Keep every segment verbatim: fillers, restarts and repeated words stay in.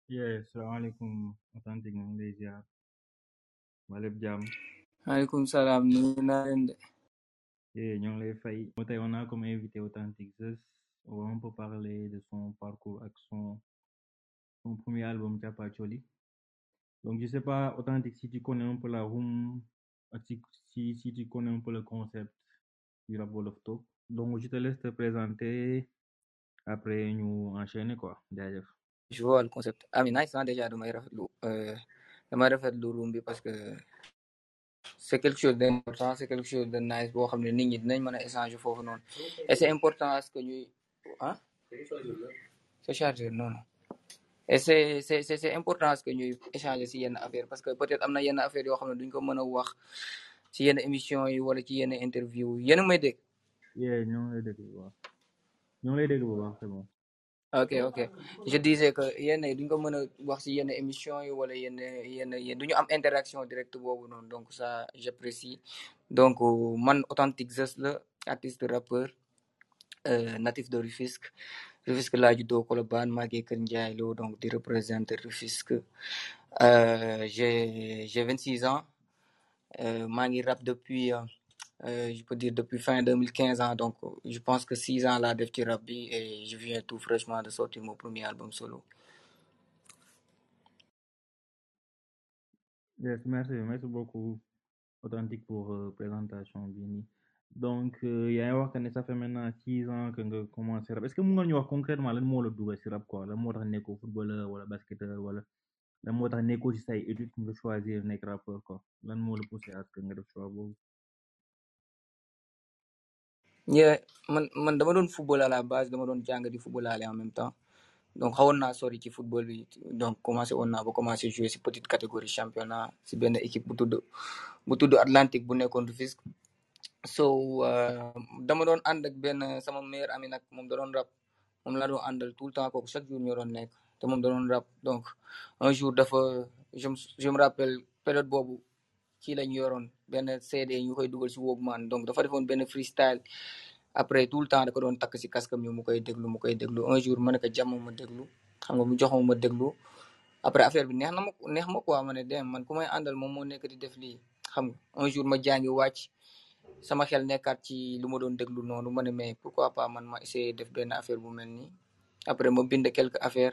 Yeah, salaamaaleykum authentique ñu ngi lay ziar waa lépp jàmm. maaleykum salaam nuyu naa leen de. Yeah, ñoo ngi lay fay. Tey on a comme invité Authentic Zeus. On va un peu parler de son parcours ak son son premier album Thiapathioli. Donc je sais pas Authentique si tu connais un peu la room ak si si si tu connais un peu le concept du rap Wolof Talk. Donc je te laisse te présenter après ñu enchaîner quoi jaajëf. je vois le concept ah mais nice hein, déjà damay rafetlu euh, damay rafetlu room bi parce que c'est quelque chose d'important c'est quelque chose de nice boo xam ne nit ñi dinañ mën a échanger foofu noonu et c'est important à ce que ñuy ah c'est chargé non non et c'est c'est c'est c'est important à ce que ñuy échanger si yenn affaire parce que peut-être am na yenn affaire yoo xam ne duñ ko mën a wax si yenn émission yi wala ci yenn interview yi yéen a may dégg. Yeah, ñoo ngi lay dégg bu baax ñoo ngi lay dégg bu baax c'est bon. ok ok je disais que yenn yi duñ ko mën a wax si yenn émission yi wala yenn yenn yenn duñu am interaction directe boobu noonu donc ça j'apprécie donc man Authentic Zeus la artiste rappeur euh, natif de Rufisque Rufisque laa juddoo Colobane màggee Kër Ndiaye Lo donc di représenter Rufisque euh, j'ai j'ai vingt-six ans euh, maa ngi rap depuis euh, je peux dire depuis fin deux mille quinze ans donc je pense que six ans laa def ci rap bi et je viens tout fraîchement de sortir mon premier album solo. Yes, merci merci beaucoup Authentique pour euh, présentation bi nii. Donc euh, yaa ngi wax que ne ça fait maintenant six ans que nga commencé rap est-ce que mun nga ñu wax concrètement lan moo la dugal si rap quoi lan moo tax nekkoo footballeur wala basketteur wala lan moo tax nekkoo ci say études nga choisir nekk rappeur quoi lan moo la poussé à ce que nga def choix boobu. yeah man man dama doon football à la base dama doon jàng di football en même temps donc xawoon naa sori ci football bi donc commencé woon naa ba commencé jouer si petite catégorie championnat si benn équipe bu tudd bu tudd Atlantique bu nekkoon Rufisque so dama doon ànd ak benn sama meilleur ami nag moom da doon rap moom laa doon àndal tout le temps kooku chaque jour ñoo doon nekk te moom da doon rap donc un jour dafa je me je me rappelle période boobu kii lañ yoroon benn C D ñu koy dugal si Walkman donc dafa defoon benn freestyle après tout le temps da ko doon takk si casque am mu koy déglu mu koy déglu un jour ma ne ko jàmm ma déglu xam nga mu jox ma ma déglu après affaire bi neex na ma neex ma quoi ma ne dem man ku may àndal moom moo nekk di def lii xam nga un jour ma jàngi wàcc sama xel nekkaat ci lu ma doon déglu noonu ma ne mais pourquoi pas man ma essayer def benn affaire bu mel nii après ma bind quelques affaires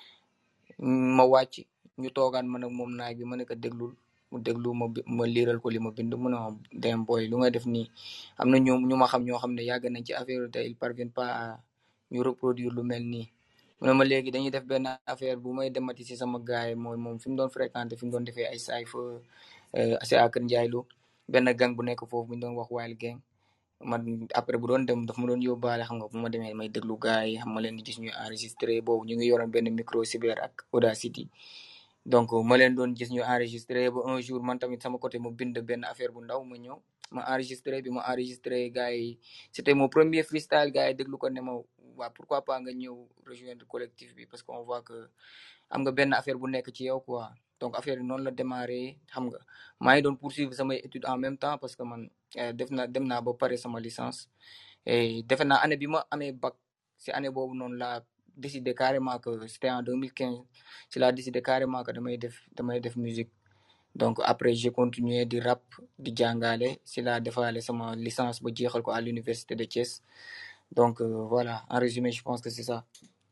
ma wàcc ñu toogaan man ak moom naaj bi ma ne ko déglul mu déglu ma ma liiral ko li ma bind mu ne ma dem boy lu nga def nii am na ñu ñu ma xam ñoo xam ne yàgg nañ ci affaire te ils parviennent pas à ñu reproduire lu mel nii mu ne ma léegi dañuy def benn affaire bu may demati si sama gaay mooy moom fi mu doon fréquenté fi mu doon defee ay saay fa c'est à Kër Ndiaye Lo benn gang bu nekk foofu bu ñu doon wax Wild Gang man après bu doon dem daf ma doon yóbbaale xam nga bu ma demee may déglu gars yi xam ma leen di gis ñuy enregistré boobu ñu ngi yoroon benn micro cyber ak Audacity donc ma leen doon gis ñu enregistré ba un jour man tamit sama côté ma bind benn affaire bu ndaw ma ñëw ma enregistré bi ma enregistré gars yi c'était mon premier freestyle gars yi déglu ko ne ma waa pourquoi pas nga ñëw rejoindre collectif bi parce que on voit que am nga benn affaire bu nekk ci yow quoi donc affaire bi noonu la démarré xam nga maa ngi doon poursuivre samay études en même temps parce que man def na dem naa ba pare sama licence et defe naa année bi ma amee bac si année boobu noonu laa décidé carrément que c'était en deux mille quinze si laa décidé carrément que damay def damay def musique donc après j'ai continué di rap di jàngale si laa defaale sama licence ba jeexal ko à l'université de Thiès donc euh, voilà en résumé je pense que c'est ça.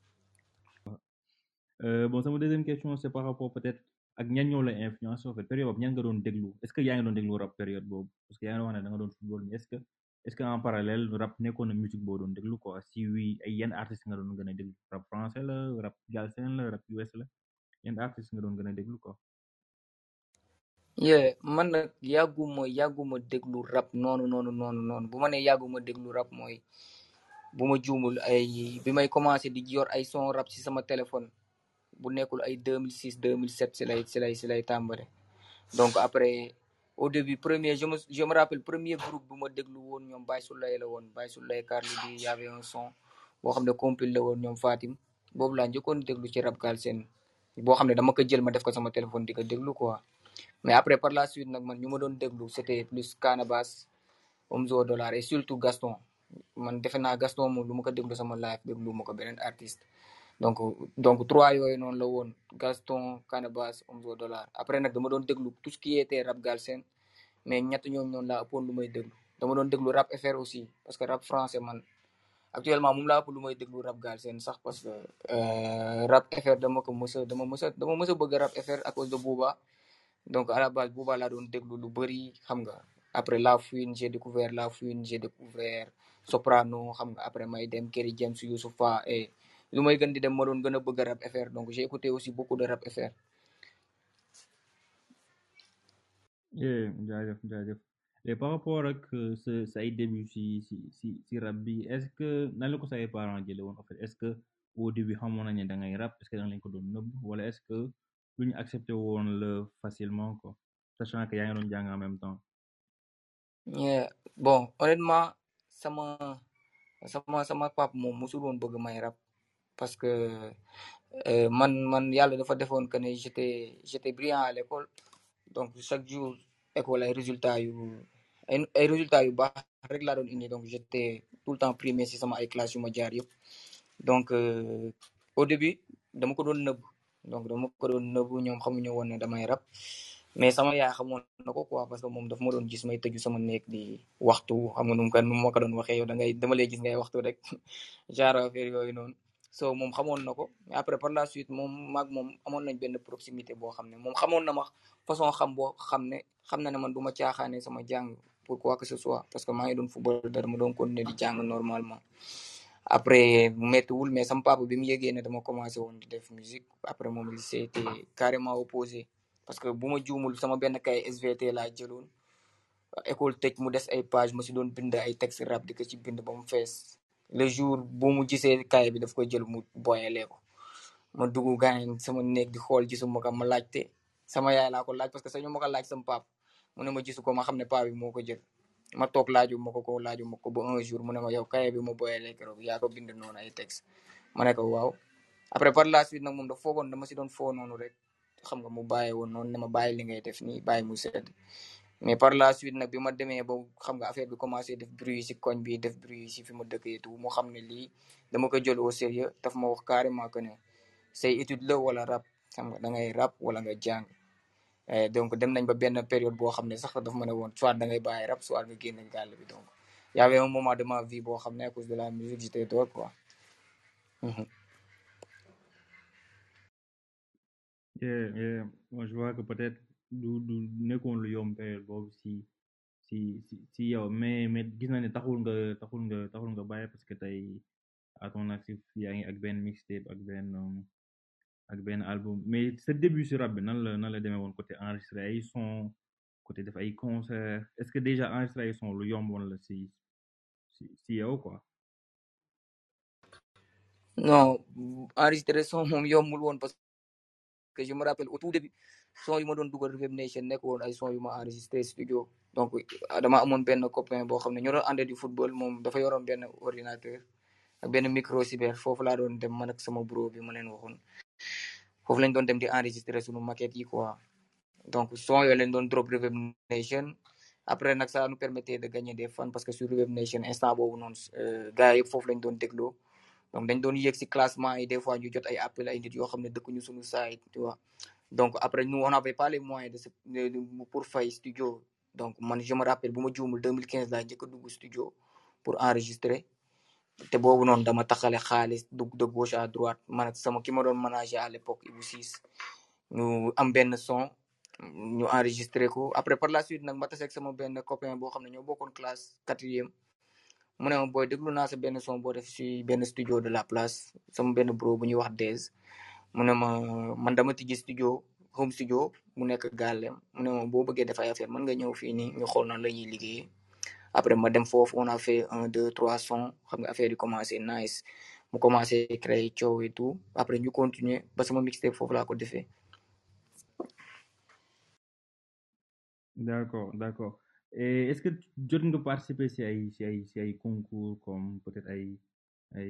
Euh, bon sama deuxième question c'est par rapport peut-être ak ñan ñoo la influence en fait période boobu ñan nga doon déglu est-ce que yaa ngi doon déglu rap période boobu parce que yaa ngi wax ne da nga doon football mais est-ce que est-ce que en parallèle rap nekkoon na musique boo doon déglu quoi si oui ay yenn artistes nga doon gën a déglu rap français la rap galsen la rap U S la yenn artistes nga doon gën a déglu quoi. yeah man nag yàgguma yàgguma déglu rap noonu noonu noonu noonu bu ma nee yàgguma déglu rap mooy bu ma juumul ay bi may commencé di yor ay son rap ci sama téléphone bu nekkul ay deux mille six deux mille sept si lay si lay si lay tàmbale donc après au début premier je me je me rappelle premier groupe bu ma déglu woon ñoom Baye Souley la woon Baye Souley Carly bi y avait un son boo xam ne compil la woon ñoom Fatim boobu laa njëkkoon déglu ci rap galsen boo xam ne dama ko jël ma def ko sama téléphone di ko déglu quoi mais après par la suite nag man ñu ma doon déglu c'était plus Canabasse Omzo Dollar et surtout Gaston man defe naa Gaston moom lu ma ko déglu sama live déglu ma ko beneen artiste donc donc trois yooyu noonu la woon Gaston Canabasse Omzo Dollar après nag dama doon déglu tout ce qui était rap galsen mais ñett ñooñu noonu laa ëppoon lu may déglu dama doon déglu rap F R aussi parce que rap français man actuellement moom laa ëpp lu may déglu rap galsen sax parce que euh, rap F R dama ko mës a dama mës a dama mës a bëgg rap F R à cause de Booba donc à la base Booba laa doon déglu lu bëri xam nga après La Fouine j'ai découvert La Fouine j'ai découvert Soprano xam nga après may dem Kerry James Youssoupha et lu may gën di dem ma doon gën a bëgg rap F R donc j'ai écouté aussi beaucoup de rap F R. Yeah, jaajëf jaajëf et par rapport ak euh, sa sa ay début si si si si rap bi est-ce que nan la ko say parents jëlee woon en fait est-ce que au début xamoon nañ ne da ngay rap est-ce que da nga leen ko doon nëbb wala est-ce que lu ñu accepté woon la facilement quoi sachant que yaa ngi doon jàng en même temps. Yeah. Bon honnêtement sama sama sama pap moom musul woon bëgg may rap parce que euh, man man yàlla dafa defoon que ne j'étais j'étais brillant à l'école donc chaque jour école ay résultats yu ay ay résultats yu baax rek laa doon indi donc j'étais tout le temps primé si sama ay classes yu ma jaar yëpp donc euh, au début dama ko doon nëbb donc dama ko doon nëbb ñoom xamuñu woon ne damay rap mais sama yaay xamoon na ko quoi parce que moom dafa ma doon gis may tëju sama néeg di waxtu xam nga nu mu ko nu ma ko doon waxee yow da ngay dama lay gis ngay waxtu rek genre affaire yooyu noonu so moom xamoon na ko mais après par la suite moom maag moom amoon nañ benn proximité boo xam ne moom xamoon na ma façon xam boo xam ne xam na ne man du ma caaxaane sama jàng pour quoi que ce soit parce que maa ngi doon football dara ma doon continuer di jàng normalement après méttiwul mais sama papa bi mu yëgee ne dama commencé woon di def musique après moom il s'était carrément opposé parce que bu ma juumul sama benn kay S V T laa jëloon école tëj mu des ay page ma si doon bind ay texte rap di ko ci bind ba mu fees le jour bu mu gisee kay bi daf ko jël mu boyalee ko ma dugg gaañ sama néeg di xool gisuma ko ma laajte sama yaay laa ko laaj parce que sañu ma ko laaj sama pap mu ne ma gisu ko ma xam ne paa bi moo ko jël ma toog laaju ma ko ko laaju ma ko ba un jour mu ne ma yow kaye bi ma boyalee keroog yaa ko bind noonu ay texte ma ne ko waaw après par la suite nag moom dafa foogoon dama si doon foo noonu rek xam nga mu bàyyi woon noonu ne ma bàyyi li ngay def nii bàyyi mu sedd mais par la suite nag bi ma demee ba xam nga affaire bi commencé def bruit si koñ bi def bruit si fi ma dëkk et tout mu xam ne lii dama ko jël au sérieux daf ma wax carrément que ne say étude la wala rap xam nga da ngay rap wala nga jàng donc dem nañ ba benn période boo xam ne sax daf ma ne woon soit da ngay bàyyi rap soit nga génn gàll bi donc y avait un moment de ma vie boo xam ne à cause de la musique j'étais dehors quoi. Yeah, yeah. Moi, je vois que peut-être du du nekkoon lu yomb période boobu si si si si yow mais mais gis naa ne taxul nga taxul nga taxul nga bàyyi parce que tey à ton actif yaa ngi ak benn mixtape ak benn um, ak benn album mais sa début si rap bi nan la nan la demee woon côté enregistré ay son côté def ay concert est-ce que déjà enregistré ay son lu yomb woon la si si si yow quoi. non enregistré son moom yombul woon parce que je me rappelle au tout début son yu ma doon dugal Reverb Nation nekk woon ay son yu ma enregistré studio donc dama amoon benn copain boo xam ne ñoo doon àndee di football moom dafa yoroon benn ordinateur ak benn micro cyber foofu laa doon dem man ak sama bro bi ma leen waxoon foofu lañ doon dem di enregistré suñu maquette yi quoi donc son yooyu lañ doon drop Reverb Nation après nag ça nous permettait de gagner des fans parce que sur Reverb Nation instant boobu noonu gars yëpp foofu lañ doon dégloo donc dañ doon yéeg si classement yi des fois ñu jot ay appel ay nit yoo xam ne dëkkuñu suñu site tu vois donc après nous on n'avait pas les moyens de se de pour fay studio donc man je me rappelle bu ma juumul deux mille quinze laa njëkk a dugg studio pour enregistrer te boobu noonu dama taxale xaalis dugg de gauche à droite man ak sama ki ma doon manager à l'époque Ibou Ciss ñu am benn son ñu enregistré ko après par la suite nag ma tase ak sama benn copain boo xam ne ñoo bokkoon classe quatrième mu ne ma booy déglu naa sa benn son boo def si benn studio de la place sama benn bro bu ñuy wax Dez mu ne ma man dama tijji studio home studio mu nekk gàllem mu ne ma boo bëggee def ay affaire mën nga ñëw fii nii ñu xool nan la ñuy liggéeyee après ma dem foofu on a fait un deux trois sons xam nga affaire yi commencé nice mu commencé créer coow et tout après ñu continuer ba sama mixtape foofu laa ko defee. D'accord, d'accord. Et est-ce que jot nga participer si ay si ay si ay concours comme peut-être ay ay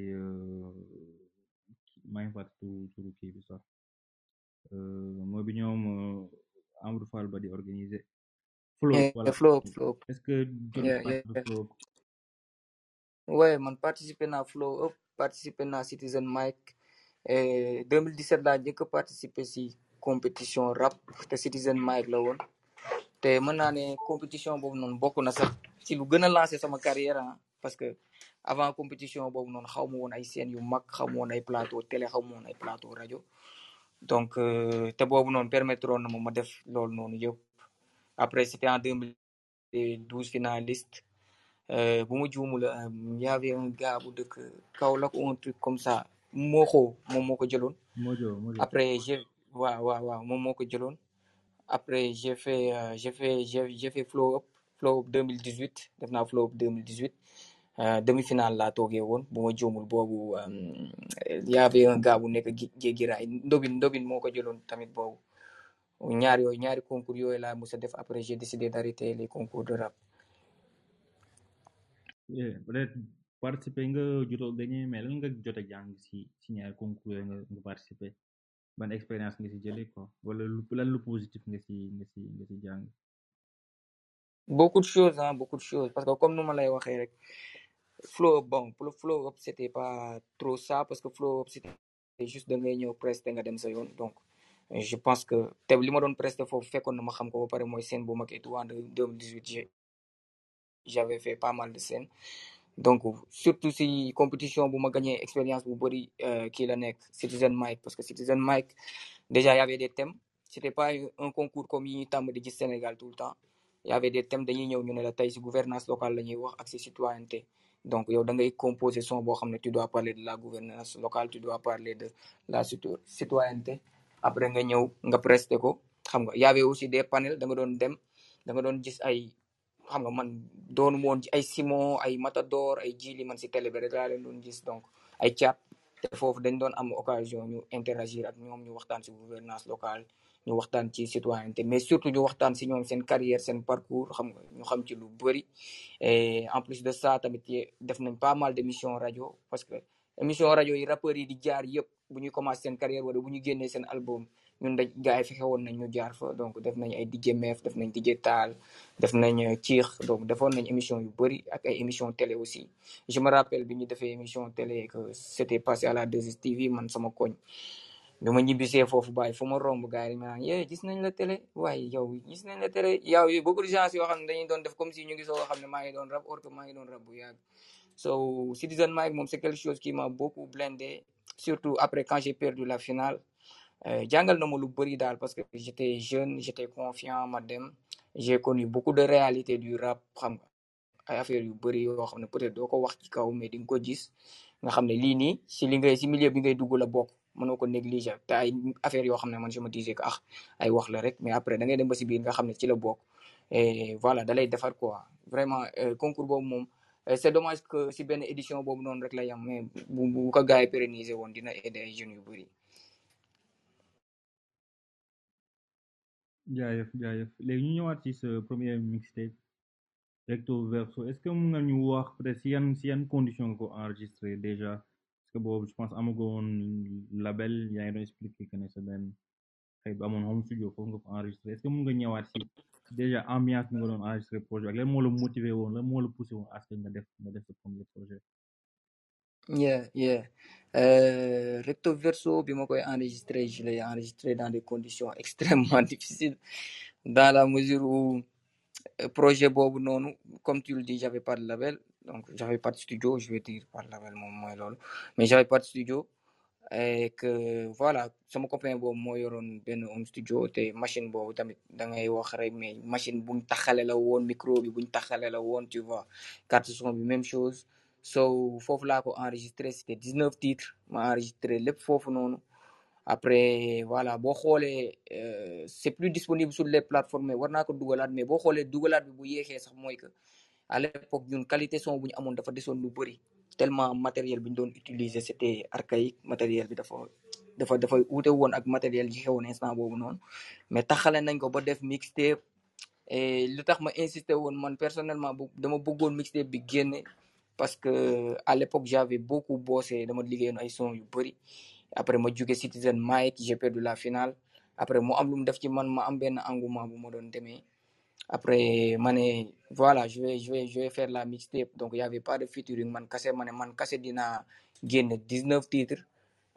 maa ngi fàtte tu turu kii bi sax mooy bi ñoom Amadou Fall ba di organiser. Float voilà. Float Float. Est-ce que jot nga participer Float. ouais man participer naa Flow up participer naa Citizen Mike et deux mille dix-sept laa njëkk a participer si compétition rap te Citizen Mike la woon te mën naa ne compétition boobu noonu bokk na sax ci lu gën a lancé sama carrière ah parce que avant compétition boobu noonu xaw ma woon ay scènes yu mag xaw ma woon ay plateau télé xaw ma woon ay plateau rajo donc te boobu noonu permettre woon na ma ma def loolu noonu yëpp après c'était en deux mille douze finaliste bu ma juumul y avait un gars bu dëkk Kaolack ou un truc comme ça Moxo moom moo ko jëloon Mojo Mojo après j'ai waaw waaw waaw moom moo ko jëloon après j'ai fait euh, j'ai fait j'ai j'ai fait flow up flow up deux mille dix-huit def naa flow up deux mille dix-huit demi-finale laa toogee woon bu ma juumul boobu y avait un gars bu nekk Guéguiraay Ndobin Ndobin moo ko jëloon tamit boobu ñaar yooyu ñaari concours yooyu laa mos a def après j'ai décidé d'arrêter les concours de rap. peut-être participer nga jotoo gagné mais lan nga jot a jàng si si ñaari concours yooyu nga nga participer ban expérience nga si jëlee quoi wala lu lan lu positif nga si nga si nga si jàng. beaucoup de choses hein beaucoup de choses parce que comme nu ma lay waxee rek flow up bon pour le flow up c'était pas trop ça parce que flow up c'était juste da ngay ñëw prester nga dem sa yoon donc je pense que te li ma doon prester foofu fekkoon na ma xam ko ba pare mooy scène bu mag et tout en deux mille dix-huit j'avais fait pas mal de scènes donc surtout si compétition bu ma gagné expérience bu bëri kii la nekk Citizen Mike parce que Citizen Mike déjà y avait des thèmes c'était pas un concours comme yi ñuy tàmm di gis Sénégal tout le temps y avait des thèmes dañuy ñëw ñu ne la tey si gouvernance locale la ñuy wax ak si citoyenneté donc yow da ngay composer son boo xam ne tu dois parler de la gouvernance locale tu dois parler de la citoyenneté après nga ñëw nga prester ko xam nga y avait aussi des panels da nga doon dem da nga doon gis ay xam nga man doonu woon ay Simon ay Matador ay Jili man si télé bi rek laa leen doon gis donc ay caat te foofu dañ doon am occasion ñu interagir ak ñoom ñu waxtaan si gouvernance locale ñu waxtaan ci citoyenneté mais surtout ñu waxtaan si ñoom seen carrière seen parcours xam nga ñu xam ci lu bëri et en plus de ça tamit def nañ pas mal d'émissions rajo parce que émission rajo yi rappeurs yi di jaar yëpp bu ñuy commencé seen carrière wala bu ñu génnee seen album ñun dañ gars yi fexe woon nañ ñu jaar fa donc def nañ ay D J Mef def nañ D J Taal def nañ Ciix donc defoon nañ émission yu bëri ak ay émission télé aussi je me rappelle bi ñu defee émission télé que c'était passé à la deux S T V man sama koñ bi ma ñibbisee foofu bàyyi fu ma romb gars yi ma naan yee gis nañ la télé waaye yow gis nañ la télé yow yi beaucoup de gens yoo xam ne dañuy doon def comme si ñu ngi soo xam ne maa ngi doon rap or que maa ngi doon rap bu yàgg so Citizen Mike moom c'est quelque chose qui m'a beaucoup blindé surtout après quand j'ai perdu la finale jàngal na ma lu bëri daal parce que j'étais jeune j'étais confiant ma dem j'ai connu beaucoup de réalités du rap xam nga ay affaires yu bëri yoo xam ne peut-être doo ko wax ci kaw mais di nga ko gis nga xam ne lii nii si li ngay si milieu bi ngay dugg la bokk mënoo ko négliger te ay affaires yoo xam ne man je me disais que ah ay wax la rek mais après da ngay dem ba si biir nga xam ne ci la bokk et voilà da lay defar quoi vraiment concours boobu moom c'est dommage que si benn édition boobu noonu rek la yam mais bu bu ko gars yi pérenniser woon dina aider ay jeunes yu bëri. jaajëf jaajëf léegi ñu ñëwaat ci sa premier mixtape recto verso est-ce que mun nga ñu wax peut-être si yan si yan condition nga ko enregistré déjà parce que boobu je pense amagoon label yaa ngi doon expliqué que ne sa benn xëy ba amoon home studio foofu nga ko enregistré est-ce que mun nga ñëwaat si déjà ambiance bi nga doon enregistré projet ak lan moo la motivé woon lan moo la poussé woon à ce que nga def nga def sa premier projet. yeah yeah euh, recto verso bi ma koy enregistré je l'ai enregistré dans des conditions extrêmement difficiles dans la mesure où projet boobu noonu comme tu le dis j'avais pas de label donc j'avais pas de studio je vais dire pas de label moom mooy loolu mais j'avais pas de studio et que voilà sama copain boobu moo yoroon benn home studio te machine boobu tamit da ngay wax rek mais machine buñ taxale la woon micro bi buñ taxale la woon tu vois carte son bi même chose so foofu laa ko enregistré c'était dix-neuf titres ma enregistré lépp foofu noonu après voilà boo xoolee c'est plus disponible sur les plateformes mais war naa ko dugalaat mais boo xoolee dugalaat bi bu yéexee sax mooy que à l'époque ñun qualité son bu ñu amoon dafa desoon lu bëri tellement matériel bi ñu doon utiliser c'était archaïque matériel bi dafa dafa dafa wuute woon ak matériel yi xewoon instant boobu noonu mais taxale nañ ko ba def mixtape et lu tax ma insister woon man personnellement dama bëggoon mixtape bi génne parce que à l'époque j'avais beaucoup bossé dama liggéeyoon ay son yu bëri après ma jóge Citizen Mike j'ai perdu la finale après mu am lu mu def ci man ma am benn engouement bu ma doon demee après ma ne voilà je vais je vais je vais faire la mixtape donc il y avait pas de featuring man kase ma ne man kase dinaa génne dix-neuf titres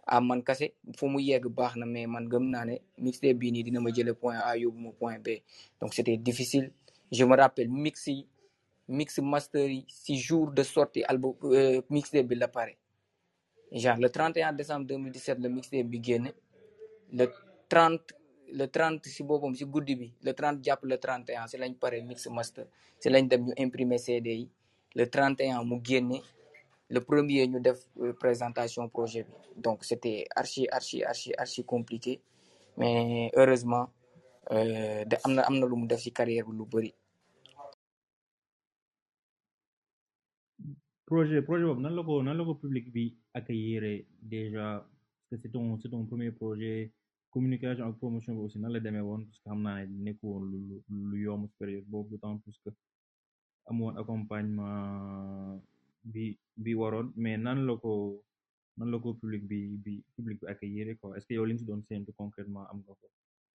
ah man kase fu mu yegg baax na mais man gëm naa ne mixtape bii nii dina ma jële point A yóbbu ma point B donc c'était difficile je me rappelle mix yi mix master yi si jour de sortie album euh, mixtape bi la pare genre le trente et un décembre deux mille dix-sept le mixtape bi génn le trente le trente si boppam si guddi bi le trente jàpp le trente et un si lañ pare mix master si lañ dem ñu imprimer C D yi le trente et un mu génne le premier ñu def présentation projet bi donc c'était archi archi archi archi compliqué mais heureusement euh, de am na am na lu mu def ci carrière bi lu bëri. projet projet boobu nan la ko nan la ko public bi accueillir déjà parce que c'est ton c'est ton premier projet communication ak promotion bi aussi nan la demee woon parce que xam naa ne nekku woon lu lu yomb période boobu d'autant plus que amoon accompagnement bi bi waroon mais nan la ko nan la ko public bi bi public bi accueillir quoi est-ce que yow li nga si doon séntu concrètement am nga ko.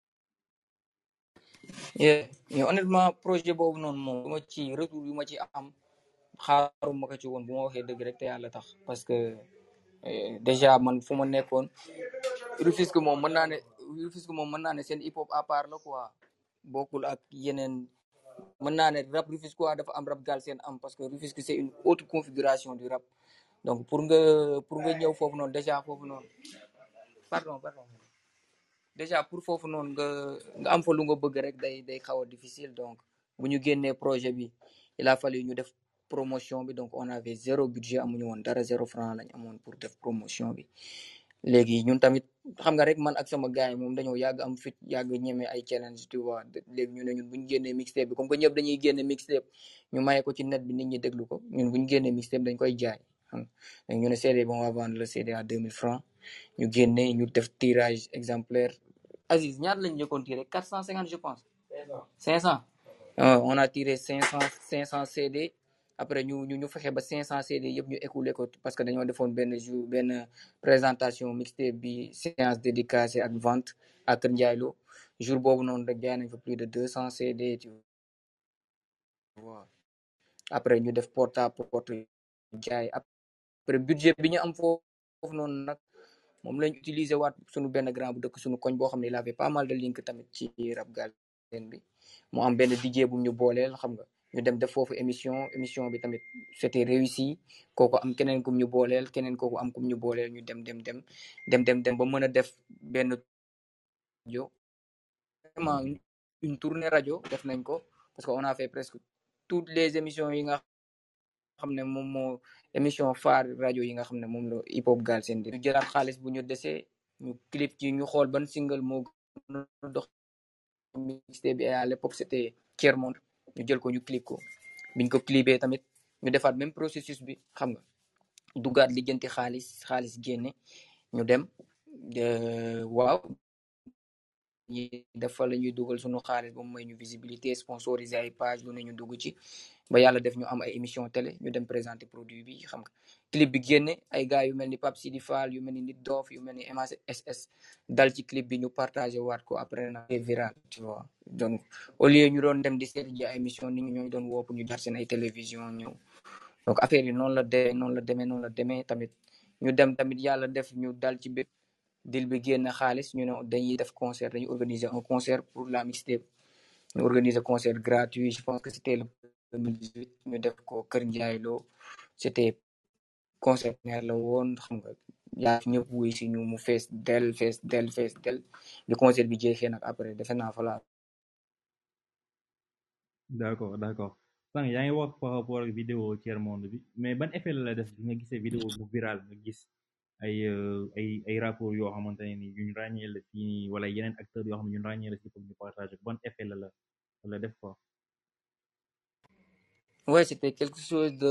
mais honnêtement projet boobu noonu moom lu ma ci retour yu ma ci am xaaruma ko ci woon bu ma waxee dëgg rek te yàlla tax parce que déjà man fu ma nekkoon Rufisque moom mën naa ne Rufisque moom mën naa ne seen hip hop à part la quoi bokkul ak yeneen mën naa ne rap Rufisque quoi dafa am rap Galsen am parce que Rufisque c'est une autre configuration du rap donc pour nga pour nga ñëw foofu noonu déjà foofu noonu pardon pardon déjà pour foofu noonu nga nga am fa lu nga bëgg rek day day xaw a difficile donc bu ñu génnee projet bi il a fallu ñu def promotion bi donc on avait zéro budget amuñu woon dara zéro franc lañ amoon pour def promotion bi léegi ñun tamit xam nga rek man ak sama gars yi moom dañoo yàgg am fit yàgg ñeme ay challenge tu vois léegi ñu ne ñun bu ñu génnee mixtape bi comme que ñëpp dañuy génne mixtape ñu maye ko ci net bi nit ñi déglu ko ñun bu ñu génnee mixtape dañ koy jaay xam nga ñu ne C D bi on va vendre le C D à deux mille francs ñu génne ñu def tirage exemplaire Aziz ñaata lañ njëkkoon tiré quatre cent cinquante je pense cinq cent on a tiré cinq cent cinq cent C D après ñu ñu ñu fexe ba cinq cent C D yëpp ñu écoulé ko parce que dañoo defoon benn jour benn présentation mixtape bi séance dédicacée ak vente à Kër Ndiaye Lo jour boobu noonu rek jaay nañ fa plus de deux cents C D tu vois après ñu def porte à porte jaay après budget bi ñu am foofu noonu nag moom lañ utiliser waat suñu benn grand bu dëkk suñu koñ boo xam ne il avait pas mal de link tamit ci rap Galsen bi mu am benn D J bu ñu booleel xam nga ñu dem def foofu émission émission bi tamit c'était réussi kooku am keneen kum ñu booleel keneen kooku am kum ñu booleel ñu dem dem dem dem dem dem ba mën a def benn rajo vraiment une tournée rajo def nañ ko parce que on a fait presque toutes les émissions yi nga xam ne moom moo émission phare rajo yi nga xam ne moom la hip hop Galsen di ñu jëlaat xaalis bu ñu desee ñu clip ci ñu xool ban single moo dox mixtape bi à l'époque c'était Tiers Monde ñu jël ko ñu clip ko biñ ko clipé tamit ñu defaat même processus bi xam nga duggaat lijjanti xaalis xaalis génne ñu dem waaw ñi dafa la ñuy dugal suñu xaalis ba mu may ñu visibilité sponsorisé ay page lu ne ñu dugg ci ba yàlla def ñu am ay émission télé ñu dem présenter produit bi xam nga clip bi génne ay gars yu mel ni Pape Sidi Fall yu mel ni Nit Dof yu mel ni M A S S dal ci clip bi ñu partagé waat ko après na viral tu vois donc au lieu ñu doon dem di seeti ji ay émission nit ñi ñooy doon woo pour ñu jaar seen ay télévision ñëw donc affaire yi noonu la demee noonu la demee noonu la demee tamit ñu dem tamit yàlla def ñu dal ci bépp dil bi génn xaalis ñu ne dañuy def concert dañuy organiser un concert pour la mixtape ñu organiser concert gratuit je pense que c'était le deux mille dix-huit ñu def ko Kër Ndiaye Lo c'était concert la woon xam nga yaa ñëpp wuy si ñu mu fees del fees del fees del bi concert bi jeexee nag après defe naa fa la d'accord d'accord sànq yaa ngi wax par rapport ak vidéo Tiers Monde bi mais ban effet la la def bi nga gisee vidéo bu viral nga gis ay ay ay rapport yoo xamante ne ni yuñ ràññee la fii nii wala yeneen acteurs yoo xam ne ñun ràññee la si pour ñu partager ban effet la la la def quoi. ouais c'était quelque chose de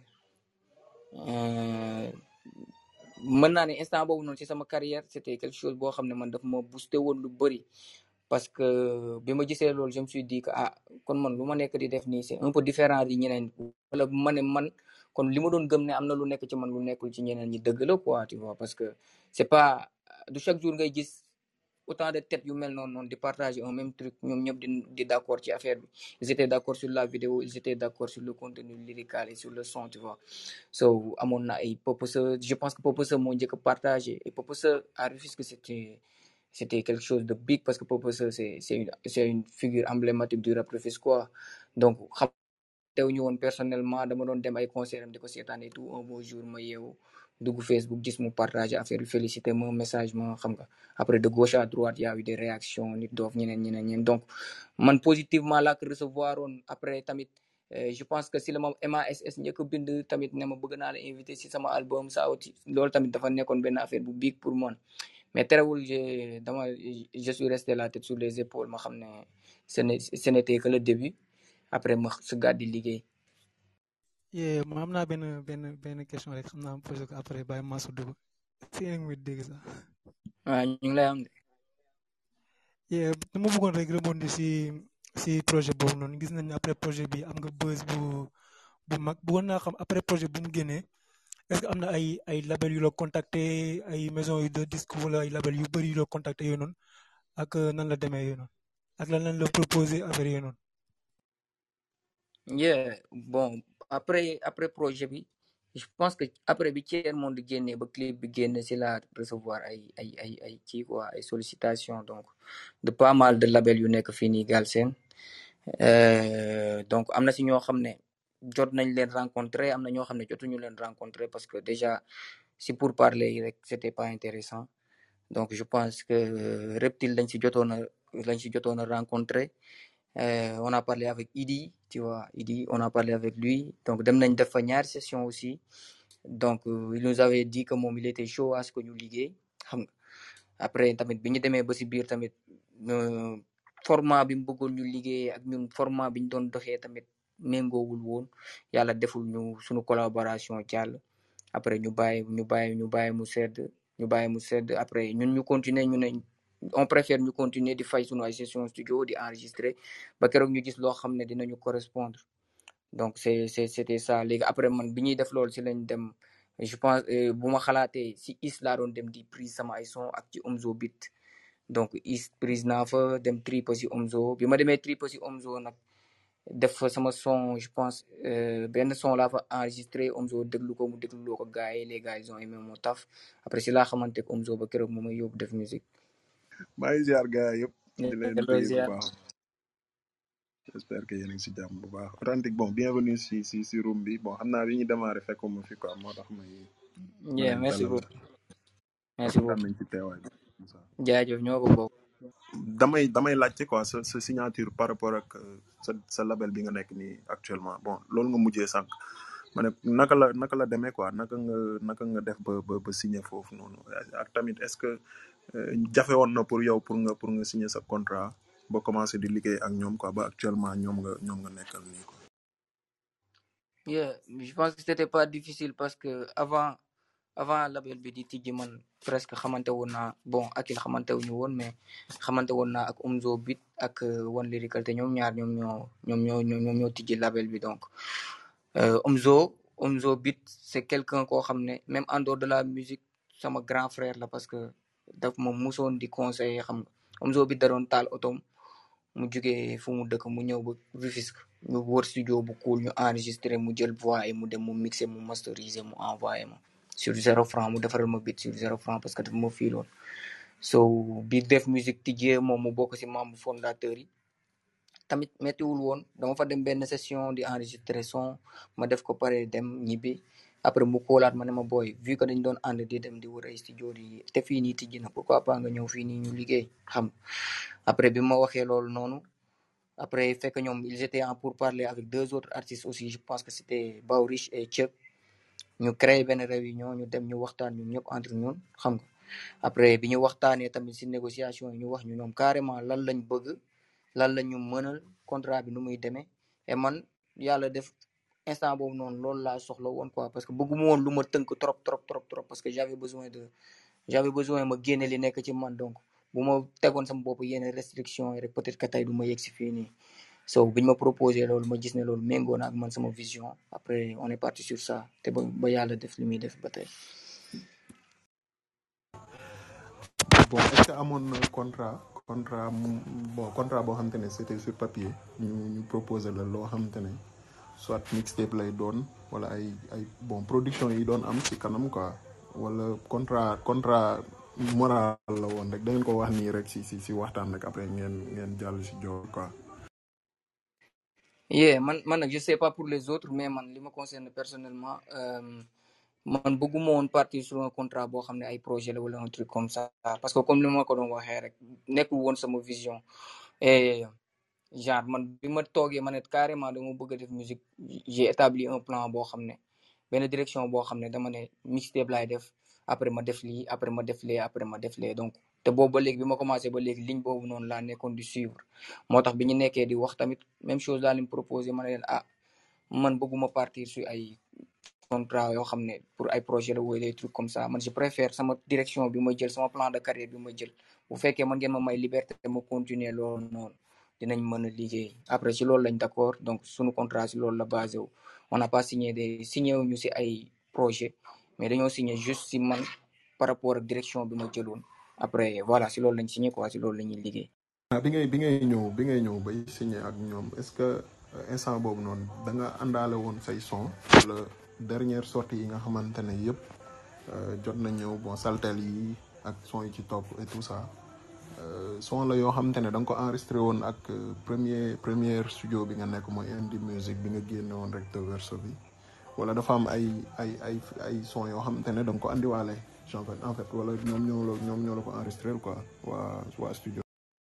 mën naa ne instant boobu noonu ci sama carrière c'était quelque chose boo xam ne man daf ma boosté woon lu bëri parce que bi ma gisee loolu je me suis dit que ah kon man lu ma nekk di def nii c'est un peu différent di ñeneen wala ma ne man kon li ma doon gëm ne am na lu nekk ci man lu nekkul ci ñeneen ñi dëgg la quoi tu vois parce que c'est pas du chaque jour ngay gis autant de têtes yu mel non non di partager un même truc ñom ñep di di d'accord ci affaire bi ils étaient d'accord sur la vidéo ils étaient d'accord sur le contenu lyrical et sur le son tu vois so amoon na ay Purpose je pense que Purpose moo njëkk a partagé et Purpose a refusé que c'était c'était quelque chose de big parce que Purpose c'est c'est une c'est une figure emblématique du rap quoi donc xam teewuñu woon personnellement dama doon dem ay concert am di ko seetaan et tout un beau jour ma yeewu dugg Facebook gis mu partager affaire bi félicité ma message ma xam nga après de gauche à droite y a eu des réactions nit doof ñeneen ñeneen ñeneen donc man positivement laa ko recevoir woon après tamit je pense que si la ma M A S S njëkk a bind tamit ne ma bëgg naa la invité si sama album ça aussi loolu tamit dafa nekkoon benn affaire bu big pour man mais terewul je dama je suis resté la tête sur les épaules ma xam ne ce n'est ce n'était que le début après ma su gàddi liggéey. yeah ma am naa benn benn benn question rek xam naa posé ko après bàyyi Mansour dugg si yéen a ngi may dégg sax. waaw ñu ngi lay am de. yeah dama bëggoon rek rebondir si si projet boobu noonu gis nañ après projet bi am nga buzz bu bu mag bëggoon naa xam après projet bu mu génnee est-ce que am na ay ay label yu la contacté ay maison yu de disque wala ay label yu bëri yu la contacté yooyu noonu ak nan la demee yooyu noonu ak lan lañ la proposé affaire yooyu noonu. yeah bon après après projet bi je pense que après bi Tiers Monde génnee ba clip bi génne si la recevoir ay ay ay ay kii quoi ay sollicitation donc de pas mal de label yu nekk fii nii Galsen donc am na si ñoo xam ne jot nañ leen rencontrer am na ñoo xam ne jotuñu leen rencontrer parce que déjà si pour parler yi rek c'était pas intéressant donc je pense que Reptile lañ si jotoon a lañ si jotoon a rencontrer Euh, on a parlé avec Idi, tu vois, Idi, on a parlé avec lui. Donc, dem nañ def fa ñaari session aussi. Donc, euh, il nous avait dit que moom il était chaud à ce que ñu liggéey. Xam nga après tamit bi ñu demee ba si biir tamit format bi mu bëggoon ñu liggéey ak ñun format bi ñu doon doxee tamit méngoowul woon yàlla deful ñu suñu collaboration jàll. Après ñu bàyyi ñu bàyyi ñu bàyyi mu sedd ñu bàyyi mu sedd après ñun ñu continuer ñu ne on préfère ñu continuer di fay suñu ay session studio di enregistrer ba keroog ñu gis loo xam ne dinañu correspondre donc c'est c'est c'était ça léegi après man bi ñuy def loolu si lañ dem je pense bu ma xalaatee si is laa doon dem di prise sama ay son ak ci Omzo Beat donc is prise naa fa dem tripe si Omzo bi ma demee tripe si Omzo nag def fa sama son je pense benn son laa fa enregistré Omzo déglu ko mu déglu loo ko gars yi les gars ils ont aimé mon taf après si laa xamante ak Omzo ba keroog mu may yóbbu def musique. maa ngi ziar gars yëpp di leen bëgg bu baax j'espère que yéen a ngi si jàmm bu baax authentique bon bienvenue si si si room bi bon xam naa bi ñu démarré fekkuma fi quoi moo tax may yeah merci beaucoup merci beaucoup nañ ci teewaay jaajëf ñoo ko bokk damay damay laajte quoi sa sa signature par rapport ak sa sa label bi nga nekk nii actuellement bon loolu nga mujjee sànq ma ne naka la naka la demee quoi naka nga naka nga def ba ba ba signer foofu noonu ak tamit est-ce que jafe woon na pour yow pour nga pour nga signer sa contrat ba commencer di liggéey ak ñoom quoi ba actuellement ñoom nga ñoom nga nekkal nii quoi. yeah je pense que c'était pas difficile parce que avant avant label bi di tijji man presque xamante woon naa bon Akil xamante wuñu woon mais xamante woon naa ak Omzo Beat ak One Lyrical te ñoom ñaar ñoom ñoo ñoom ñoo ñoom ñoo tijji label bi donc Omzo Omzo Beat c'est quelqu'un koo xam ne même en dehors de la musique sama grand frère la parce que daf ma musoon di conseiller xam nga Omzo Beat da doon taal otom mu jugee fu mu dëkk mu ñëw ba Rufisque ñu wër studio bu cool ñu enregistré mu jël voix yi mu dem mu mixé mu masterisé mu envoyé ma sur zéro franc mu defaral ma beat sur zéro franc parce que dafa ma fiiloon so bi def musique tijjee moom mu bokk ci membre fondateur yi tamit méttiwul woon dama fa dem benn session di enregistré son ma def ko pare dem ñibbi après mu koolaat ma ne ma booy vu que dañ doon ànd di dem di wër ay studio di te fii nii tijji na pourquoi pas nga ñëw fii nii ñu liggéey xam après bi ma waxee loolu noonu après fekk ñoom ils étaient en pourparlers avec deux autres artistes aussi je pense que c'était Baurich et Chuck ñu créé benn réunion ñu dem ñu waxtaan ñun ñëpp entre ñun xam nga après bi ñu waxtaanee tamit ci négociation yi ñu wax ñu ñoom carrément lan lañ bëgg lan la ñu mënal contrat bi nu muy demee et man yàlla def instant boobu noonu loolu laa soxla woon quoi parce que bëgguma woon lu ma tënk trop trop trop trop parce que j'avais besoin de j'avais besoin ma génne li nekk ci man donc bu ma tegoon sama bopp yenn restriction yi rek peut-être que tey du ma yegg si fii nii so biñ ma proposé loolu ma gis ne loolu méngoo na ak man sama vision après on est parti sur ça te ba ba yàlla def li muy def ba tey. bon est-ce que amoon na contrat contrat mu- bon contrat boo xamante ne c'était sur papier ñu ñu proposer la loo xamante ne soit mixtape lay doon wala ay ay bon production yi doon am ci kanam quoi wala contrat contrat moral la woon rek da ngeen ko wax nii rek si si si waxtaan rek après ngeen ngeen jàll si joor quoi. yeah man man nag je sais pas pour les autres mais man li ma concerne personnellement euh, man bëgguma woon partir sur un contrat boo xam ne ay projet la wala un truc comme ça parce que comme ni ma ko doon waxee rek nekkul woon sama vision et genre man bi ma toogee ma ne carrément dama bëgg a def musique j'ai établi un plan boo xam ne benn direction boo xam ne dama ne mixtape laay def après ma def lii après ma def lee après ma def lee donc te boobu ba léegi bi ma commencé ba léegi ligne boobu noonu laa nekkoon di suivre moo tax bi ñu nekkee di wax tamit même chose laa leen proposé ma ne leen ah man bëgguma partir sur ay contrat yoo xam ne pour ay projet la wala des trucs comme ça man je préfère sama direction bi ma jël sama plan de carrière bi ma jël bu fekkee man ngeen ma may liberté ma continuer loolu noonu dinañ mën a liggéey après si loolu lañ d'accord donc suñu contrat si loolu la basé wu on n'a pas signé des signé wuñu si ay projet mais dañoo signé juste si man par rapport ak direction bi ma jëloon après voilà si loolu lañ signé quoi si loolu la ñuy liggéey. ah bi ngay bi ngay ñëw bi ngay ñëw bay signé ak ñoom est-ce que euh, instant boobu noonu da nga àndaale woon say son wala dernière sortie yi nga xamante ne yëpp euh, jot na ñëw bon saltel yi ak son yi ci topp et tout ça euh, son la yoo xamante ne da nga ko enregistré woon ak euh, premier première studio bi nga nekk mooy Indie Music bi nga génne woon rek de verso bi wala dafa am ay ay ay ay son yoo xamante ne da nga ko andiwaale en fait en fait wala ñoom ñoo la ñoom ñoo la ko enregistré quoi waa waa studio.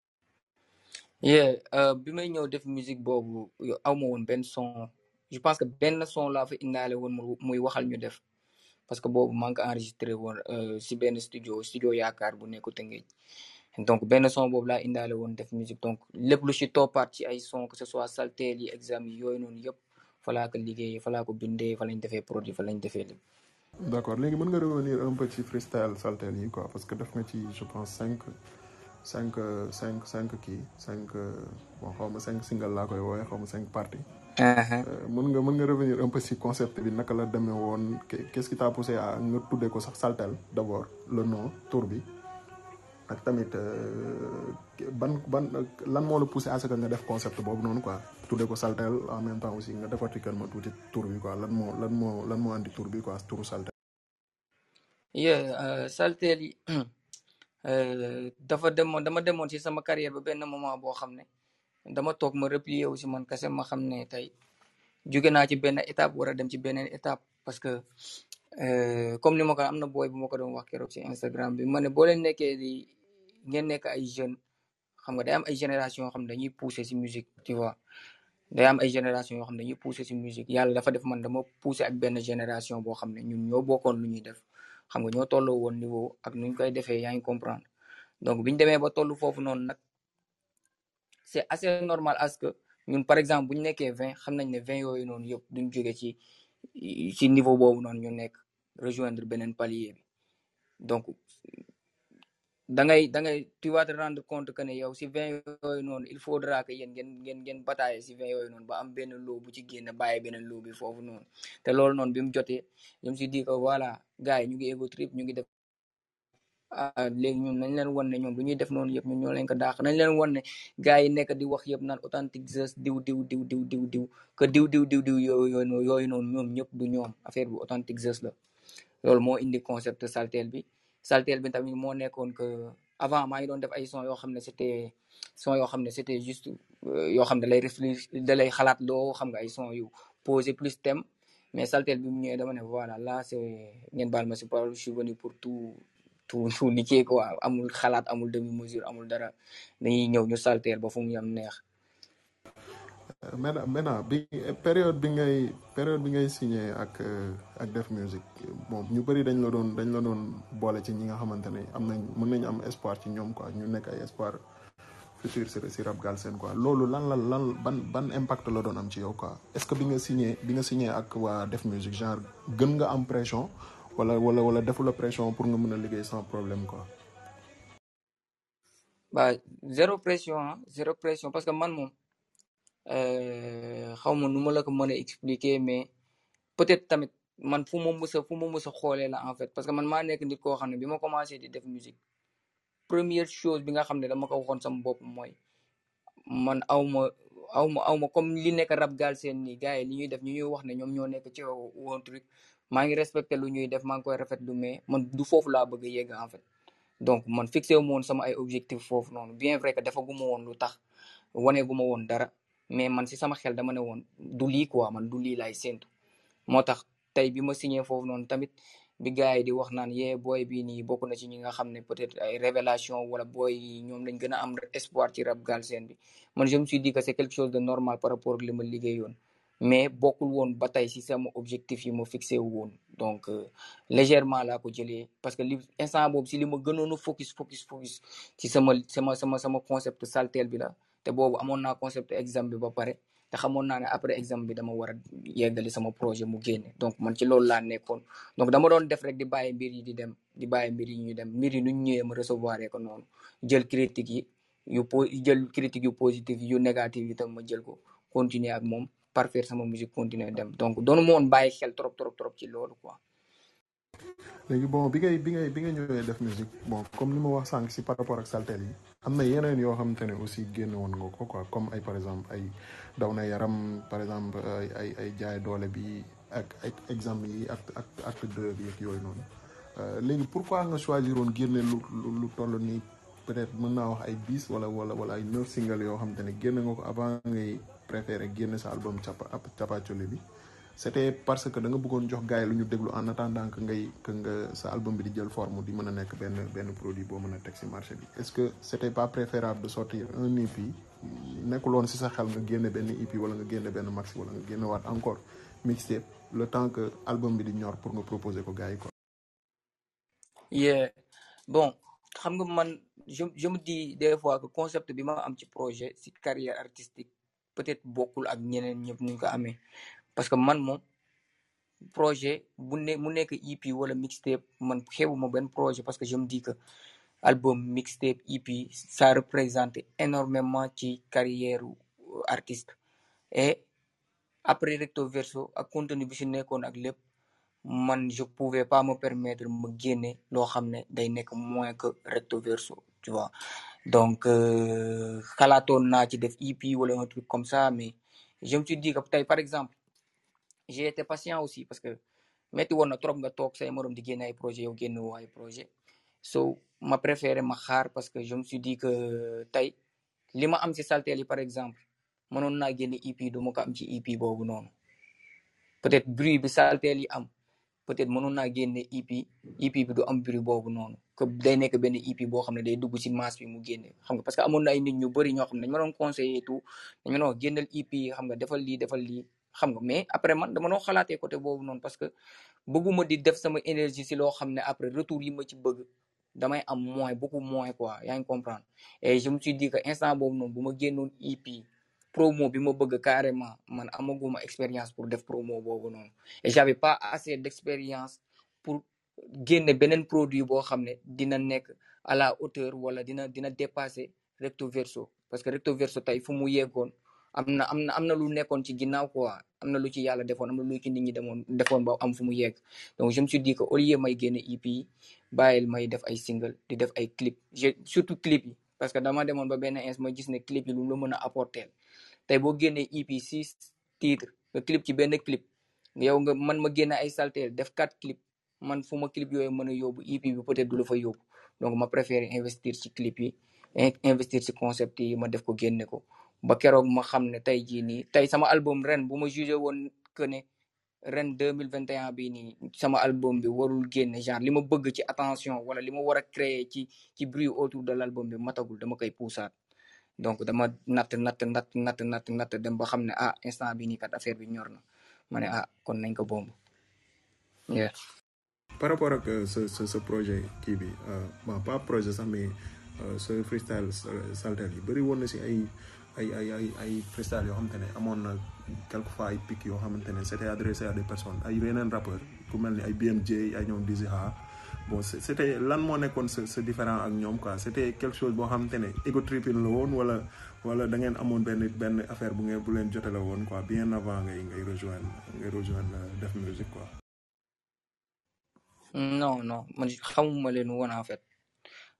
yeah euh, bi may ñëw def musique boobu yo- aw ma woon benn son je pense que benn son laa fa indaale woon mu- muy waxal ñu def parce que boobu maa ngi ko enregistré woon euh, si benn studio studio yaakaar bu nekk Tëngéej donc benn son boobu laa indaale woon def musique donc lépp lu si toppaat ci ay son que ce soit salteel yi exam yi yooyu noonu yëpp fa laa ko liggéeyee fa laa ko bindee fa lañ defee produit fa lañ defee lépp. D'accord léegi mën nga revenir un peu ci freestyle saltel yi quoi parce que def nga ci je pense cinq cinq cinq cinq kii cinq bon xaw ma cinq single laa koy woowee xaw ma cinq parties Uh-huh. Euh, mën nga mën nga revenir un peu ci concept bi naka la demee woon qu'est- qu'est-ce qui t'a poussé à nga tuddee ko sax saltel d'abord le nom tour bi ak tamit euh, ban ban lan moo la poussé à ce que nga def concept boobu noonu quoi tuddee ko saltel en même temps aussi nga décortiquer ma tuuti tour bi quoi lan moo lan moo lan moo andi tour bi quoi touru saltel. yeah euh, salteel yi euh, dafa demoon dama demoon si sama carrière ba benn moment boo xam ne dama toog ma replier aussi man kese ma xam ne tey jóge naa ci benn étape war a dem ci beneen étape parce que euh, comme ni ma ko am na booy bu ma ko doon wax keroog ci Instagram bi ma ne boo leen nekkee di ngeen nekk ay jeunes xam nga day am ay génération yoo xam ne dañuy pousser ci musique tu vois day am ay génération yoo xam ne dañuy pousser ci musique yàlla dafa def man dama pousser ak benn génération boo xam ne ñun ñoo bokkoon lu ñuy def xam nga ñoo tolloo woon niveau ak nuñ koy defee yaa ngi comprendre donc biñu demee ba tollu foofu noonu nag c'est assez normal à ce que ñun par exemple bu ñu nekkee vingt xam nañ ne vingt yooyu noonu yëpp duñ jóge ci ci niveau boobu noonu ñu nekk rejoindre beneen palier bi donc da ngay da ngay tu vas te rendre compte que ne yow si vingt yooyu noonu il faudra que yéen ngeen ngeen ngeen batailler si vingt yooyu noonu ba am benn loo bu ci génn bàyyi beneen loo bi foofu noonu te loolu noonu bi mu jotee je me suis dit que voilà gars yi ñu ngi ego trip ñu ngi def ah léegi ñun nañ leen wan ne ñoom lu ñuy def noonu yëpp ñun ñoo leen ko daax nañ leen wan ne gars yi nekk di wax yëpp naan authentique Zeus diw diw diw diw diw diw que diw diw diw diw yooyu yooyu yooyu noonu ñoom ñëpp du ñoom affaire bi authentique Zeus la loolu moo indi concept saltel bi saltel bi tamit moo nekkoon que avant maa ngi doon def ay son yoo xam ne c'était son yoo xam ne c'était juste euh, yoo xam ne da lay réfléchir da lay xalaat loo xam nga ay son yu posé plus thème mais saltel bi mu ñëwee dama ne voilà là c'est ngeen baal ma si parole je suis venu pour tout tout tout niquer quoi amul xalaat amul demi mesure amul dara dañuy ñëw ñu saltel ba fu mu yam neex. Euh, maintenant maintenant bi période bi ngay période bi ngay signé ak euh, ak Def Music bon ñu bëri dañ la doon dañ la doon boole ci ñi nga xamante ne am nañ mën nañu am espoir ci ñoom quoi ñu nekk ay espoir futur si si rap galsen quoi loolu lan la lan ban ban impact la doon am ci yow quoi est-ce que bi nga signé bi nga signé ak waa Def Music genre gën nga am pression wala wala wala defu la pression pour nga mën a liggéey sans problème quoi. Bah zéro pression ah zéro pression parce que man moom euh, xaw ma nu ma la ko mën a expliquer mais peut-être tamit man fu ma mës a fu ma mës a xoolee la en fait parce que man maa nekk nit koo xam ne bi ma commencé di def musique première chose bi nga xam ne dama ko waxoon sama bopp mooy man awma awma awma comme li nekk rap Galsen nii gars yi li ñuy def ñu ñuy wax ne ñoom ñoo nekk ci woon truc maa ngi respecté lu ñuy def maa ngi koy rafetlu mais man du foofu laa bëgg a yegg en fait donc man fixé wu ma woon sama ay objectif foofu noonu bien vrai que defaguma woon lu tax waneeguma woon dara mais man si sama xel dama ne woon du lii quoi man du lii laay séntu moo tax tey bi ma signé foofu noonu tamit bi gars yi di wax naan yee booy bii nii bokk na ci ñi nga xam ne peut-être ay révélation wala booy yi ñoom lañ gën a am espoir ci rap Galsen bi man je me suis dit que c'est quelque chose de normal par rapport ak li ma liggéeyoon mais bokkul woon ba tey si sama objectif yi ma fixé wu woon donc euh, légèrement laa ko jëlee parce que li instant boobu si li ma gënoon a focus focus focus ci sama sama sama sama concept saltel bi la te boobu amoon naa concept exam bi ba pare te xamoon naa ne après exam bi dama war a yeggali sama projet mu génne donc man ci loolu laa nekkoon donc dama doon def rek di bàyyi mbir yi di dem di bàyyi mbir yi ñuy dem mbir yi nu ñu ñëwee ma recevoir ko noonu jël critique yi yu po jël critique yu positif yu négatif yi tam ma jël ko continuer ak moom parfaire sama musique continuer dem donc doonu ma woon bàyyi xel trop trop trop ci loolu quoi. léegi bon bi ngay bi ngay bi nga ñëwee def musique bon comme li ma wax sànq si par rapport ak saltel yi am na yeneen yoo xamante ne aussi génne woon nga ko quoi comme ay par exemple ay daw na yaram par exemple ay ay ay jaay doole bi ak ak exemple yi ak ak acte deux bi ak yooyu noonu léegi pourquoi nga choisir woon génne lu lu toll nii peut-être mën naa wax ay dix wala wala wala ay neuf single yoo xamante ne génne nga ko avant ngay préféré génne sa album capa Capacoli bi c'était parce que da nga bëggoon jox gars yi lu ñu déglu en attendant que ngay que nga sa album bi di jël forme di mën a nekk benn benn produit boo mën a teg si marché bi est-ce que c'était pas préférable de sortir un E P nekkuloon si sa xel nga génne benn E P wala nga génne benn maxi wala nga génne waat encore mixtape le temps que album bi di ñor pour nga proposer ko gars yi quoi. yeah bon xam nga man je je me dis des fois que concept bi ma am ci projet si carrière artistique peut-être bokkul ak ñeneen ñëpp ñu ko amee parce que man moom projet bu ne mu nekk E P wala mixtape man xewuma benn projet parce que je me dis que album mixtape E P ça représente énormément ci carrière artiste et après recto verso ak contenu bi si nekkoon ak lépp man je pouvais pas me permettre ma génne loo xam ne day nekk moins que recto verso tu vois donc xalaatoon naa ci def E P wala un truc comme ça mais je me suis dit que tey par exemple j'ai été patient aussi parce que metti woon na trop nga toog say morom di génne ay projet yow génne woo ay projet so ma préféré ma xaar parce que je me suis dit que tey li ma am ci saltel yi par exemple mënoon naa génne E P du ma ko am ci E P boobu noonu peut-être bruit bi saltel yi am peut-être mënoon naa génne E P E P bi du am bruit boobu noonu que day nekk benn E P boo xam ne day dugg ci masse bi mu génne xam nga parce que amoon na ay nit ñu bëri ñoo xam ne dañu ma doon conseiller tout dañu ma doon génneel E P xam nga defal lii defal lii xam nga mais après man dama doon xalaatee côté boobu noonu parce que bëgguma di def sama énergie ci loo xam ne après retour yi ma ci bëgg damay am moins beaucoup moins quoi yaa ngi comprendre et je me suis dit que instant boobu noonu bu ma génnoon E P promo bi ma bëgg carrément man amaguma expérience pour def promo boobu noonu et j'avais pas assez d'expérience pour génne beneen produit boo xam ne dina nekk à la hauteur wala dina dina dépasser recto verso parce que recto verso tey fu mu yeggoon am na am na am na lu nekkoon ci ginnaaw quoi am na lu ci yàlla defoon am na lu ci nit ñi demoon defoon ba am fu mu yegg donc je me suis dit que au lieu may génne E P yi bàyyil may def ay single di def ay clip j'ai surtout clip yi parce que dama demoon ba benn ins ma gis ne clip yi lu la mën a apporter tey boo génnee E P six titres nga clip ci benn clip yow nga man ma génne ay saltel def quatre clip man fu ma clip yooyu mën a yóbbu E P bi peut-être du la fa yóbbu donc ma préféré investir ci clip yi investir ci concept yi ma def ko génne ko ba keroog ma xam ne tey jii nii tey sama album ren bu ma jugé woon que ne ren deux mille vingt et un bii nii sama album bi warul génne genre li ma bëgg ci attention wala li ma war a créer ci ci bruit autour de l'album bi matagul dama koy puusaat donc dama natt natt natt natt natt natt dem ba xam ne ah instant bi nii kat affaire bi ñor na ma ne ah kon nañ ko bomb yeah. par rapport ak ce ce ce projet kii bi bon pas projet sax mais ce freestyle saltel yi bëri woon na si ay ay ay ay ay freestyle yoo xamante ne amoon na quelquefois ay pics yoo xamante ne c'était adressé à des personnes ay yeneen rappeurs ku mel ni ay B M J ay ñoom Dizzy Ha bon c'était lan moo nekkoon ce ce différent ak ñoom quoi c'était quelque chose boo xamante ne ego tripping la woon wala wala da ngeen amoon benn benn affaire bu ngeen bu leen jotale woon quoi bien avant ngay ngay rejoindre ngay rejoindre Def Music quoi. non non man xamuma leen woon en fait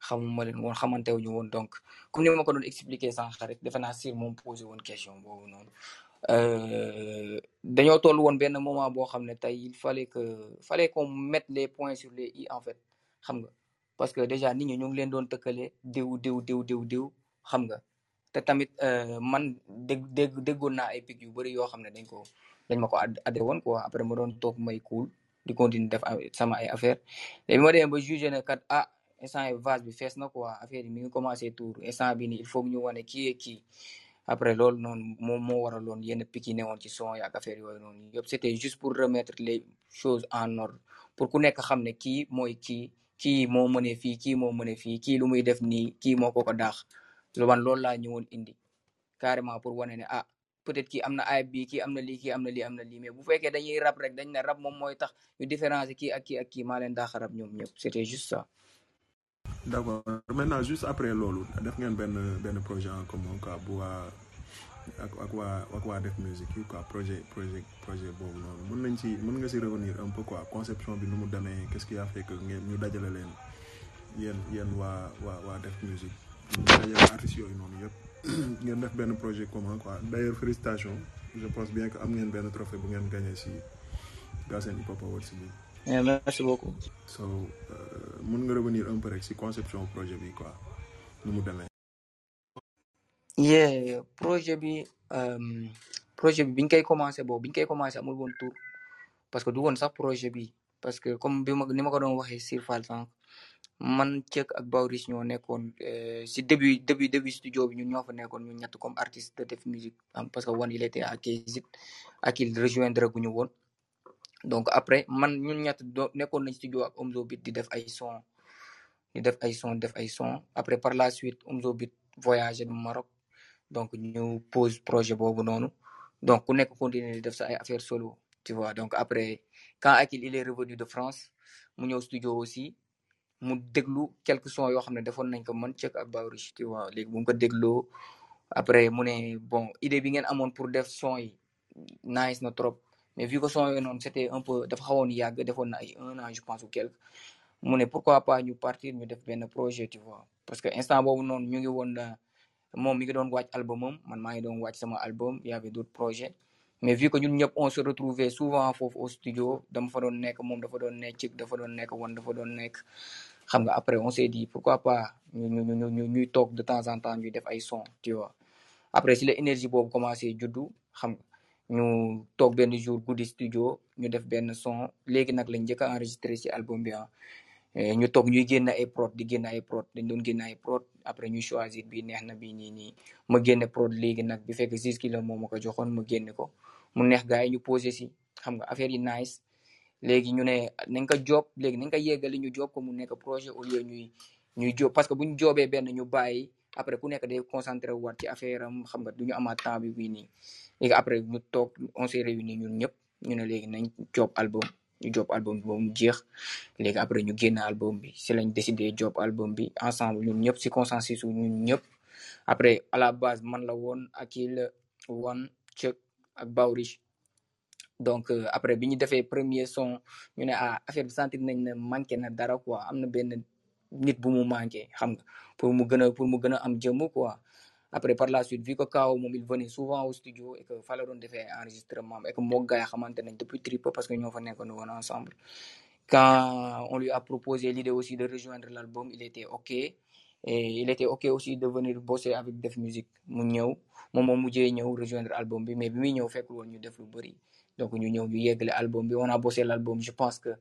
xamuma leen woon xamantewuñu woon donc comme ni ma ko doon expliquer sànq rek defe naa Sir moom posé woon question boobu noonu euh, dañoo toll woon benn moment boo xam ne tey il fallait que fallait qu'on mette les points sur les i en fait xam nga parce que déjà nit ñi ñu ngi leen doon tëkkale diw diw diw diw diw xam nga te tamit euh, man dégg dégg déggoon naa ay pic yu bëri yoo xam ne dañ ko dañ ma ko adhéré woon quoi après ma doon toog may cool di continuer def sama ay affaire léegi ma demee ba jugé ne kat ah instant yi vase bi fees na quoi affaire yi mi ngi commencé tour instant bi nii il faut que ñu wane kii ak kii après loolu noonu moom moo waraloon yenn pic yi newoon ci son yi ak affaire yooyu noonu yëpp c'était juste pour remettre les choses en ordre pour ku nekk xam ne kii mooy kii kii moo mënee fii kii moo mënee fii kii lu muy def nii kii moo ko ko daax lu man loolu laa ñëwoon indi carrément pour wane ne ah peut-être kii am na ayib bi kii am na lii kii am na lii am na lii mais bu fekkee dañuy rap rek dañ ne rap moom mooy tax ñu différencier kii ak kii ak kii maa leen daax rap ñoom ñëpp c'était juste ça. d'accord maintenant juste après loolu def ngeen benn benn projet en commun quoi bu waa ak ak waa ak waa def musique yi quoi projet projet projet boobu noonu mën nañ ci mën nga ci revenir un peu quoi conception bi nu mu demee qu'est-ce qui a fait que ngeen ñu dajale leen yéen yéen waa waa waa def musique ñu dajale artistes yooyu noonu yëpp ngeen def benn projet commun quoi d'ailleurs félicitations je pense bien que am ngeen benn trophée bu ngeen gagné ci Galsen Hip Hop Awards bi. merci beaucoup. so mën nga revenir un peu rek ci conception projet bi quoi nu mu demee. yeah projet bi um, projet bi biñ koy commencé boobu biñ koy commencé amul woon tour parce que du woon sax projet bi parce que comme bi ma ni ma ko doon waxee Sir Fall sànq man Cëk ak Bawrich ñoo nekkoon si début début début studio bi ñun ñoo fa nekkoon ñun ñett comme artiste de def musique parce que One il était à Kézit ak il rejoindre gu ñu woon donc après man ñun ñett do nekkoon nañ studio ak Omzo Beat di def ay son di def ay son def ay son après par la suite Omzo Beat voyagé du Maroc donc ñu pose projet boobu noonu donc ku nekk continuer di def sa ay affaire solo tu vois donc après quand Akil il est revenu de France mu ñëw studio aussi mu déglu quelques sons yoo xam ne defoon nañ ko man Cëk ak Bawrich tu vois léegi bu mu ko dégloo après mu ne bon idée bi ngeen amoon pour def son yi nice na trop mais vu que son yooyu noonu c'était un peu dafa xawoon yàgg defoon na ay un an je pense ou quelque mu ne pourquoi pas ñu partir ñu def benn projet tu vois parce que instant boobu noonu ñu ngi woon moom mi ngi doon wàcc albumam man maa ngi doon wàcc sama album y avait d'autres projets mais vu que ñun ñëpp on se retrouvait souvent foofu au studio dama fa doon nekk moom dafa doon nekk Cëk dafa doon nekk One dafa doon nekk xam nga après on s'est dit pourquoi pas ñu ñu ñu ñu ñuy toog de temps en temps ñuy def ay son tu vois après si la énergie boobu commencé juddu xam nga ñu toog benn jour guddi studio ñu def benn son léegi nag lañ njëkk a enregistré ci album bi ah ñu toog ñuy génn ay prod di génn ay prod dañ doon génn ay prod après ñu choisir bii neex na bii nii nii ma génne prod léegi nag bi fekk six kilo moom ma ko joxoon ma génne ko mu neex gars yi ñu posé si xam nga affaire yi nice léegi ñu ne nañ ko job léegi nañ ko yeggali ñu job ko mu nekk projet au lieu ñuy ñuy job parce que bu ñu joobee benn ñu bàyyi après ku nekk day concentré waat ci affaire am xam nga du ñu amaat temps bi bii nii léegi après ñu toog on s'est réunis ñun ñëpp ñu ne léegi nañ job album ñu job album bi ba mu jeex léegi après ñu génn album bi si lañ décidé job album bi ensemble ñun ñëpp si consensus ñun ñëpp après à la base man la woon Akil One Cëk ak Bawrich donc euh, après bi ñu defee premier son ñu ne ah affaire bi sentir nañ ne manqué na dara quoi am na benn nit bu mu manqué xam nga pour mu gën a pour mu gën a am jëmm quoi après par la suite vu que Kao moom il venait souvent au studio et que fa la doon defee enregistrement et que moo gars yi xamante nañ depuis Trip parce que ñoo fa nekkoon woon ensemble quand on lui a proposé l'idée aussi de rejoindre l'album il était ok et il était ok aussi de venir bosser avec Def Musique mu ñëw moom moo mujjee ñëw rejoindre album bi mais bi muy ñëw fekkul woon ñu def lu bëri donc ñu ñëw ñu yeggale album bi on a bossé l'album je pense que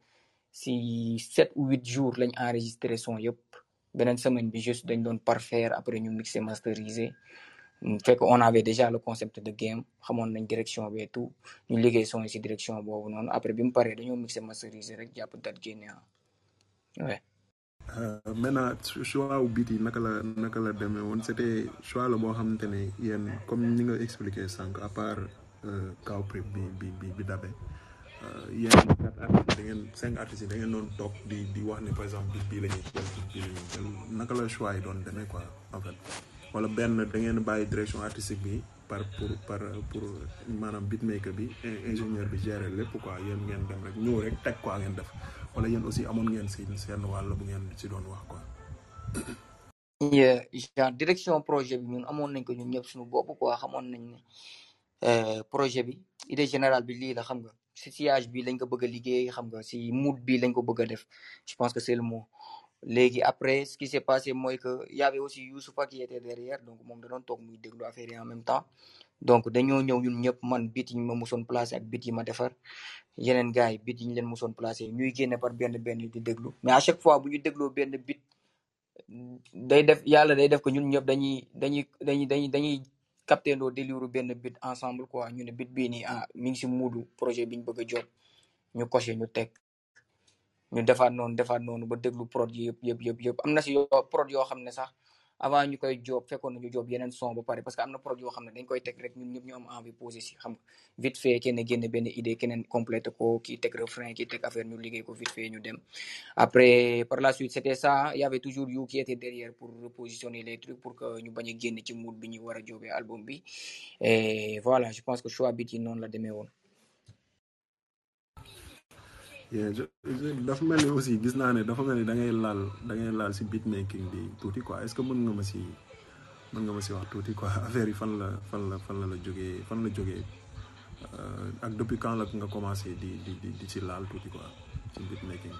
si sept ou huit jours lañ enregistré son yëpp beneen semaine bi juste dañ doon parfaire après ñu mixé masteriser fekk on avait déjà le concept de game xamoon nañ direction bi et tout ñu liggéey son yi si direction boobu noonu après bi mu paree dañoo mixé masteriser rek jàpp date génne ouais. maintenant choix wu beat yi naka la naka la demee woon c'était choix la boo xamante ne yéen comme ni nga expliqué sànq à part Kao Prip bi bi bi bi dabe yéen quatre artistes da ngeen cinq artistes yi da ngeen doon toog di di wax ne par exemple beat bii la ñuy jël beat bii la ñuy jël naka la choix yi doon demee quoi en fait wala benn da ngeen bàyyi direction artistique bi par pour par pour maanaam beatmaker bi ingénieur bi gérer lépp quoi yéen ngeen dem rek ñëw rek teg quoi ngeen def wala yéen aussi amoon ngeen si seen wàll bu ngeen si doon wax quoi. yeah, genre direction projet bi ñun amoon nañ ko ñun ñëpp suñu bopp quoi xamoon nañ ne euh, projet bi idée générale bi lii la xam nga si sillage bi lañ ko bëgg a liggéey xam nga si mood bi lañ ko bëgg a def je pense que c'est le mot léegi après ce qui s'est passé mooy que y avait aussi Youssoufa qui était derrière donc moom da doon toog muy déglu affaire yi en même temps donc dañoo ñëw ñun ñëpp man bit yi ma musoon placé ak bit yi ma defar yeneen gars yi bit yi ñu leen musoon placé ñuy génne par benn benn di déglu mais à chaque fois bu ñu dégloo benn bit day def yàlla day def ko ñun ñëpp dañuy dañuy dañuy dañuy dañuy capté ndoo délire benn bit ensemble quoi ñu ne bit bii nii ah mi ngi si muudu projet bi ñu bëgg a job ñu coché ñu teg ñu defaat noonu defaat noonu ba déglu prod yi yëpp yëpp yëpp yëpp am na si yoo prod yoo xam ne sax avant ñu koy job fekkoon nañu job yeneen son ba pare parce que am na prod yoo xam ne dañ koy teg rek ñun ñëpp ñu am envie posé si xam nga vite fait kenn génne benn idée keneen complété ko kii teg refrain kii teg affaire ñu liggéey ko vite fait ñu dem après par la suite c'était ça il y avait toujours You qui était derrière pour repositionner les trucs pour que ñu bañ a génn ci mood bi ñu war a jobee album bi et voilà je pense que choix bit yi noonu la demee woon yeah je je- dafa mel ni aussi gis naa ne dafa mel ni da ngay laal da ngay laal si beat making bi tuuti quoi est-ce que mën nga ma si mën nga ma si wax tuuti quoi affaire yi fan la fan la fan la la jógee fan la jógee euh, ak depuis quand la nga commencé di di di di si laal tuuti quoi si beat making.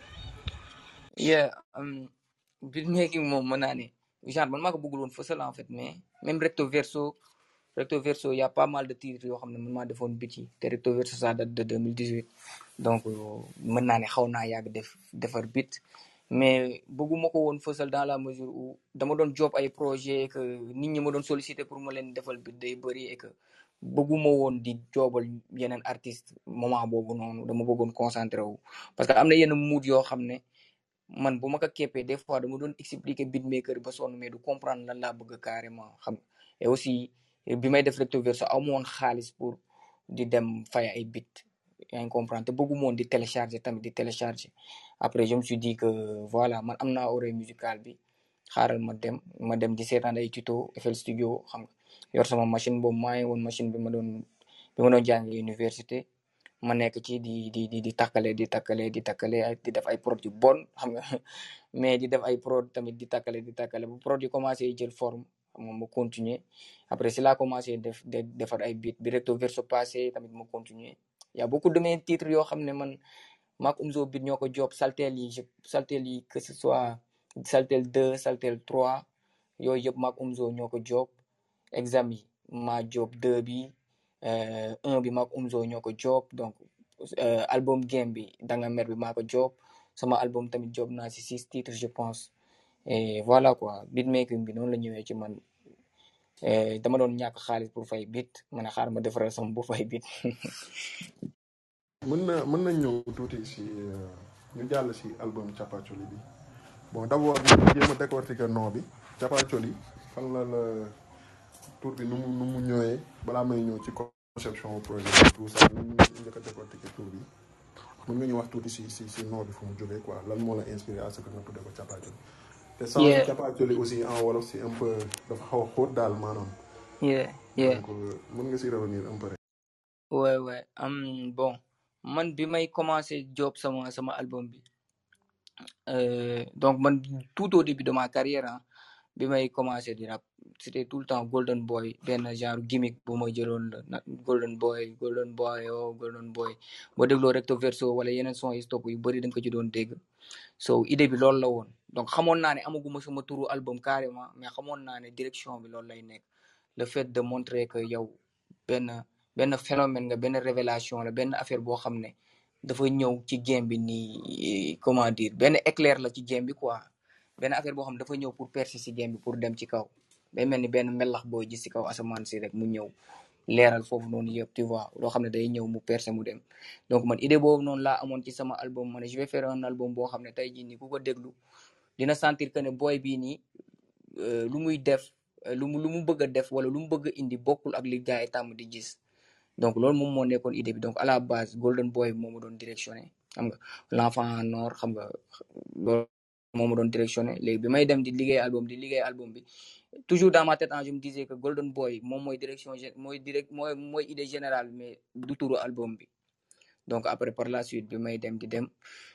yeah um, beatmaking moom mën naa ne genre man maa ko bëggul woon fësal en fait mais même recto verso recto verso y a pas mal de titres yoo xam ne man maa defoon beat yi te recto verso ça date de deux mille dix-huit donc euh, mën naa ne xaw naa yàgg def defar beat mais bëgguma ko woon fësal dans la mesure où dama doon job ay projet que nit ñi ma doon solliciter pour ma leen defal beat day bëri et que bëgguma woon di joobal yeneen artiste moment boobu noonu dama bëggoon concentré wu parce que am na yenn mood yoo xam ne man bu ma ko keppee des fois dama doon expliquer beatmaker ba sonn mais du comprendre lan laa bëgg carrément xam nga et aussi bi may def recto verso amu woon xaalis pour di dem fay ay beat yaa ngi comprendre te bëgguma woon di télécharger tamit di télécharger après je me suis dit que voilà man am naa oreille musicale bi xaaral ma dem ma dem di seetaan ay tuto F L Studio xam nga yor sama machine boobu maa ngi woon machine bi ma doon bi ma doon jàngee université ma nekk ci di di di di takkale di takkale di takkale ay di def ay prod yu bon xam nga mais di def ay prod tamit di takkale di takkale bu prod yi commencé jël forme xam nga ma continuer après si laa commencé def de defar ay beat bi recto verso passé tamit ma continuer y a beaucoup de mes titres yoo xam ne man maak Omzo Beat ñoo ko job saltel yi je saltel yi que ce soit saltel deux saltel trois yooyu yëpp maak Omzo ñoo ko job exam yi maa job deux bi euh, un bi maak Omzo ñoo ko job donc euh, album game bi danga mer bi maa ko job sama album tamit job naa si six titres je pense et voilà quoi beatmaking bi noonu la ñëwee ci man euh, dama doon ñàkk xaalis pour fay beat ma ne xaar ma defaral sama bu fay beat mën na mën nañ ñëw tuuti si euh, ñu jàll si album Chapacholi bi bon d'abord ñu jéem a décortiquer nom bi Chapacholi fan la la tur bi nu mu nu mu ñëwee balaa may ñëw ci conception projet bi tout ça ñu njëkk a décortiquer tur bi mën nga ñu wax tuuti si si si nom bi fu mu jógee quoi lan moo la inspiré à ce que nga tuddee ko Chapacholi te sans yeah Chapacholi aussi en wolof c'est un peu dafa xaw a xóot daal maanaam yeah yeah donc euh, mën nga si revenir un peu rek. ouais ouais um, bon man bi may commencé job sama sama album bi euh, donc man tout au début de ma carrière hein, bi may commencé di rap c'était tout le temps Golden Boy benn genre gimmick bu ma jëloon la na Golden Boy Golden Boy oh Golden Boy boo dégloo recto verso wala yeneen son yi stop yu bëri da nga ko ci doon dégg so idée bi loolu la woon donc xamoon naa ne amaguma sama turu album carrément mais xamoon naa ne direction bi loolu lay nekk le fait de montrer que yow benn benn phénomène nga benn révélation la benn affaire boo xam ne dafa ñëw ci game bi nii comment dire benn éclair la ci game bi quoi benn affaire boo xam ne dafa ñëw pour percer ci game bi pour dem ci kaw day mel ni benn melax boo gis ci kaw asamaan si rek mu ñëw leeral foofu noonu yëpp tu vois loo xam ne day ñëw mu percer mu dem donc man idée boobu noonu laa amoon ci sama album ma ne je vais faire un album boo xam ne tey jii nii ku ko déglu dina sentir que ne boy bii nii euh, lu muy def euh, lu mu lu mu bëgg a def wala lu mu bëgg a indi bokkul ak li gars yi tàmm di gis donc loolu moom moo nekkoon idée bi donc à la base Golden Boy moo ma doon directionné xam nga l'enfant en or xam nga loolu moo ma doon directionné léegi bi may dem di liggéey album di liggéey album bi toujours dans ma tête hein, je me disais que Golden Boy moom mooy direction gé- mooy direct mooy mooy idée générale mais du turu album bi donc après par la suite bi may dem di dem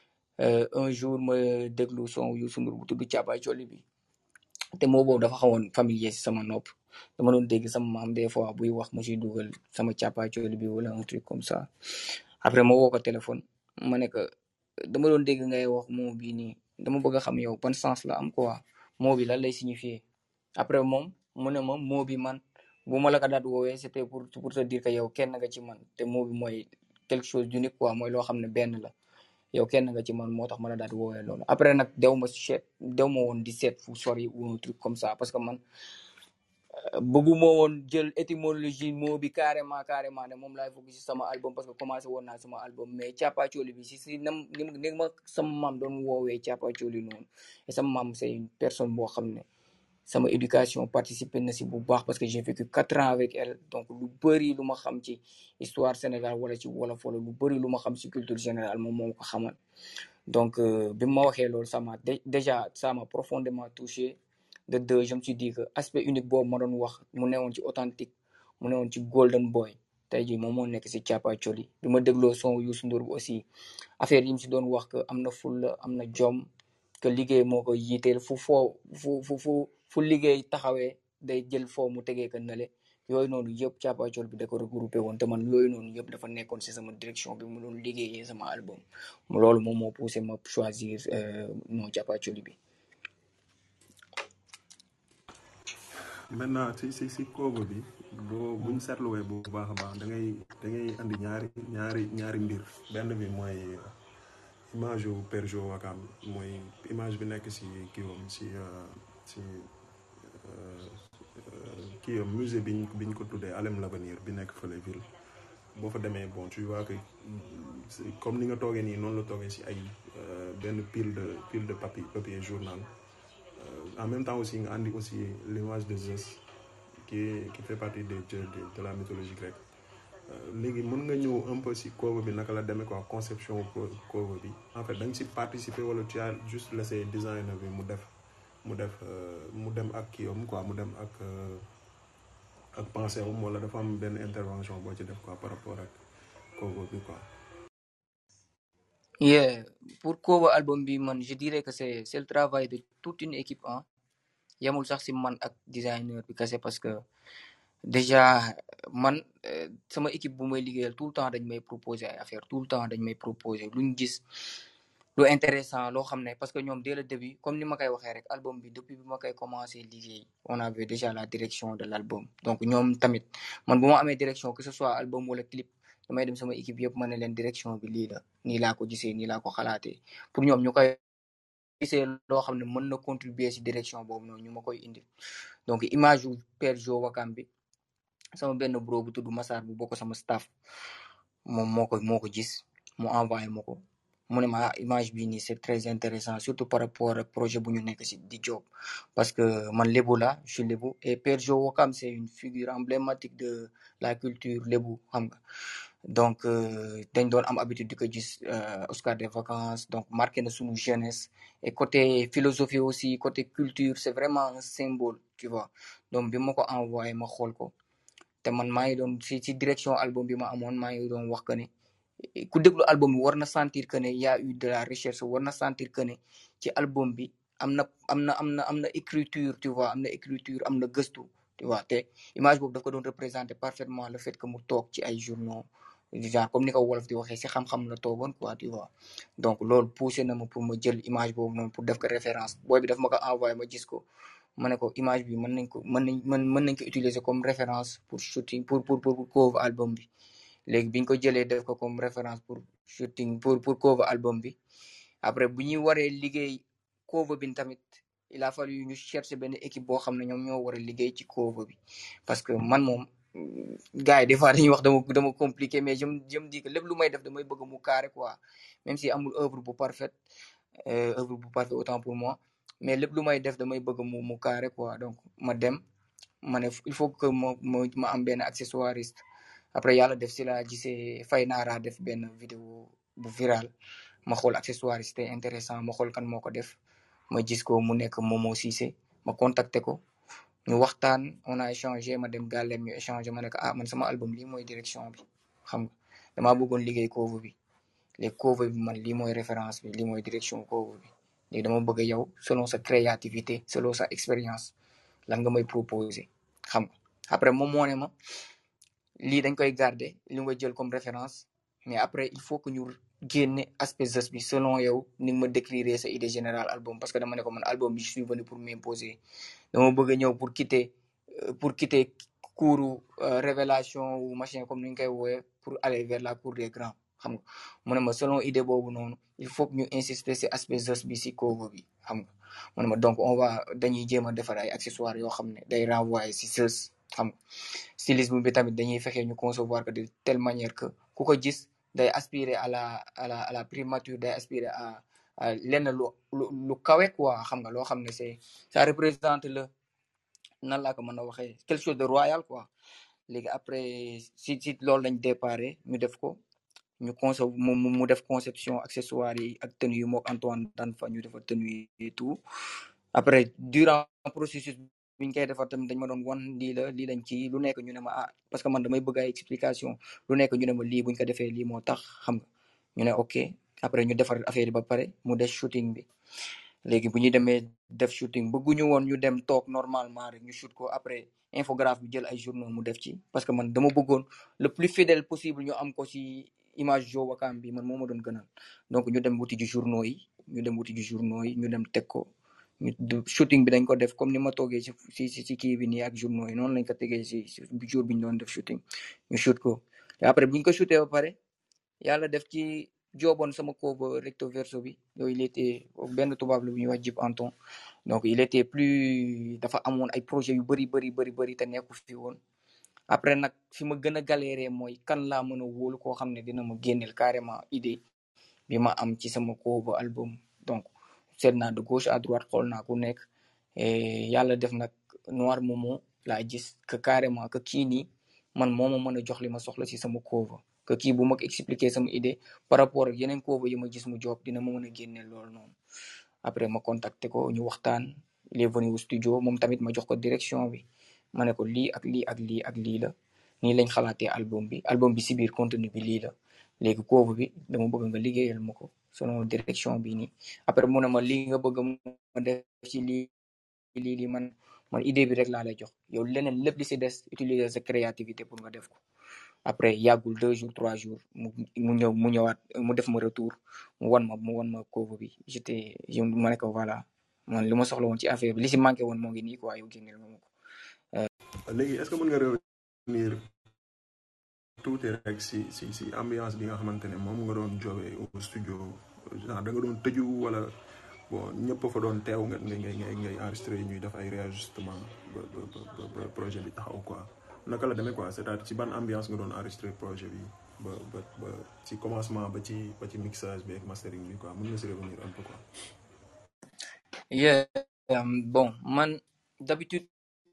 Euh, un jour ma déglu son Youssou Ndour bu tudd Càppaay Coli bi te moo boobu dafa xawoon familier si sama nopp dama doon dégg sama maam des fois buy wax mu siy dugal sama Càppaay Coli bi wala un truc comme ça après ma woo ko téléphone ma ne que dama doon dégg ngay wax moo bii nii dama bëgg a xam yow ban sens la am quoi moo bi lan lay signifier après moom mu ne ma moo bi man bu ma la ko daat woowee c'était pour pour te dire que yow kenn nga ci man te moo bi mooy quelque chose d'unique quoi mooy loo xam ne benn la yow kenn nga ci man moo tax ma la daat woowee loolu après nag dew ma seet dew ma woon di seet fu sori ou un truc comme ça parce que man bëgguma woon jël étymologie moo bi carrément carrément ne moom laay fokk si sama album parce que commencé woon naa sama album mais Càppaay Coli bi si si nam ni ni ma sama maam doon woowee Càppaay Coli noonu et sama maam c'est une personne boo xam ne sama éducation participé na si bu baax parce que j'ai vécu quatre ans avec elle donc lu bëri lu ma xam ci histoire Sénégal wala ci wolof wala lu bëri lu ma xam ci culture générale moom moo ko xamal donc bi ma waxee loolu ça m'a déjà ça m'a profondément touché de deux je me suis dit que aspect unique boobu ma doon wax mu newoon ci authentique mu newoon ci golden boy tey jii moom moo nekk si Càppaay Coli bi ma dégloo son Youssou Ndour bi aussi affaire yi mu si doon wax que am na fulla am na jom que liggéey moo ko yiiteel fu foo fu fu fu fu liggéey taxawee day jël foo mu tegee ko nale yooyu noonu yëpp Càppaay Coli bi da ko regroupé woon te man yooyu noonu yëpp dafa nekkoon si sama direction bi mu doon liggéeyee sama album loolu moom moo poussé ma choisir non Càppaay Coli bi. maintenant si si si cover bi boo buñ seetluwee bu baax a baax da ngay da ngay andi ñaari ñaari ñaari mbir benn bi mooy image yu Père Jo Wakam mooy image bi nekk si kiiwam si si kiiwam musée biñ biñ ko tuddee Alem l'Avenir bi nekk fële ville boo fa demee bon tu vois que comme ni nga toogee nii noonu la toogee si ay benn pile de pile de papier papier journal en même temps aussi nga andi aussi l'image de Zeus qui qui fait partie des dieux de, de la mythologie grecque léegi mën nga ñëw un peu si cover bi naka la demee quoi conception cover bi en fait da nga si participer wala tu as juste laissé designer bi mu def mu def mu dem ak kii am quoi mu dem ak ak pensée am wala dafa am benn intervention boo ci def quoi par rapport ak cover bi quoi. Yeah, pour cover album bi man je dirais que c'est c'est le travail de toute une équipe hein yamul sax si man ak designer bi kese parce que déjà man sama équipe bu may liggéeyal tout le temps dañ may proposer ay affaire tout le temps dañ may proposer luñ gis lu intéressant loo xam ne parce que ñoom dès le début comme ni ma koy waxee rek album bi depuis bi ma koy commencé liggéey on avait déjà la direction de l'album donc ñoom tamit man bu ma amee direction que ce soit album wala clip damay dem sama équipe yëpp ma ne leen direction bi lii la nii laa ko gisee nii laa ko xalaatee pour ñoom ñu koy gisee loo xam ne mën na contribuer si direction boobu noonu ñu ma koy indi donc image yu Père Jo Wakam bi sama benn bro bu tudd Massar bu bokk sama staff moom moo ko moo ko gis mu envoyé ma ko mu ne ma image bi nii c'est très intéressant surtout par rapport ak projet bu ñu nekk si di job parce que man lébu la je suis lébu et Père Jo Wakam c'est une figure emblématique de la culture lébu xam nga donc dañ doon am habitude di ko gis Oscar des vacances donc marqué na suñu jeunesse et côté philosophie aussi côté culture c'est vraiment un symbole tu vois donc bi ma ko envoyé ma xool ko te man maa ngi doon si si direction album bi ma amoon maa ngi doon wax que ne ku déglu album bi war na sentir que ne y a eu de la recherche war na sentir que ne ci album bi am na am na am na am na écriture tu vois am na écriture am na gëstu tu vois te image boobu daf ko doon représenter parfaitement le fait que mu toog ci ay journaux genre comme ni ko wolof di waxee si xam-xam la toogoon quoi tu vois donc loolu poussé na ma pour ma jël image boobu noonu pour def ko référence booy bi daf ma ko envoyé ma gis ko ma ne ko image bi mën nañ ko mën nañ mën mën nañ ko utiliser comme référence pour shooting pour pour pour cover album bi léegi biñ ko jëlee def ko comme référence pour shooting pour pour cover album bi après bu ñuy waree liggéey cover bi tamit il a fallu ñu chercher benn équipe boo xam ne ñoom ñoo war a liggéey ci cover bi parce que man moom gars yi des fois dañuy wax dama dama compliqué mais je me je me dis que lépp lu may def damay bëgg mu carré quoi même si amul œuvre bu parfaite œuvre bu parfaite autant pour moi mais lépp lu may def damay bëgg mu mu carré quoi donc ma dem ma ne il faut que ma ma ma am benn accessoiriste après yàlla def si la gisee Fay Naara def benn vidéo bu viral ma xool accessoiriste intéressant ma xool kan moo ko def ma gis ko mu nekk Momo Cissé ma contacté ko ñu waxtaan on a échangé ma dem gàllem ñu échangé ma ne ko ah man sama album lii mooy direction bi xam nga damaa bëggoon liggéey cover bi les cover bi man lii mooy référence bi lii mooy direction cover bi léegi dama bëgg yow selon sa créativité selon sa expérience lan nga may proposer xam nga après moom moo ne ma lii dañ koy garder li nga jël comme référence mais après il faut que ñu génne aspect geste bi selon yow ni nga ma décrire sa idée générale album parce que dama ne ko man album bi je suis venu pour m'imposer dama bëgg a ñëw pour quitter pour quitter cours révélation ou machin comme ni ñu koy woowee pour aller vers la cour des grands xam nga mu ne ma selon idée boobu noonu il faut que ñu insister si aspect geste bi si cover bi xam nga mu ne ma donc on va dañuy jéem a defar ay accessoires yoo xam ne day renvoyer si geste xam nga stylisme bi tamit dañuy fexe ñu concevoir que de telle manière que ku ko gis day aspirer à la à la à la primature day aspirer à à lenn lu lu lu kawe quoi xam nga loo xam ne c'est ça représente le nan laa ko mën a waxee quelque chose de royal quoi léegi après si si loolu lañ déparé ñu def ko ñu concev mu mu def conception accessoires yi ak tenue yi mook Antoine daan fa ñu defar tenue yi et tout après durant processus bi ñu koy defar tamit dañ ma doon wan lii la lii lañ ci lu nekk ñu ne ma ah parce que man damay bëgg ay explication lu nekk ñu ne ma lii buñ ko defee lii moo tax xam nga ñu ne ok après ñu defar affaire yi ba pare mu def shooting bi léegi bu ñu demee def shooting bëgguñu woon ñu dem toog normalement rek ñu shoot ko après infographe bi jël ay journaux mu def ci parce que man dama bëggoon le plus fidèle possible ñu am ko ci image Jo Wakam bi man moo ma doon gënal donc ñu dem wuti ji journaux yi ñu dem wuti ji journaux yi ñu dem teg ko ñu shooting bi dañ ko def comme ni ma toogee ci ci ci kii bi nii ak journaux yi noonu lañ ko tegee ci jour bi ñu doon def shooting ñu shoot ko après bu ñu ko shooté ba pare yàlla def ci jooboon sama cover recto verso bi yooyu il était benn tubaab la bu ñuy wax Jib Anton donc il était plus dafa amoon ay projet yu bëri bëri bëri bëri te nekku fi woon après nag fi ma gën a galéré mooy kan laa mën a wóolu koo xam ne dina ma génneel carrément idée bi ma am ci sama cover album donc seet naa de gauche à droite xool naa ku nekk et yàlla def nag Noir Momo laa gis que carrément que kii nii man moo ma mën a jox li ma soxla ci sama cover que kii bu ma ko expliquer sama idée par rapport ak yeneen cover yi ma gis mu job dina ma mën a génneel loolu noonu après ma contacté ko ñu waxtaan il est venu au studio moom tamit ma jox ko direction bi ma ne ko lii ak lii ak lii ak lii la nii lañ xalaatee album bi album bi si biir contenu bi lii la léegi cover bi dama bëgg nga liggéeyal ma ko selon direction bi nii après mu ne ma lii nga bëgg ma def ci lii lii lii man man idée bi rek laa lay jox yow leneen lépp li si des utiliser sa créativité pour nga def ko après yàggul deux jours trois jours mu mu ñëw mu ñëwaat mu def ma retour mu wan ma mu wan ma cover bi j'étais je ma ne ko voilà man li ma soxla woon ci affaire bi li si manqué woon moo ngi nii quoi yow génneel nga ma ko. léegi est-ce que mën nga revenir tuuti rek si si si ambiance bi nga xamante ne moom nga doon joobee au studio genre da nga doon tëju wala bon ñëpp fa doon teew nga ngay ngay ngay enregistré ñuy def ay réajustement ba ba ba projet bi taxaw quoi naka la demee quoi c'est-à-dire ci ban ambiance nga doon enregistré projet bi ba ba ba ci commencement ba ci ba ci mixage bi ak mastering bi quoi mën nga si revenir un peu quoi. yeah um, bon man d'habitude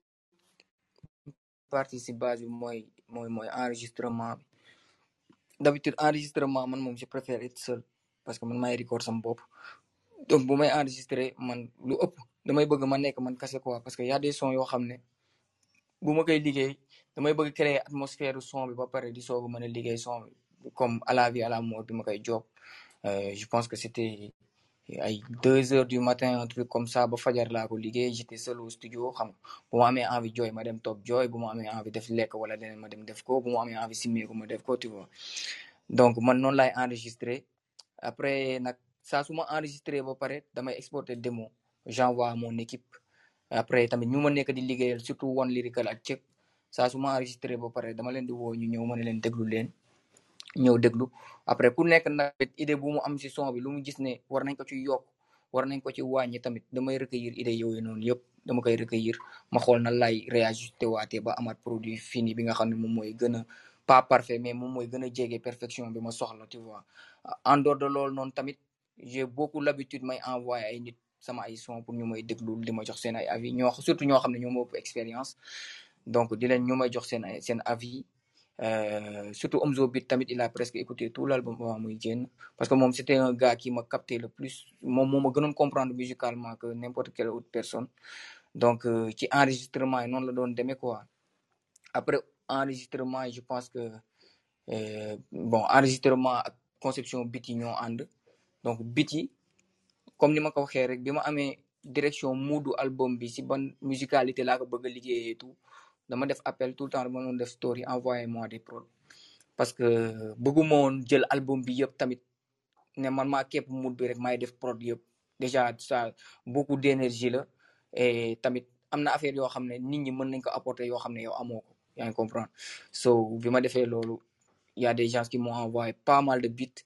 partie si base bi mooy mooy mooy enregistrement bi d'habitude enregistrement man moom je préfère être seul parce que man maay record sama bopp donc bu may enregistrer man lu ëpp damay bëgg ma nekk man kase quoi parce que y a des sons yoo xam ne bu ma koy liggéey damay bëgg créer atmosphère son bi ba pare di soog a mën a liggéey son bi comme à la vie à la mort bi ma koy job je pense que c'était ay deux heures du matin un truc comme ça ba fajar laa ko liggéey j'étais seul au studio xam nga bu ma amee envie jooy ma dem toog jooy bu ma amee envie def lekk wala leneen ma dem def ko bu ma amee envie simmeeku ma def ko tu vois donc man noonu laay enregistrer après nag saa su ma enregistré ba pare damay exporter démo j'envoie à mon équipe après tamit ñu ma nekk di liggéeyal surtout One Lyrical ak Cek saa su ma enregistré ba pare dama leen di woo ñu ñëw ma ne leen déglu leen ñëw déglu après ku nekk nag idée bu mu am ci son bi lu mu gis ne war nañ ko ci yokk war nañ ko ci wàññi tamit damay recueillir idée yooyu noonu yëpp dama koy recueillir ma xool na lay réajusté waatee ba amaat produit fini bi nga xam ne moom mooy gën a pas parfait mais moom mooy gën a jege perfection bi ma soxla tu vois en dehors de loolu noonu tamit j'ai beaucoup l'habitude may envoyer ay nit sama ay son pour ñu may déglu di ma jox seen ay avis ñoo surtout ñoo xam ne ñoo ma ëpp expérience donc di leen ñu may jox seen ay seen avis Euh, surtout Omzo Beat tamit il a presque écouté tout l'album avant muy génn parce que moom c'était un gars qui m'a capté le plus moom moo ma gënoon comprendre musicalement que n'importe quelle autre personne donc euh, ci enregistrement yi noonu la doon demee quoi après enregistrement yi je pense que euh, bon enregistrement ak conception beat yi ñoo ànd donc beat yi comme ni ma ko waxee rek bi ma amee direction moodu album bi si ban musicalité laa ko bëgg a liggéeyee tout dama def appel tout le temps dama doon def story envoyé moi des prods parce que bëgguma woon jël album bi yëpp tamit ne man maa képp mood bi rek maay def prod yëpp déjà ça beaucoup d'énergie la et tamit am na affaire yoo xam ne nit ñi mën nañ ko apporter yoo xam ne yow amoo ko yaa ngi comprendre so bi ma defee loolu y a des gens qui m'ont envoyé pas mal de beats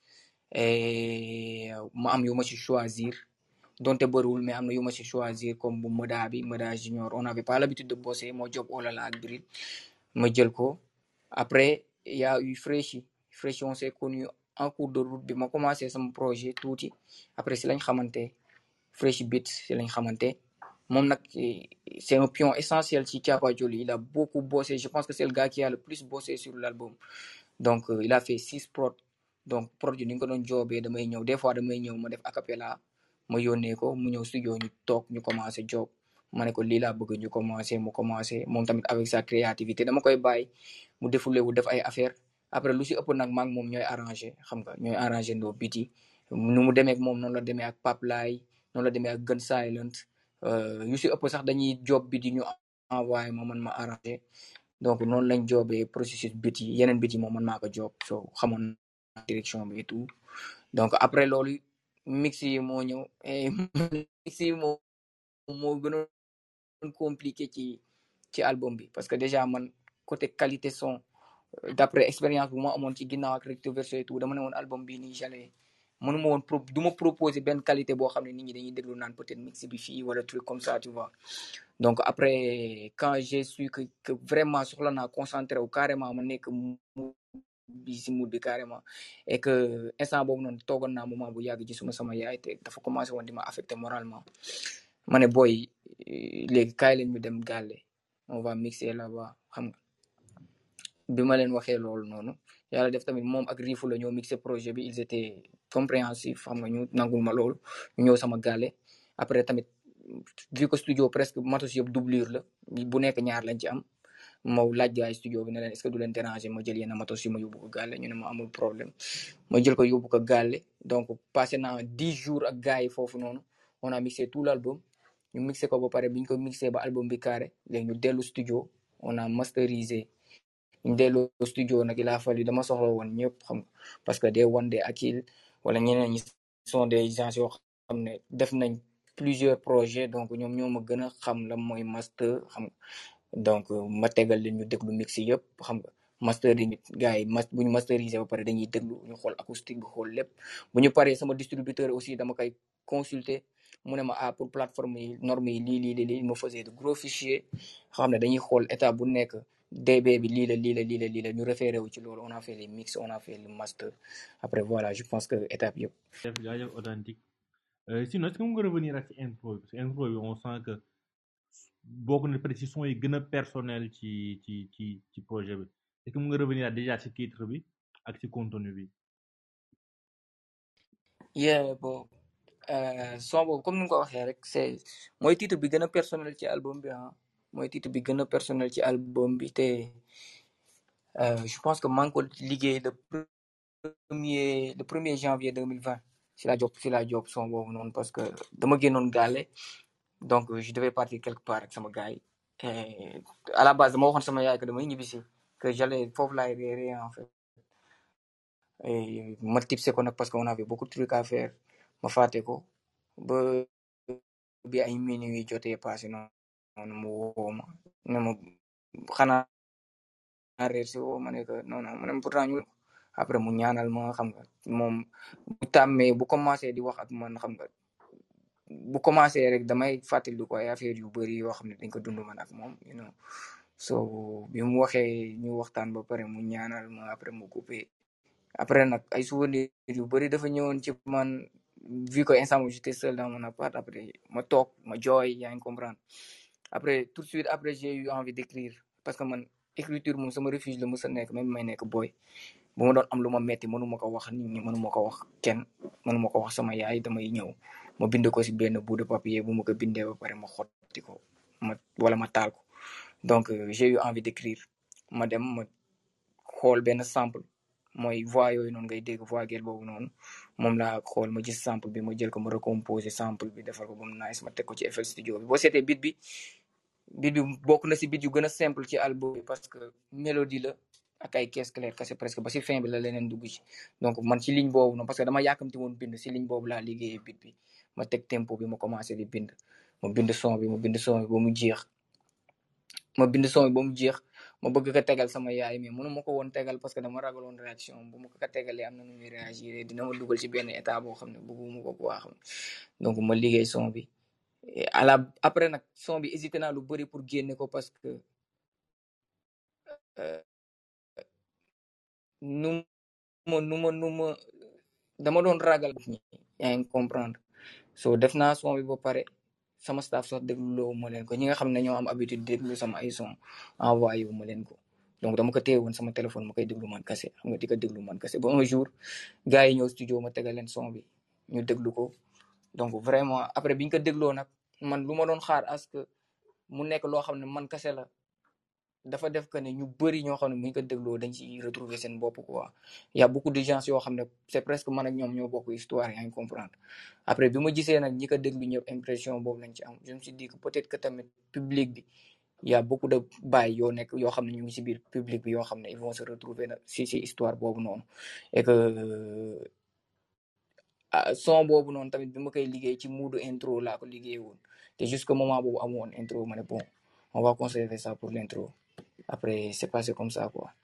et ma am yu ma ci choisir donte bëriwul mais am na yu ma ci choisir comme bu Moda bi Moda Junior on n'avait pas l'habitude de bosser moo job olala ak Bril ma jël ko après il y a eu Freshi Freshi on s'est connu en cours de route bi ma commencé sama projet tuuti après si lañ xamante Freshi Beats si lañ xamante moom nag c'est un pion essentiel ci Thiapa Thioly il a beaucoup bossé je pense que c'est le gars qui a le plus bossé sur l'album donc euh, il a fait six prods donc prod yi ni nga ko doon joobee damay ñëw des fois damay ñëw ma def acapella ma yónnee ko mu ñëw studio ñu toog ñu commencé job ma ne ko lii laa bëgg ñu commencé mu commencé moom tamit avec sa créativité dama koy bàyyi mu défoulé wu def ay affaire après lu si ëpp nag maa ngi moom ñooy arrangé xam nga ñooy arrangé ndoo beat yi nu mu demee ak moom noonu la demee ak Pape Laye noonu la demee ak Gun Silent yu si ëpp sax dañuy job beat yi ñu envoyé ma man ma arrangé donc noonu lañ jobee processus beat yi yeneen beat yi moom man maa ko job so xamoon direction bi et tout donc après loolu mix yi moo ñëw et mix yi moo moo gënoon compliqué ci ci album bi parce que déjà man côté qualité son d'après expérience bu ma amoon ci ginnaaw ak recto verso et tout dama ne woon album bi nii j'allais mënuma woon pro du ma proposer benn qualité boo xam ne nit ñi dañuy déglu naan peut-être mix bi fii wala truc comme ça tu vois donc après quand j'ai su que que vraiment soxla naa concentré wu carrément ma nekk bi si mood bi carrément et que instant boobu noonu toogoon naa moment bu yàgg gisuma sama yaay te dafa commencé woon di ma affecté moralement ma ne boy léegi kaay leen ñu dem gàlle on va mixer là-bas xam nga bi ma leen waxee loolu noonu yàlla def tamit moom ak Rifu la ñoo mixé projet bi ils étaient compréhensifs xam nga ñu nangul ma loolu ñu ñëw sama gàlle après tamit vu que studio presque matos yëpp doublure la bu nekk ñaar lañ ci am ma laaj gaay studio bi ne leen est-ce que du leen déranger ma jël yenn matos yi ma yóbbu ko gàlle ñu ne ma amul problème ma jël ko yóbbu ko gàlle donc passé naa dix jours ak gars yi foofu noonu on a mixé tout l'album ñu mixé ko ba pare bi ñu ko mixé ba album bi carré léegi ñu dellu studio on a masterisé ñu dellu studio nag il a fallu dama soxla woon ñëpp xam nga parce que des one des Akil wala ñeneen ñi sont des gens yoo xam ne def nañ plusieurs projets donc ñoom ñoo ma gën a xam la mooy master xam nga donc ma tegal leen ñu déglu mix yëpp xam nga master yi gars yi mas bu ñu masterisé ba pare dañuy déglu ñu xool acoustique bi xool lépp bu ñu paree sama distributeur aussi dama koy consulter mu ne ma ah pour plateforme yi normes yi lii lii lii il me faisait de gros fichiers xam ne dañuy xool état bu nekk D B bi lii la lii la lii la lii la ñu référé wu ci loolu on a fait les mix on a fait le master après voilà je pense que étape yëpp. Def jaajëf authentique sinon est-ce que mu nga revenir ak ci intro bi parce que intro bi on sent que bokk na peut-être ci son yi gën a personnel ci ci ci ci projet bi est-ce que mu nga revenir déjà ci titre bi ak ci contenu bi. yeah bon son boobu comme ni nga ko waxee rek c'est mooy titre bi gën a personnel ci album bi ah mooy titre bi gën a personnel ci album bi te je pense que maa ngi ko liggéey le premier le premier janvier deux mille vingt si la job si la job son boobu noonu parce que dama génnoon gàlle donc je devais partir quelque part ak sama gars yi à la base dama waxoon sama yaay que damay ñibbisi que j'allais foofu laay réeré en fait et ma tipsé ko nag parce que on avait beaucoup de trucs à faire ma fàtte ko ba bi ay minuit jotee passé noonu mu woo ma ne ma xanaa réer si woo ma ne que non non ma ne pourtant ñu après mu ñaanal ma xam nga moom bu tàmmee bu commencé di wax ak man xam nga bu commencé rek damay fàttali ko ay affaire yu bëri yoo xam ne dañ ko dund man ak moom you know so bi mu waxee ñu waxtaan ba pare mu ñaanal ma après mu coupé après nag ay souvenirs yu bëri dafa ñëwoon ci man vu que instant j'étais seul dans mon appart après ma toog ma jooy yaa ngi comprendre après tout de suite après j'ai eu envie d'écrire parce que man écriture moom sama refuge la mës a nekk même may nekk boy bu ma doon am lu ma metti mënuma ko wax nit ñi mënuma ko wax kenn mënuma ko wax sama yaay damay ñëw ma bind ko ci benn bout de papier bu ma ko bindee ba pare ma xotti ko ma wala ma taal ko donc j'ai eu envie d'écrire ma dem ma xool benn sample mooy voix yooyu noonu ngay dégg voix gel boobu noonu moom laa xool ma gis sample bi ma jël ko ma recomposer sample bi defal ko ba mu nice ma teg ko ci F L Studio bi boo seetee beat bi beat bi bokk na si beat yu gën a simple ci album bi parce que mélodie la ak ay caisse claire kese presque ba si fin bi la leneen dugg ci donc man ci ligne boobu noonu parce que dama yàkkamti woon bind si ligne boobu laa liggéeyee beat bi ma teg tempo bi ma commencé di bind ma bind son bi ma bind son bi ba mu jeex ma bind son bi ba mu jeex ma bëgg ko tegal sama yaay mais mënu ma ko woon tegal parce que dama ragaloon réaction bu ma ko tegalee am na nu muy réagir dina ma dugal ci benn état boo xam ne bëgguma ko quoi xam donc ma liggéey son bi à la après nag son bi hésité naa lu bëri pour génne ko parce que nu ma nu ma nu ma dama doon ragal ñi yaa ngi comprendre so def naa son bi ba pare sama staff sax dégluloo ma leen ko ñi nga xam ne ñoo am habitude déglu sama ay son envoyé wu ma leen ko donc dama ko téye woon sama téléphone ma koy déglu man kase xam nga di ko déglu man kase ba un jour gars yi ñëw studio ma tegal leen son bi ñu déglu ko donc vraiment après biñ ko dégloo nag man lu ma doon xaar à ce que mu nekk loo xam ne man kase la dafa def que ne ñu bëri ñoo xam ne bu ñu ko dégloo dañ ci retrouver seen bopp quoi y a beaucoup de gens yoo xam ne c'est presque man ak ñoom ñoo bokk histoire yaa ngi comprendre après bi ma gisee nag ñi ko déglu ñëpp impression boobu lañ ci am je me suis dit que peut-être que tamit public bi y a beaucoup de baay yoo nekk yoo xam ne ñu ngi ci biir public bi yoo xam ne ils vont se retrouver na si si histoire boobu noonu et que son boobu noonu tamit bi ma koy liggéey ci mood intro laa ko liggéey woon te jusqu'au moment boobu amoon intro ma ne bon on va conserver ça pour l'intro après c'est passé comme ça quoi.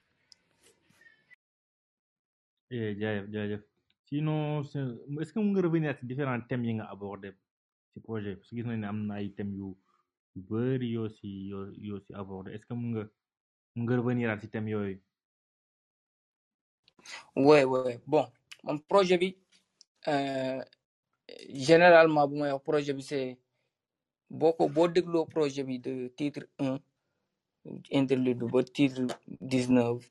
eh jaajëf jaajëf sinon est-ce que mu nga revenir ci différents thèmes yi nga abordé ci projet parce que gis nañ ne am na ay thèmes yu yu bëri yoo si yoo yoo si abordé est-ce que mu nga mu nga revenir ci thèmes yooyu. ouais ouais bon mon projet bi euh, généralement bu may wax projet bi c'est boo ko boo dégloo projet bi de titre un interlude ba titre dix-neuf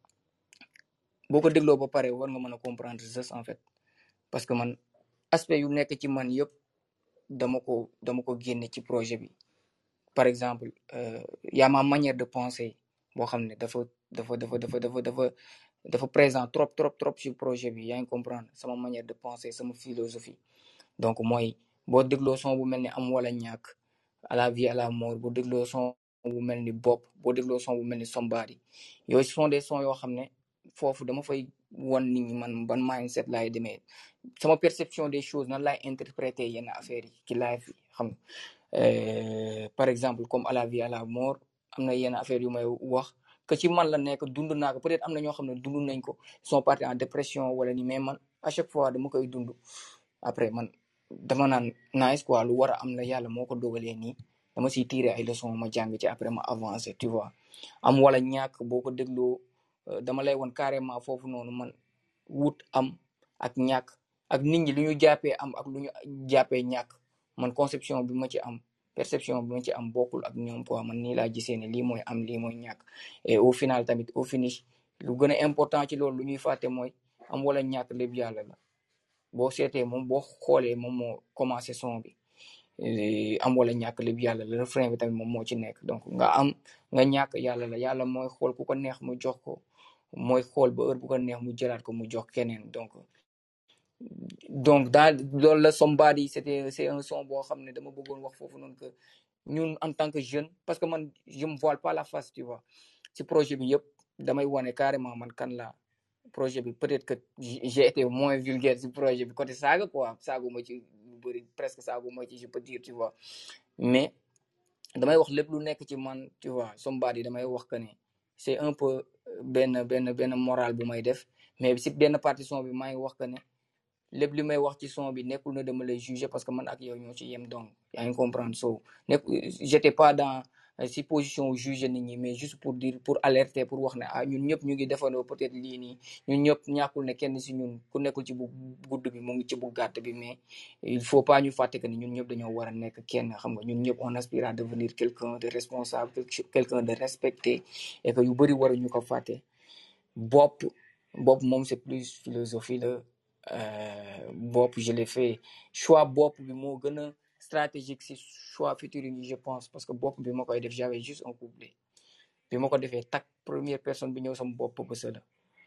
boo ko dégloo ba pare war nga mën a comprendre juste en fait parce que man aspect yu nekk ci man yëpp dama ko dama ko génne ci projet bi par exemple euh, y a ma manière de penser boo xam ne dafa dafa dafa dafa dafa dafa dafa présent trop trop trop ci projet bi yaa ngi comprendre sama manière de penser sama philosophie donc mooy boo dégloo son bu mel ni am wala ñàkk à la vie à la mort boo dégloo son bu mel ni bopp boo dégloo son bu mel ni somebody yooyu ce sont des sons yoo xam ne foofu dama fay won nit ñi man ban mindset laay demee sama perception des choses nan laay interpréter yenn affaires yi ci life yi xam nga euh, par exemple comme à la vie à la mort am na yenn affaires yu may wax que ci man la nekk dund naa ko peut-être am na ñoo xam ne dund nañ ko sont partis en dépression wala ni mais man à chaque fois dama koy dund après man dama naan nice quoi lu war a am la yàlla moo ko dogalee nii dama siy tirer ay leçons ma jàng ci après ma avancer tu vois am wala ñàkk boo ko dégloo dama lay won carrément foofu noonu man wut am ak ñàkk ak nit ñi lu ñu jàppee am ak lu ñu jàppee ñàkk man conception bi ma ci am perception bi ma ci am bokkul ak ñoom quoi man nii laa gisee ne lii mooy am lii mooy ñàkk et au final tamit au finish lu gën a important ci loolu lu ñuy fàtte mooy am wala ñàkk lépp yàlla la boo seetee moom boo xoolee moom moo commencé son bi am wala ñàkk lépp yàlla la refrain bi tamit moom moo ci nekk donc nga am nga ñàkk yàlla la yàlla mooy xool ku ko neex mu jox ko mooy xool ba heure bu ko neex mu jëlaat ko mu jox keneen donc donc dans loolu la somebody c'était c'est un son boo xam ne dama bëggoon wax foofu noonu que ñun en tant que jeune parce que man je me voile pas la face tu vois ci projet bi yëpp damay wane carrément man kan la projet bi peut-être que j'ai été moins vulgaire ci projet bi côté saaga quoi saagu ma ci lu bëri presque saagu ma ci je peux dire tu vois mais damay wax lépp lu nekk ci man tu vois somebody damay wax que ne c'est un peu benn benn benn moral bu may def mais ci benn partie son bi maa ngi wax que ne lépp li may wax ci son bi nekkul na dama lay juger parce que man ak yow ñoo ci yem donc yaa ngi comprendre so nekk j'étais pas dans si position juger nit ñi mais juste pour dire pour alerter pour wax ne ah ñun ñëpp ñu ngi defandoo peut-être lii nii ñun ñëpp ñàkkul ne kenn si ñun ku nekkul ci bu gudd bi mu ngi ci bu gàtt bi mais il faut pas ñu fàtte que ni ñun ñëpp dañoo war a nekk kenn xam nga ñun ñëpp on aspire à devenir quelqu'un de responsable quelqu'un de respecté et que yu bëri waruñu ko fàtte bopp bopp moom c'est plus philosophie la Euh, bopp je l'ai fait choix bopp bi moo gën a stratégique si choix futur yi je pense parce que bopp bi ma koy def j'avais juste un couplet bi ma ko defee tak première personne bi ñëw sama bopp ba la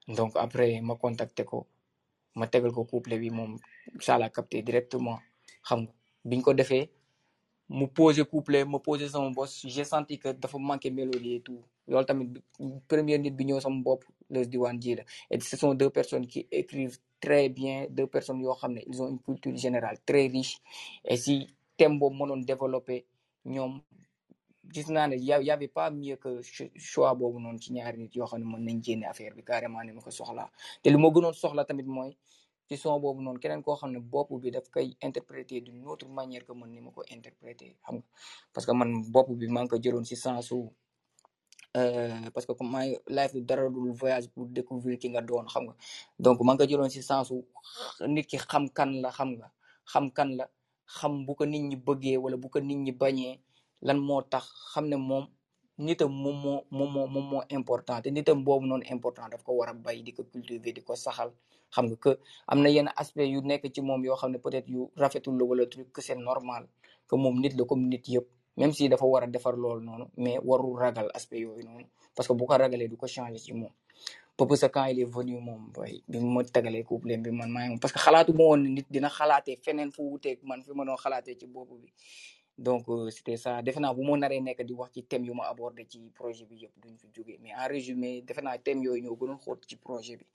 donc après ma contacté ko ma tegal ko couplet bi moom ça l'a capté directement xam nga biñ ko defee mu posé couplet ma posé sama boss j'ai senti que dafa manqué mélodie et tout loolu tamit première nit bi ñëw sama bopp Leuz Diwane ji la et ce sont deux personnes qui écrivent très bien deux personnes yoo xam ne ils ont une culture générale très riche et si thème boobu mënoon développé ñoom gis naa ne y y avait pas mieux que choix boobu noonu ci ñaari nit yoo xam ne mën nañ génne affaire bi carrément ni ma ko soxlaa te li ma gënoon soxla tamit mooy ci son boobu noonu keneen koo xam ne bopp bi daf koy interpréter d'une autre manière que man ni ma ko interpréter xam nga parce que man bopp bi maa ngi ko jëloon si sensu parce que comme maay life bi dara dul voyage pour découvrir ki nga doon xam nga donc maa ngi ko jëloon si sensu nit ki xam kan la xam nga xam kan la xam bu ko nit ñi bëggee wala bu ko nit ñi bañee lan moo tax xam ne moom nitam moom moo moom moo moom moo important te nitam boobu noonu important daf ko war a bay di ko cultiver di ko saxal xam nga que am na yenn aspect yu nekk ci moom yoo xam ne peut-être yu rafetul la wala truc que c'est normal que moom nit la comme nit yëpp même si dafa war a defar loolu noonu mais warul ragal aspect yooyu noonu parce que bu ko ragalee du ko changer ci moom Peupoza quand il est venu moom boy bi ma tegalee couplet bi man maa ngi parce que xalaatu ma woon nit dina xalaatee feneen fu wuteeg man fi ma doon xalaatee ci bopp bi donc c'était ça defe naa bu ma naree nekk di wax ci thème yu ma abordé ci projet bi yëpp duñ fi jógee mais en résumé defe naa thème yooyu ñoo gënoon xóot ci projet bi.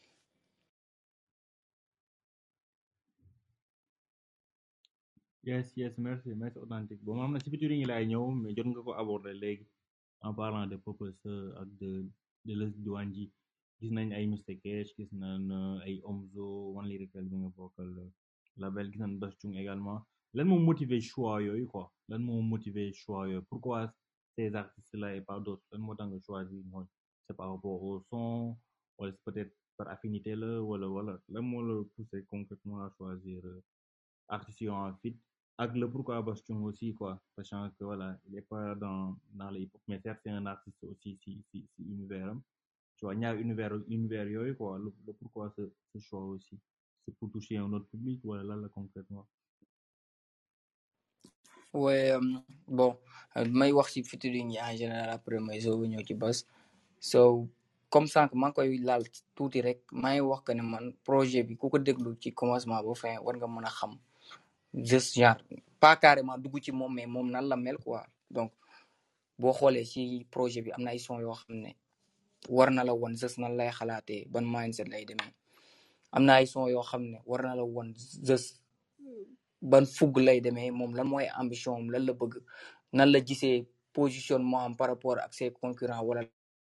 yes yes merci merci authentique bon am na si featuring yi laay ñëw mais jot nga ko aborder léegi en parlant de Peupoza ak de de Leuz Diwane ji gis nañ ay Mister Cash gis nañ ay Omzo One Lyrical bi nga bokkal label gis nañ Bass Thioung également lan moo motiver choix yooyu quoi lan moo motiver choix yooyu pourquoi ces artistes là et pas d'autres lan moo tax nga choisir mooy c'est par rapport au son wala c'est peut-être par affinité la wala wala lan moo la poussé concrètement à choisir artistes yi en fit ak le pourquoi Bass Thioung aussi quoi sachant que voilà il est pas dans dans le hip-hop mais certes c'est un artiste aussi si si si univers am tu vois ñaar univers univers yooyu quoi le, le pourquoi ce, ce choix aussi c'est pour toucher un autre public wala lan la concrètement ouais euh, bon may wax ci featuring yi en général après may soog a ñëw ci Bass so comme sànq maa ngi koy laal tuuti rek maa ngi wax que ne man projet bi ku ko déglu ci commencement ba fin war nga mën a xam juste genre pas carrément dugg ci moom mais moom nan la mel quoi donc boo xoolee ci projet bi am na ay son yoo xam ne war na la won just nan lay xalaatee ban mindset lay demee am na ay son yoo xam ne war na la won just ban fugg lay demee moom lan mooy ambition am lan la bëgg nan la gisee positionnement am par rapport ak ses concurrents wala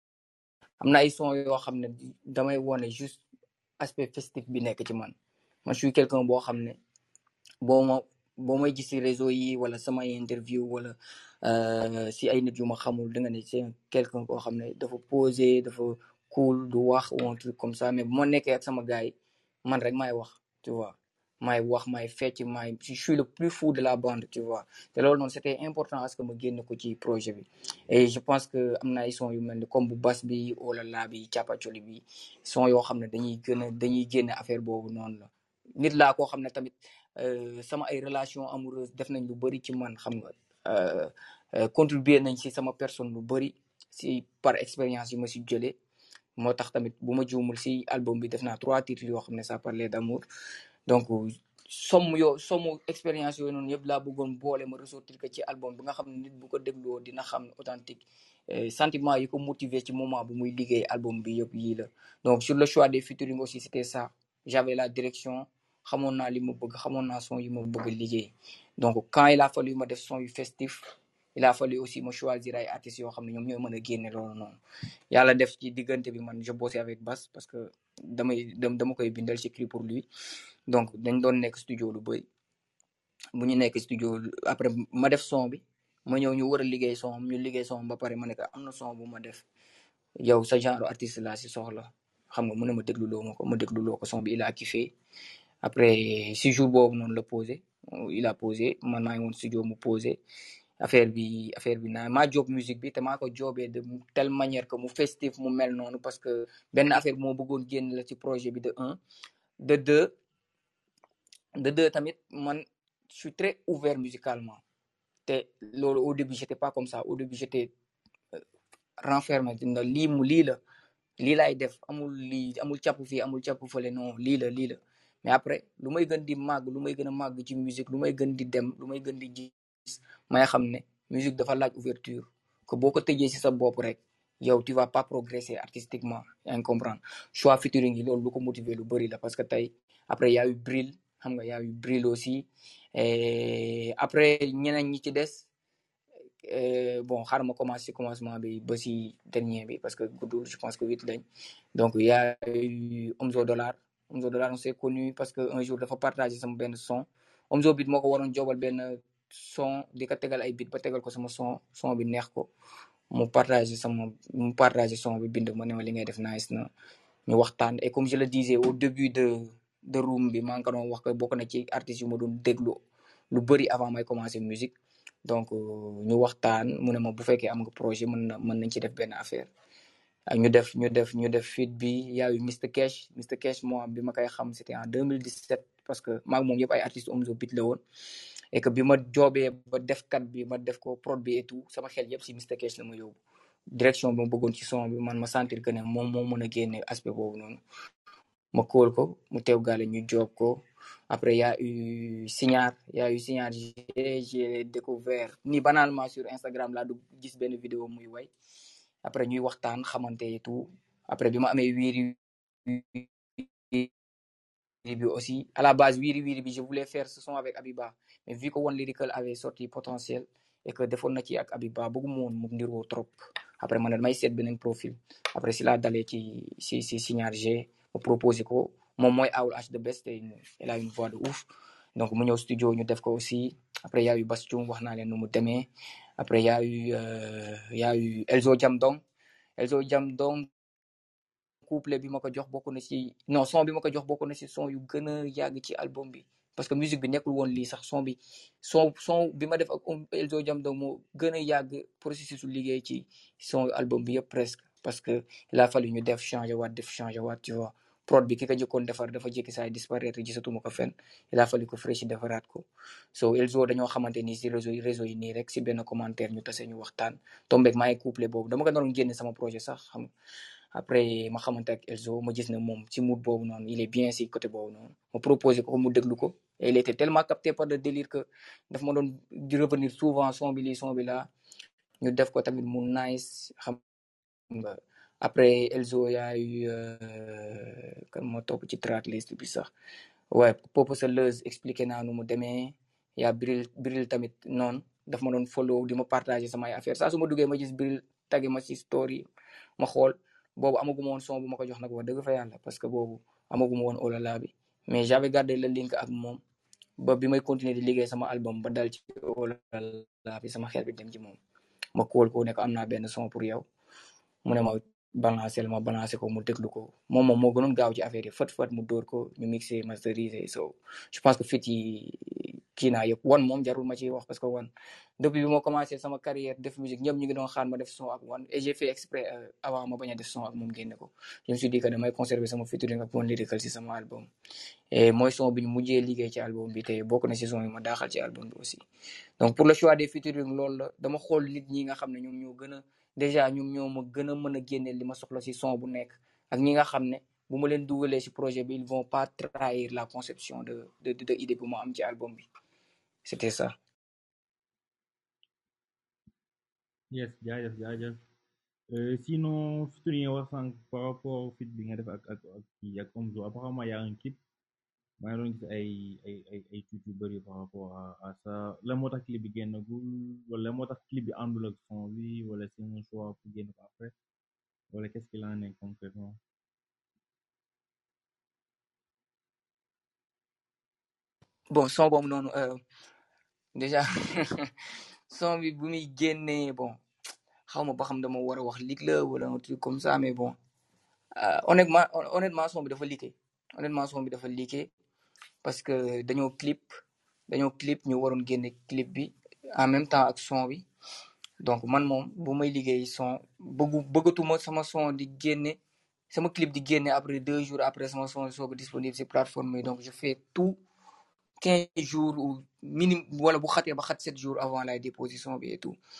am na ay son yoo xam ne damay wone juste aspect festif bi nekk ci man man je suis quelqu'un boo xam ne boo ma boo may gis ci réseau yi wala samay interview wala si ay nit yu ma xamul da nga ne c'est quelqu'un boo xam ne dafa posé dafa cool du wax ou un truc comme ça mais bu ma nekkee ak sama gars yi man rek maay wax tu vois maay wax maay fecc maay je suis le plus fou de la bande tu vois te loolu noonu c'était important à ce que ma génn ko ci projet bi et je pense que am na ay son yu mel ni comme bu Bass bi olala bi Capacoli bi son yoo xam ne dañuy gën a dañuy génne affaire boobu noonu la nit laa koo xam ne tamit sama ay relation amoureuse def nañ lu bëri ci man xam nga contribuer nañ ci sama personne lu bëri si par expérience yi ma si jëlee moo tax tamit bu ma juumul si album bi def naa trois titres yoo xam ne ça parlait d'amour donc somme yoo somme expérience yooyu noonu yëpp laa bëggoon boole ma ressortir que ci album bi nga xam ne nit bu ko dégloo dina xam ne authentique sentiment yi ko motiver ci moment bu muy liggéey album bi yëpp yii la donc sur le choix des featuring aussi c'était ça j'avais la direction xamoon naa li ma bëgg xamoon naa son yi ma bëgg liggéey donc quand il a fallu ma def son yu festif il a fallu aussi ma choisir ay artistes yoo xam ne ñoom ñooy mën a génne loolu noonu yàlla def ci diggante bi man je bossais avec Bass parce que damay dama koy bindal j'écris pour lui donc dañ doon nekk studio lu bëri bu ñu nekk studio après ma def son bi ma ñëw ñu war a liggéey son ñu liggéey son ba pare ma ne ko am na son bu ma def yow sa genre artiste laa si soxla xam nga mu ne ma dégluloo ma ko ma dégluloo ko son bi il a kiffé après si jour boobu noonu la posé il a posé man maa ngi woon studio mu posé affaire bi affaire bi naa maa job musique bi te maa ko jobee de telle manière que mu festif mu mel noonu parce que benn affaire bi moo bëggoon génn la ci projet bi de un de deux de deux tamit man je suis très ouvert musicalement te loolu au début j'étais pas comme ça au début j'étais renfermé na lii mu lii la lii laay def amul lii amul càpp fii amul càpp fële non lii la lii la mais après lu may gën di màgg lu may gën a màgg ci musique lu may gën di dem lu may gën di gis may xam ne musique dafa laaj ouverture que boo ko tëjee ci sa bopp rek yow tu vas pas progresser artistiquement yaa ngi comprendre choix featuring yi loolu lu ko motiver lu bëri la parce que tey après y a eu Bril xam nga y a eu Bril aussi et après ñeneen ñi ci des euh, bon xaaral ma commencé ci commencement bi ba ci dernier bi parce que guddul je pense que huit lañ donc y a eu Omzo Dollar Omzo Dollar on s'est connu parce que un jour dafa partagé sama benn son Omzo Beat moo ko waroon jobal benn son di ko tegal ay beat ba tegal ko sama son son bi neex ko mu partagé sama mu partagé son bi bind ma ne ma li ngay def nice na ñu waxtaan et comme je le disais au début de de room bi maa ngi ko doon wax que bokk na ci artistes yu ma doon déglu lu bëri avant may commencer musique donc ñu waxtaan mu ne ma bu fekkee am nga projet mën na mën nañ ci def benn affaire ak ñu def ñu def ñu def feat bi yaayu mister Cash mister Cash moi bi ma koy xam c'était en deux mille dix-sept parce que maa ngi moom yëpp ay artistes Omzo Beat la woon et que bi ma joobee ba def kat bi ma def ko prod bi et tout sama xel yëpp si mister Cash la ma yóbbu direction bi ma bëggoon ci son bi man ma sentir que ne moom moo mën a génne aspect boobu noonu ma kóol ko mu teew gaale ñu joob ko après y a eu Signar y a eu Signar j'ai découvert ni banalement sur Instagram laa du gis benn vidéo muy way après ñuy waxtaan xamante et tout après bi ma amee wiiri bi aussi à la base wiiri wiiri bi je voulais faire ce son avec Abiba mais vu que One Lyrical avait sorti potentiel et que defoon na ci ak Abiba bëgguma woon mu ndiroo trop après ma ne may seet beneen profil après si laa dalee ci si si Signar G ma proposé ko moom mooy Owl H the best et elle a une voix de ouf donc mu ñëw studio ñu def ko aussi après y a eu Bastion wax naa leen nu mu demee après y a eu euh, y a eu Elzo Jamdong Elzo Jamdong couple bi ma ko jox bokk na ci non son bi ma ko jox bokk na ci son yu gën a yàgg ci album bi parce que musique bi nekkul woon lii sax son bi son son bi ma def ak Elzo Jamdong moo gën a yàgg processus su liggéey ci son album bi yëpp presque parce que il a fallu ñu def changer waat def changer waat tu vois prod bi ki ko jëkkoon defar dafa jékki saa disparaître gisatuma ko fenn il a fallu que fresh defaraat ko so Elzo dañoo xamante ni si réseau réseau yi nii rek si benn commentaire ñu tase ñu waxtaan tombeeg maa ngi couple boobu dama ko doon génne sama projet sax xam après ma xamante ak Elzo ma gis ne moom ci mood boobu noonu il est bien si côté boobu noonu ma proposé ko mu déglu ko et il était tellement capté par le délire que daf ma doon di revenir souvent son bi lii son bi là ñu def ko tamit mu nice xam nga après Elzo yaa eu kan moo topp ci tracklist bi sax ouais Popo Seleuse expliqué naa nu mu demee yaa Bril Bril tamit noonu daf ma doon follow di ma partager samay affaire saa su ma duggee ma gis Bril tagge ma ci story ma xool boobu amaguma woon son bu ma ko jox nag wax dëgg fa yàlla parce que boobu amaguma woon olala bi mais j'avais gardé le link ak moom ba bi may continuer di liggéey sama album ba dal ci olala bi sama xel bi dem ci moom ma kóol ko ne ko am naa benn son pour yow mu ne ma balancer ma balancer ko mu déglu ko moom moom moo gënoon gaaw ci affaire yi fët fët mu dóor ko ñu mixé masteriser so je pense que fit yi kii naa yëpp One moom jarul ma ciy wax parce que One depuis bi ma commencé sama carrière def musique ñëpp ñu ngi doon xaar ma def son ak One et j'ai fait exprès euh, avant ma bañ a def son ak moom génne ko je me suis dit que damay conserver sama featuring ak One Lyrical si sama album et mooy son bi ñu mujjee liggéey ci album bi te bokk na si son yi ma daaxal ci album bi aussi donc pour le choix des featuring loolu la dama xool nit ñi nga xam ne ñoom ñoo gën a déjà ñoom ñoo ma gën a mën a génneel li ma soxla si son bu nekk ak ñi nga xam ne bu ma leen dugalee si projet bi ils vont pas trahir la conception de de de idée bu ma am ci album bi c'était ça. yes jaajëf jaajëf Euh, sinon featuring yi nga wax sànq par rapport fit bi nga def ak ak ak kii ak Omzo apparemment y a un clip maa ngi doon gis ay ay ay ay tuut yu bëri par rapport à à ça la moo tax clip bi génnagul wala la moo tax clip bi àndul ak son bi wala c'est un choix pour génn ko après wala qu'est-ce qu'il en est concrètement. bon son boobu noonu euh, déjà son bi bu muy génnee bon xaw ma ba xam dama war a wax lig la wala un truc comme ça mais bon euh, honnêtement honnêtement son bi dafa liqué honnêtement son bi dafa liqué parce que dañoo clip dañoo clip ñu waroon génne clip bi en même temps ak son bi donc man moom bu may liggéey son bëggu bëggatuma sama son di génne sama clip di génne après deux jours après sama son sooga disponible si plateforme yi donc je fais tout quinze jours ou minimum wala bu xatee ba xat sept jours avant la déposition bi et tout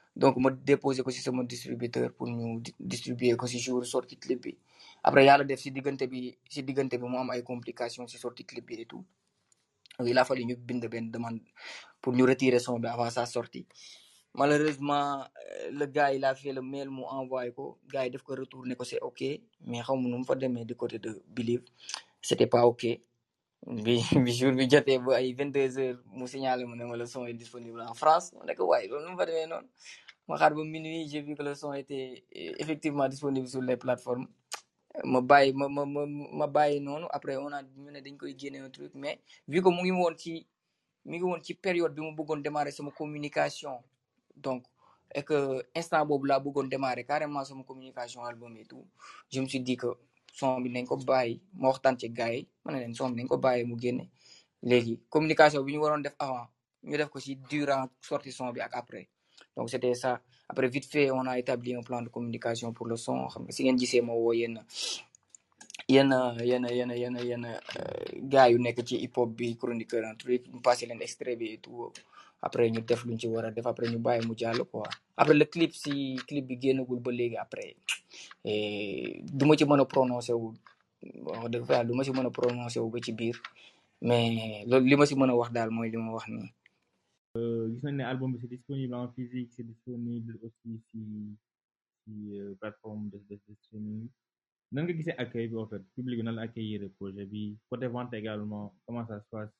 donc ma déposé ko si sama distributeur pour ñu distribuer ko si jour sortie clip bi après yàlla def si diggante bi si diggante bi mu am ay complications si sortie clip bi et tout donc il a fallu ñu bind benn demande pour ñu retirer son bi avant sa sortie malheureusement le gars il a fait le mail mu envoyé ko gars yi def ko retourné ko c'est ok mais xaw ma nu mu fa demee du côté de Believe c'était pas ok bi bi jour bi jotee ba ay vingt-deux heures mu signalé mu ne ma le son est disponible en France ma ne ko waaye loolu nu mu fa demee noonu ma xaar ba minuit j'ai vu que le son était effectivement disponible sur les plateformes ma bàyyi ma ma ma ma bàyyi noonu après on a ñu ne dañ koy génne un truc mais vu que mu ngi woon ci mi ngi woon ci période bi mu bëggoon démarrer sama communication donc et que instant boobu laa bëggoon démarrer carrément sama communication album et tout je me suis dit que son bi nañ ko bàyyi ma waxtaan ci gars yi ma ne leen son bi nañ ko bàyyi mu génne léegi communication bi ñu waroon def avant ñu def ko ci durant sortie son bi ak après donc c'était ça après vite fait on a établi un plan de communication pour le son xam nga si ngeen gisee ma woo yenn yenn yenn yenn yenn yenn gars yu nekk ci hip hop bi chroniqueur un truc ñu passé leen extrait bi et tout après ñu def luñ ci war a def après ñu bàyyi mu jàll quoi après le clip si clip bi génnagul ba léegi après du ma ci mën a prononcé wu wax dëgg fa yàlla du ma ci mën a prononcé wu ba ci biir mais loolu li ma si mën a wax daal mooy li ma wax nii. gis nañ ne album bi c'est disponible en physique c'est disponible aussi si si plateforme de de streaming nan nga gisee accueil bi en fait public bi nan la accueillir projet bi côté vente également comment ça se passe.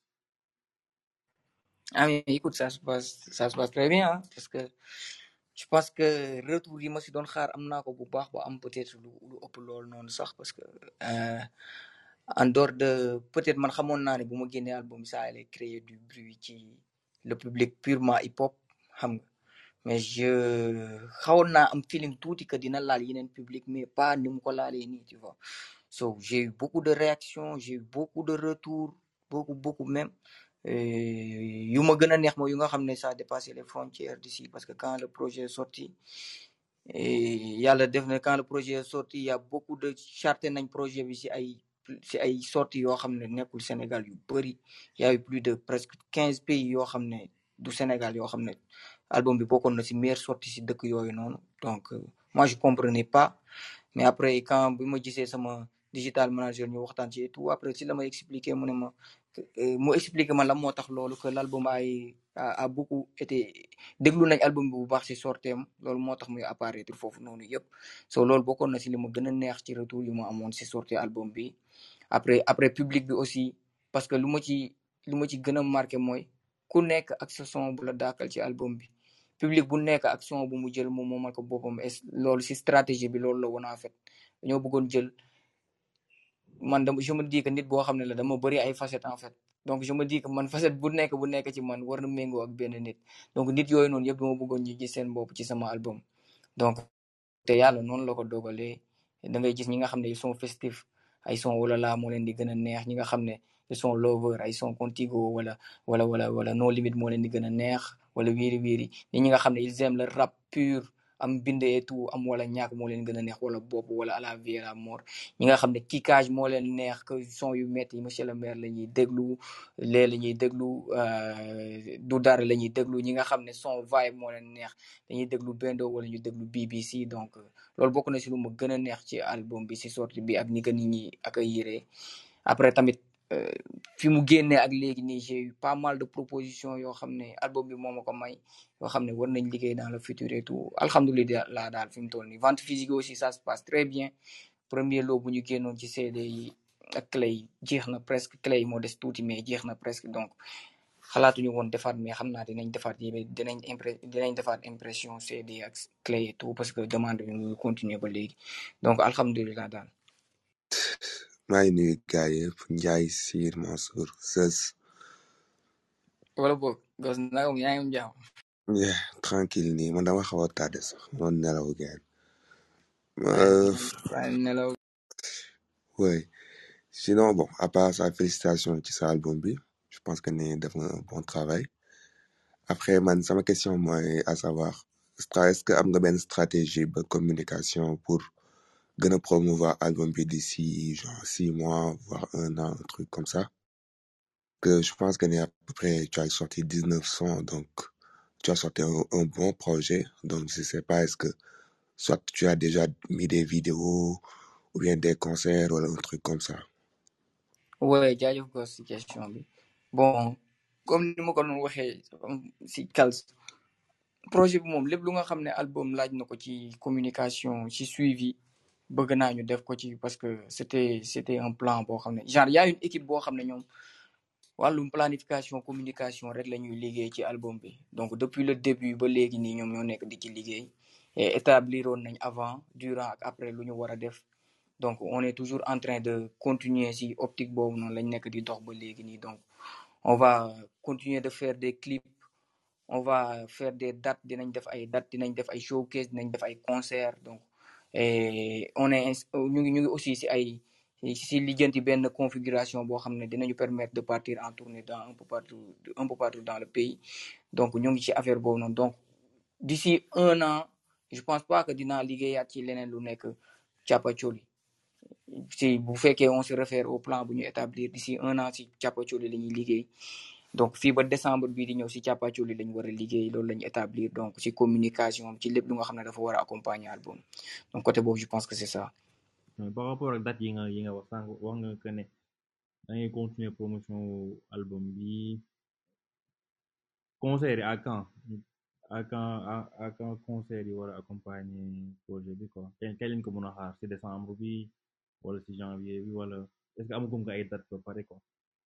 ah mais écoute ça se passe ça se passe très bien hein, parce que je pense que retour yi ma si doon xaar am naa ko bu baax ba am peut-être lu lu ëpp loolu noonu sax parce que euh, en dehors de peut-être man xamoon naa ne bu ma génnee album ça allait créer du bruit ci le public purement hip hop xam nga mais je xawoon naa am feeling tuuti que dina laal yeneen public mais pas ni mu ko laalee nii tu vois so j'ai eu beaucoup de réactions j'ai eu beaucoup de retours beaucoup beaucoup même yu ma gën a neex mooy yu nga xam ne ça a dépassé les frontières d'ici parce que quand le projet est sorti yàlla def na quand le projet est sorti il y a beaucoup de charté nañ projet bi si ay si ay sorties yoo xam ne nekkul Sénégal yu bëri il y a eu plus de presque quinze pays yoo xam ne du Sénégal yoo xam ne album bi bokkoon na si meilleure sortie si dëkk yooyu noonu donc euh, moi je comprenais pas mais après quand bi ma gisee sama digital manager ñu waxtaan ci et tout après si la ma expliqué mu ne ma mu expliqué ma la moo tax loolu que l'album ay a beaucoup été déglu nañ album bi bu baax si sorteem loolu moo tax muy apparaître foofu noonu yëpp so loolu bokkoon na si li ma gën a neex ci retour yu ma amoon si sortie album bi après après public bi aussi parce que lu ma ci lu ma ci gën a marqué mooy ku nekk ak sa son bu la daakal ci album bi public bu nekk ak son bu mu jël moom moomal ko boppam loolu si stratégie bi loolu la woon en fait dañoo bëggoon jël man dama je me dis que nit boo xam ne la dama bëri ay facettes en fait donc je me dis que man facette bu nekk bu nekk ci man war na méngoo ak benn nit donc nit yooyu noonu yëpp dama bëggoon ñu gis seen bopp ci sama album donc te yàlla noonu la ko dogalee da ngay gis ñi nga xam ne ils sont festifs ay son wala laa moo leen di gën a neex ñi nga xam ne ils sont lover ay son contigo wala wala wala wala no limite moo leen di gën a neex wala wiiri wiiri ñi nga xam ne ils aiment le rap pur am bind et tout am wala ñàkk moo leen gën a neex wala bopp wala à la vie à la mort ñi nga xam ne kickage moo leen neex que son yu métti yi monsieur le maire la ñuy déglu lee la ñuy déglu du dara la ñuy déglu ñi nga xam ne son vibe moo leen neex dañuy déglu Bendo wala ñu déglu B B C donc loolu bokk na si lu ma gën a neex ci album bi si sortie bi ak ni ko nit ñi accueillir après tamit fi mu génnee ak léegi nii j'ai eu pas mal de propositions yoo xam ne album bi moo ma ko may yoo xam ne war nañ liggéey dans le futur et tout alhamdulilah daal fi mu toll nii vente physique aussi ça se passe très bien premier lot bu ñu génnoon ci C D yi ak clé yi jeex na presque clé yi moo des tuuti mais jeex na presque donc xalaatuñu woon defaat mais xam naa dinañ defaat yi dinañ impré dinañ defaat impression C D ak clé et tout parce que demande bi mu continuer ba léegi donc alhamdulilah daal. maa ngi nuyu gars yëpp Ndiaye Sir Mansour Seus. wala boog gos nagam yaa ngi am jàmm. yeah tranquille nii man dama xaw a tardé sax noonu nelaw gars. nelaw. oui sinon bon à part ça félicitations ci sa album bi je pense que ne def nga un bon travail après man sama question mooy à savoir est-ce que am nga benn stratégie de communication pour gën a promouvoir album bi d'ici genre six mois voire un an un truc comme ça que je pense que ne à peu près tu as sorti dix-neuf sons donc tu as sorti un, un bon projet. Donc, je sais pas, est-ce que soit tu as déjà mis des vidéos ou bien des concerts ou un truc comme ça. Ouais, jaajëf ko si question bi bon comme ni ma ko doon waxee si Kals projet bi moom lépp lu nga xam ne album laaj na ko ci communication ci suivi bëgg naa ñu def ko ci parce que c'était c'était un plan boo xam ne genre y a une équipe boo xam ne ñoom wàllum planification communication rek la ñuy liggéey ci album bi donc depuis le début ba léegi nii ñoom ñoo nekk di ci liggéey et établiroon nañ avant durant ak après lu ñu war a def donc on est toujours en train de continuer si optique boobu noonu lañ nekk di dox ba léegi nii donc on va continuer de faire des clips on va faire des dates dinañ def ay dates dinañ def ay showcase dinañ def ay concerts donc et on est ñu ngi ñu ngi aussi si ay si lijjanti benn configuration boo xam ne dinañu permettre de partir en tournée dans un peu partout un peu partout dans le pays donc ñu ngi ci affaire boobu noonu donc d'ici un an je pense pas que dinaa liggéeyaat ci leneen lu nekk Thiapathioli si bu fekkee on se réfère au plan bu ñu établir d'ici un an si Thiapathioli la ñuy liggéey donc fii ba décembre bii di ñëw si Thiapathioli lañ war a liggéey loolu la ñu établir donc si communication ci lépp lu nga xam ne dafa war a accompagner album donc côté boobu je pense que c'est ça. par rapport ak date yi nga yi nga wax sànq wax nga que ne da ngay continuer promotion album bi concert yi à quand à quand à quand concert yi war a accompagner projet bi quoi kañ kañ lañ ko mën a xaar si décembre bi wala si janvier bi wala est-ce que amagum nga ay date ba pare quoi.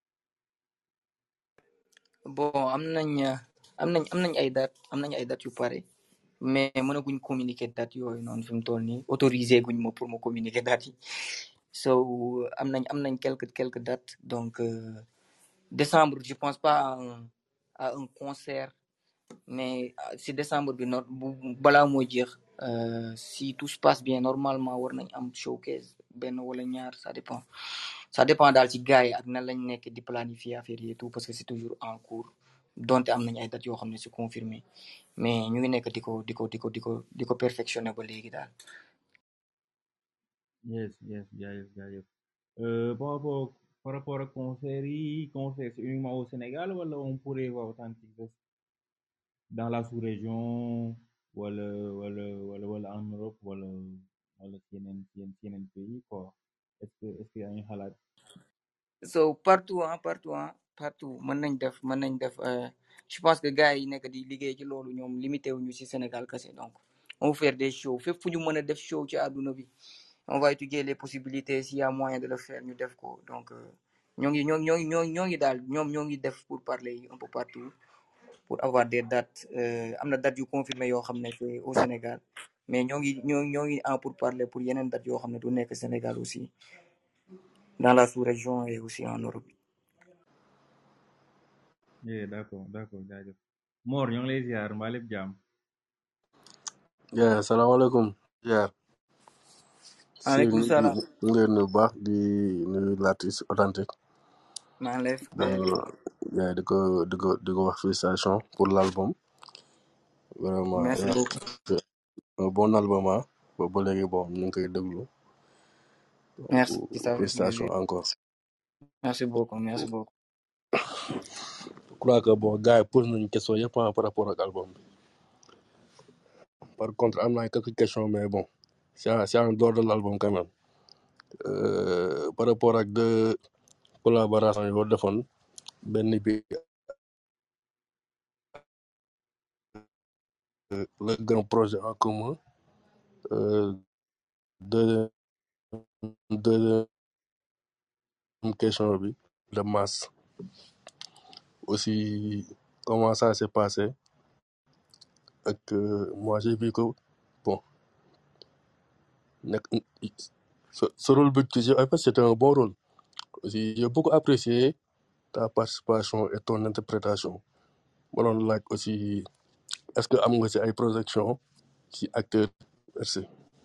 bon am nañ am nañ am nañ ay date am nañ ay date yu pare mais mënaguñ communiquer date yooyu noonu fi mu toll nii autorisé guñ ma pour ma communiquer date yi so am nañ am nañ quelques quelques dates donc euh, décembre je pense pas à un à un concert mais si décembre bi no balaa moo jeex si tout se passe bien normalement war nañ am showcase benn wala ñaar ça dépend ça dépend daal ci gars yi ak nan lañ nekk di planifier affaire yi et tout parce que c'est toujours en cours donte am nañ ay dates yoo xam ne c'est confirmé mais ñu ngi nekk di ko di ko di ko di ko di ko perfectionner ba léegi daal. yes yes jaajëf jaajëf euh, par rapport par rapport ak concert yi concert c'est uniquement au Sénégal wala on pourrait voir Authentic Fest dans la sous-région wala wala wala wala en Europe wala wala ci yeneen ci yeneen pays quoi est-ce que est-ce que yaa ngi xalaat. so partout ah partout ah partout mën nañ def mën nañ def je pense que gars yi nekk di liggéey ci loolu ñoom limité wuñu ci Sénégal kese donc on va faire des shows fépp fu ñu mën a def show ci àdduna bi on va étudier les possibilités s'il y a moyen de le faire ñu def ko donc ñoo ngi ñoo ngi ñoo ngi ñoo ngi daal ñoom ñoo ngi def pour parler un peu partout pour avoir des dates am na dates yu confirmé yoo xam ne c'est au Sénégal mais ñoo ngi ñoo ñoo ngi en pour parler pour yeneen dates yoo xam ne du nekk Sénégal aussi dans la sous-région et aussi en Europe. yeah d'accord d'accord jaajëf Mor ñoo ngi lay ziar mbaa lépp jàmm. yeah salaamaaleykum. yeah maaleykum salaam. ñu ngi leen nuyu baax di nuyu l'artiste Authentic. maa ngi lay yeah di ko di ko di ko wax félicitation pour l'album. vraiment merci beaucoup. un bon album ah ba léegi bon ñu ngi koy déglu. merci félicitation encore. merci beaucoup merci beaucoup. je crois que bon gars yi posé nañu question yëpp par rapport ak album bi. par contre am na quelques questions mais bon c'est c'est en dehors de l'album quand même. Euh, par rapport ak deux collaborations yoo defoon benn bi le grand projet en commun euh, deuxième deuxième question bi de masse aussi comment ça s'est passé ak moi j'ai vu que bon nekk ce rôle bi tu en fait c'était un bon rôle aussi j'ai beaucoup apprécié ta participation et ton interprétation ma doon laaj aussi est-ce que am nga ci ay projection ci acteur merci.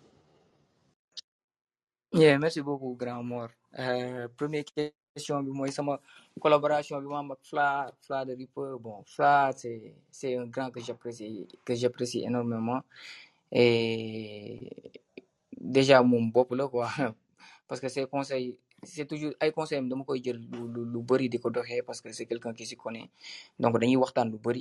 yeah merci beaucoup grand Mor euh, première question bi mooy sama collaboration bi ma am ak Fla Fla de Ripper bon Fla c'est c'est un grand que j'apprécie que j'apprécie énormément et déjà moom bopp la quoi parce que ses conseils c'est toujours ay conseils dama koy jël lu lu lu bëri di ko doxee parce que c'est quelqu'un qui s'y connaît donc dañuy waxtaan lu bëri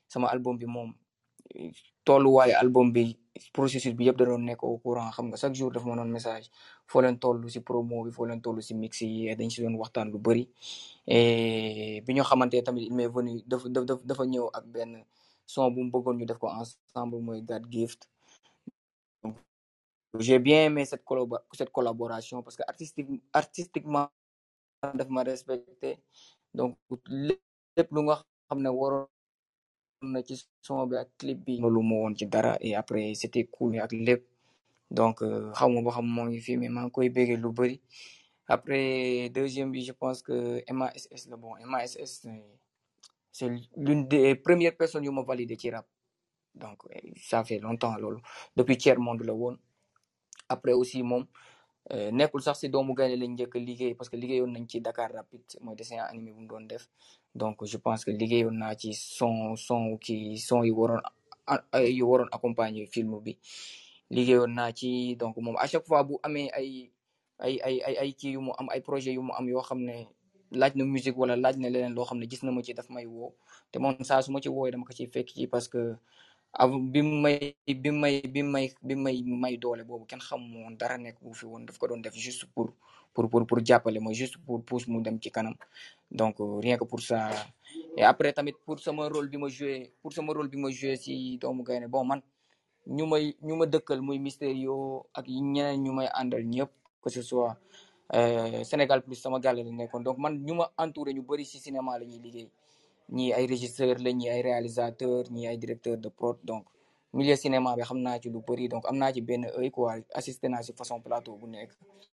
sama album bi moom tolluwaayu album bi processus bi yëpp da doon nekk au courant xam nga chaque jour dafa ma doon message foo leen toll si promo bi foo leen toll si mix yi dañ si doon waxtaan lu bëri et bi ñu xamante tamit il m'est venu dafa dafa dafa ñëw ak benn son bu mu bëggoon ñu def ko ensemble mooy God Gift donc j'ai bien aimé cette collabo cette collaboration parce que artistique artistiquement daf ma respecté donc lépp lu nga xam ne waroon na ci son bi ak clip bi lu ma woon ci dara et après c'était cool ak lépp donc xaw ma ba xam moo ngi fi mais maa ngi koy béggee lu bëri après deuxième bi je pense que M A S S la bon M A S S c'est l'une des premières personnes yu ma validé ci rap donc ça fait longtemps loolu depuis tiers monde la woon après aussi moom nekkul sax si doomu gaynde lañ njëkk liggéey parce que liggéeyoon nañ ci Dakar Rapide mooy dessin animé bu mu doon def donc je pense que liggéeyoon naa ci son son ki son yi waroon yu waroon accompagner film bi liggéeyoon naa ci donc moom à chaque fois bu amee ay ay ay ay ay kii yu mu am ay projet yu mu am yoo xam ne laaj na musique wala laaj na leneen loo xam ne gis na ma ci daf may woo te moom saa su ma ci wooyee dama ko ciy fekk ci parce que avant bi may bi may bi may bi may may doole boobu kenn xamu woon dara nekk bu fi woon daf ko doon def juste pour pour pour pour jàppale ma juste pour pousse mu dem ci kanam donc rien que pour ça et après tamit pour sama rôle bi ma joué pour sama rôle bi ma joué si doomu gaynde bon man ñu may ñu ma dëkkal muy Mysterio ak ñeneen ñu may àndal ñëpp que ce soit Sénégal plus sama gàlle la nekkoon donc man ñu ma entouré ñu bëri si cinéma la ñuy liggéey ñii ay régisseur la ñii ay réalisateur ñii ay directeur de prod donc milieu cinéma bi xam naa ci lu bëri donc am naa ci benn œil quoi assisté naa si façon plateau bu nekk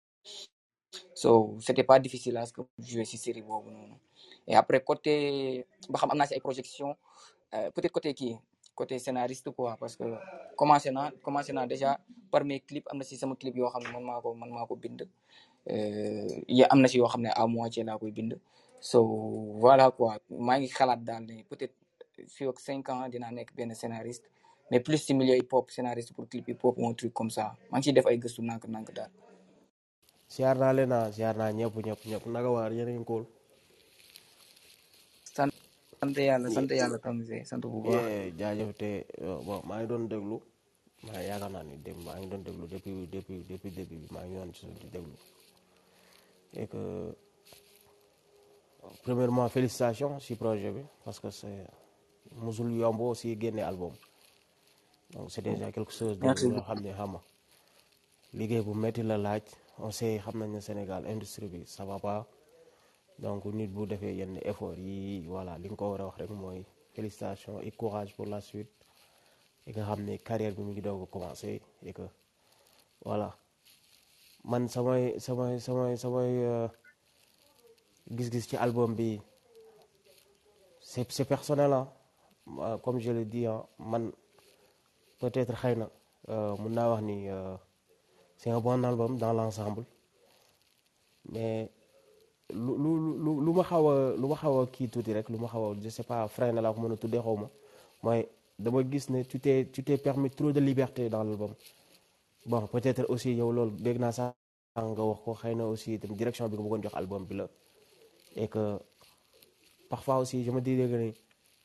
so c'était pas difficile à ce que jouer si série boobu noonu et après côté ba xam am naa si ay projection peut-être côté kii côté scénariste quoi parce que commencé naa commencé naa déjà par mes clips am na si sama clip yoo xam ne man maa ko man maa ko bind ya am na si yoo xam ne à moitié laa koy bind so voilà quoi maa ngi xalaat daal ne peut-être fii ak cinq ans dinaa nekk benn scénariste mais plus si milieu hip hop scénariste pour clip hip hop ou un truc comme ça maa ngi ciy def ay gëstu nànk-nànk daal. siyaar naa leen ah siyaar naa ñëpp ñëpp ñëpp naka waar yéen a ngi kool. sant sant yàlla sant yàlla Tamsir sant bu baax. jaajëf te bon maa ngi doon déglu maa yaakaar naa ni dem maa ngi doon déglu depuis depuis depuis début bi maa ngi doon ci di déglu et que. Premièrement félicitations si projet bi parce que c'est musul yomb aussi génne album donc c'est déjà quelque chose de loo xam ne xama liggéey bu métti la laaj on sait xam nañ ne Sénégal industrie bi ça va pas donc nit bu defee yenn effort yi voilà li nga ko war a wax rek mooy félicitations et courage pour la suite et nga xam ne carrière bi mu ngi doog a commencer et que voilà man samay samay samay samay gis-gis ci album bi c'est c'est personnel ah comme je le dis man peut-être xëy na mun naa wax ni c'est un bon album dans l'ensemble mais lu lu lu lu ma xaw a lu ma xaw a kii tuuti rek lu ma xaw a je sais pas frein na laa ko mën a tuddee xaw ma mooy dama gis ne tu t'es tu t'es permis trop de liberté dans l'album bon peut-être aussi yow loolu dégg naa sax nga wax ko xëy na aussi itam direction bi nga bëggoon jox album bi la. Et que parfois aussi je me dis que ni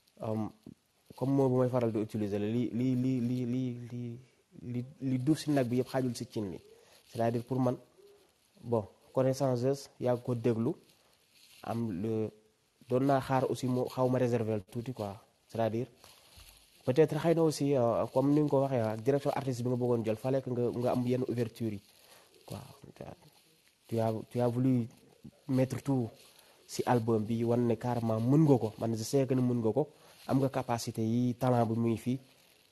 comme moo bu may faral di utiliser la li li li li li li li li duuf si nag bi yëpp xaajul si cin li c'est-à-dire pour man bon connaissance yaa ko déglu am le doon naa xaar aussi mu xaw ma réserver tuuti quoi c'est-à-dire peut-être xëy na aussi comme ni nga ko waxee ak direction artiste bi nga bëggoon jël fallait que nga nga am yenn ouverture yi quoi tu as tu as voulu mettre tout si album bi wan ne carrément mën nga ko man je sais que ne mën nga ko am nga capacité yi talent bi muy fii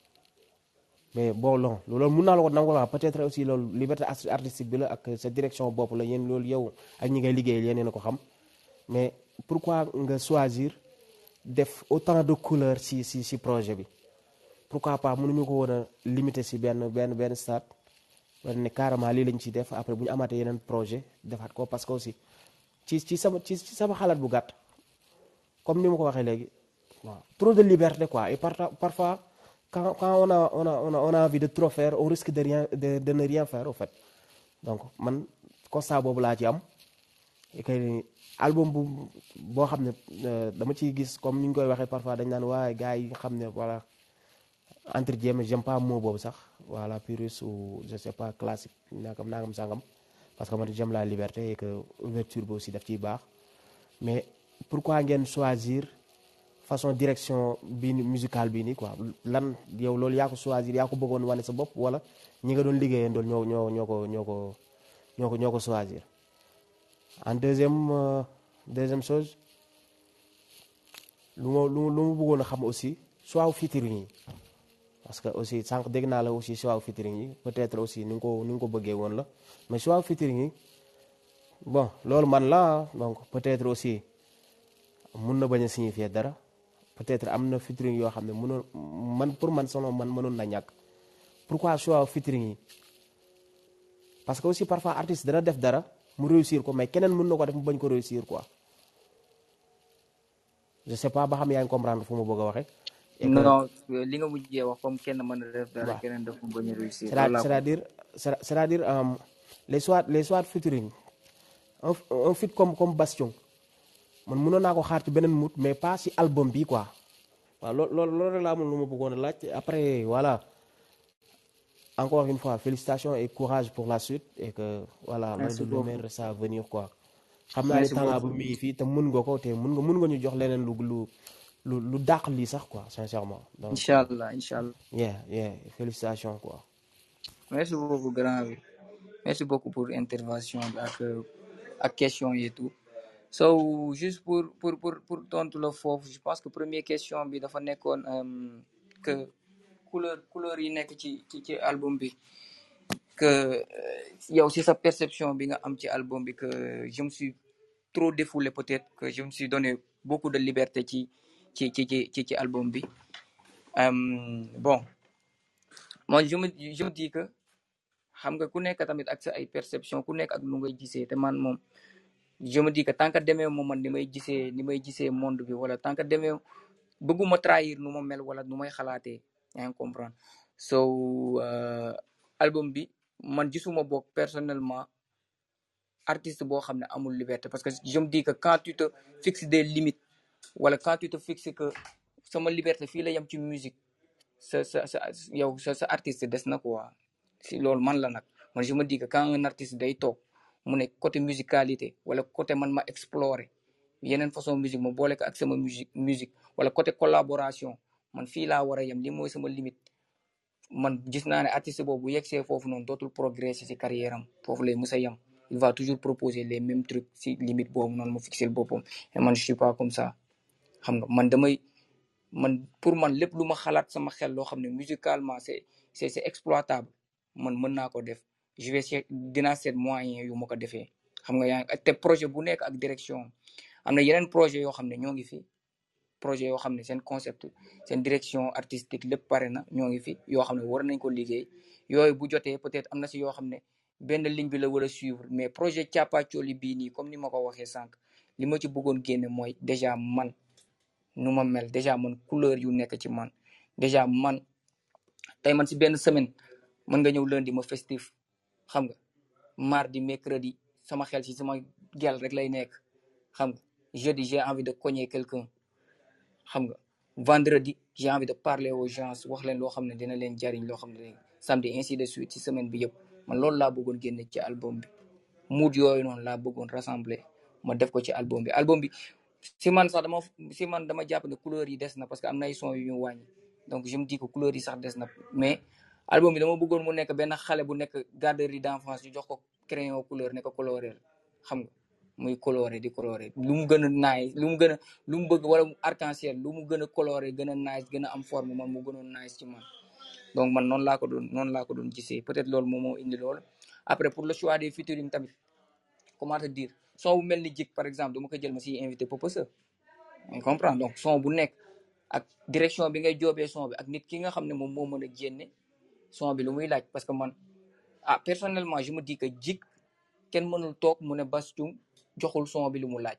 mais bon non loolu mun naa la ko nangu la peut-être aussi loolu liberté artistique bi la ak sa direction bopp la yéen loolu yow ak ñi ngay liggéeyal yéen a ko xam mais pourquoi nga choisir def autant de couleurs si si si projet bi pourquoi pas mënuñu ko woon a limiter si benn benn benn stade wan ne carrément lii lañ ciy def après bu ñu amaatee yeneen projet defaat ko parce que aussi ci ci sama ci sama xalaat bu gàtt comme ni ma ko waxee léegi waaw trop de liberté quoi et parfois quand quand on a on a on a on a envie de trop faire on risque de rien de de ne rien faire au fait donc man constat boobu laa ci am et que album bu boo xam ne euh, dama ciy gis comme ni ñu koy waxee parfois dañ naan waaye gars yi nga xam ne voilà entre guillemets j'aime pas mot boobu sax voilà puriste ou je sais pas classique nangam nangam sangam parce que man j'aime la liberté et que ouverture bi aussi daf ciy baax mais pourquoi ngeen choisir façon direction bi musicale bii nii quoi lan yow loolu yaa ko choisir yaa ko bëggoon wane sa bopp wala ñi nga doon liggéeyee ndool ñoo ñoo ñoo ko ñoo ko ñoo ko ñoo ko choisir en deuxième euh, deuxième chose lu ma lu lu mu bëggoon a xam aussi choix featuring yi parce que aussi sànq dégg naa la aussi choix featuring yi peut-être aussi ni nga ko ni nga ko bëggee woon la mais choix featuring yi bon loolu man la donc peut-être aussi mun na bañ a signifier dara peut-être am na featuring yoo xam ne mënoon man pour man selon man mënoon na ñàkk pourquoi choix featuring yi parce que aussi parfois artiste dana def dara mu réussir ko mais keneen mën na ko def mu bañ ko réussir quoi je sais pas ba xam yaa ngi comprendre fu ma bëgg a waxee. et que non li nga mujjee wax comme kenn mën a def dara waaw keneen def mu bañ a réussir c'est loolu laa ko c'est-à-dire c'est- c'est-à-dire euh, les soit les soit featuring un un feat comme comme Bastion man mënoon naa ko xaar ci beneen mood mais pas ci album bi quoi waaw loolu loolu loolu rek laa amoon lu ma bëggoon a laaj après voilà encore une fois félicitations et courage pour la suite et que voilà le merci le beaucoup meilleur reste à venir quoi xam naa ne merci talent bu beaucoup mi ngi fii te mun nga ko te mun nga mun nga ñu jox leneen lu lu lu lu dàq lii sax quoi sincèrement donc incha allah incha allah yeah yeah félicitations quoi. merci beaucoup grand bi merci beaucoup pour intervention bi ak ak question yi et tout so juste pour pour pour pour tontu la foofu je pense que première question bi dafa nekkoon euh, que couleur couleur yi nekk ci ci ci album bi que euh, yow si sa perception bi nga am ci album bi que je me suis trop défoulé peut-être que je me suis donné beaucoup de liberté ci ci ci ci ci ci album bi Euh, bon moi je me je me dis que xam nga ku nekk tamit ak sa ay perception ku nekk ak nu ngay gisee te man moom je me dis que tant que demee moom man ni may gisee ni may gisee monde bi wala tant que demee bëgguma trahir nu ma mel wala nu may xalaatee yaa ngi comprendre so euh, album bi man gisuma boog personnellement artiste boo xam ne amul liberté parce que je me dis que quand tu te fixes des limites wala quand tu te fixes que sama liberté fii la yem ci musique sa sa sa yow sa sa artiste des na quoi si loolu man la nag man je me dis que quand un artiste day toog mu ne côté musicalité wala côté man ma explorer yeneen façon musique ma boole ko ak sama musique musique wala côté collaboration man fii laa war a yem li mooy sama limite man gis naa ne artiste boobu bu yegsee foofu noonu dootul progresser ci carrière am foofu lay mës a yem il va toujours proposer les mêmes trucs ci limite boobu noonu mu fixer boppam et man je suis pas comme ça xam nga man damay man pour man lépp lu ma xalaat sama xel loo xam ne musicalement c'est c'est c'est exploitable man mën naa ko def je vais seet dinaa seet moyen yu ma ko defee xam nga yaa te projet bu nekk ak direction am na yeneen projet yoo xam ne ñoo ngi fi projet yoo xam ne seen concept seen direction artistique lépp pare na ñoo ngi fi yoo xam ne war nañ ko liggéey yooyu bu jotee peut-être am na si yoo xam ne benn ligne bi la war a suivre mais projet Thiapathioly bii nii comme ni ma ko waxee sànq li ma ci bëggoon génne mooy déjà man nu ma mel déjà man couleur yu nekk ci man déjà man tey man si benn semaine mën nga ñëw lundi ma festif xam nga mardi mercredi sama xel ci sama gel rek lay nekk xam nga jeudi j'ai envie de cogner quelqu'un xam nga vendredi j'ai envie de parler aux gens wax leen loo xam ne dina leen jariñ loo xam ne samedi ainsi de suite ci semaine bi yëpp man loolu laa bëggoon génne ci album bi mood yooyu noonu laa bëggoon rassembler ma def ko ci album bi album bi si man sax dama si man dama jàpp ne couleur yi des na parce que am na ay son yu ñu wàññi donc je me dis que couleur yi sax des na mais album bi dama bëggoon mu nekk benn xale bu nekk garderie d'enfance ñu jox ko crayon couleur ne ko coloré xam nga muy coloré di coloré lu mu gën a nice lu mu gën a lu mu bëgg wala arc-en-ciel lu mu gën a coloré gën a nice gën a am forme man mu gënoon nice ci man donc man noonu laa ko doon noonu laa ko doon gisee peut-être loolu moom moo indi loolu après pour le choix des featuring tamit comment te dire son bu mel ni jik par exemple dama ko jël ma si invité Popesa on comprend donc son bu nekk ak direction bi ngay joobee son bi ak nit ki nga xam ne moom moo mën a génne son bi lu muy laaj parce que man ah personnellement je me dis que jik kenn mënul toog mu ne Bass Thioung joxul son bi lu mu laaj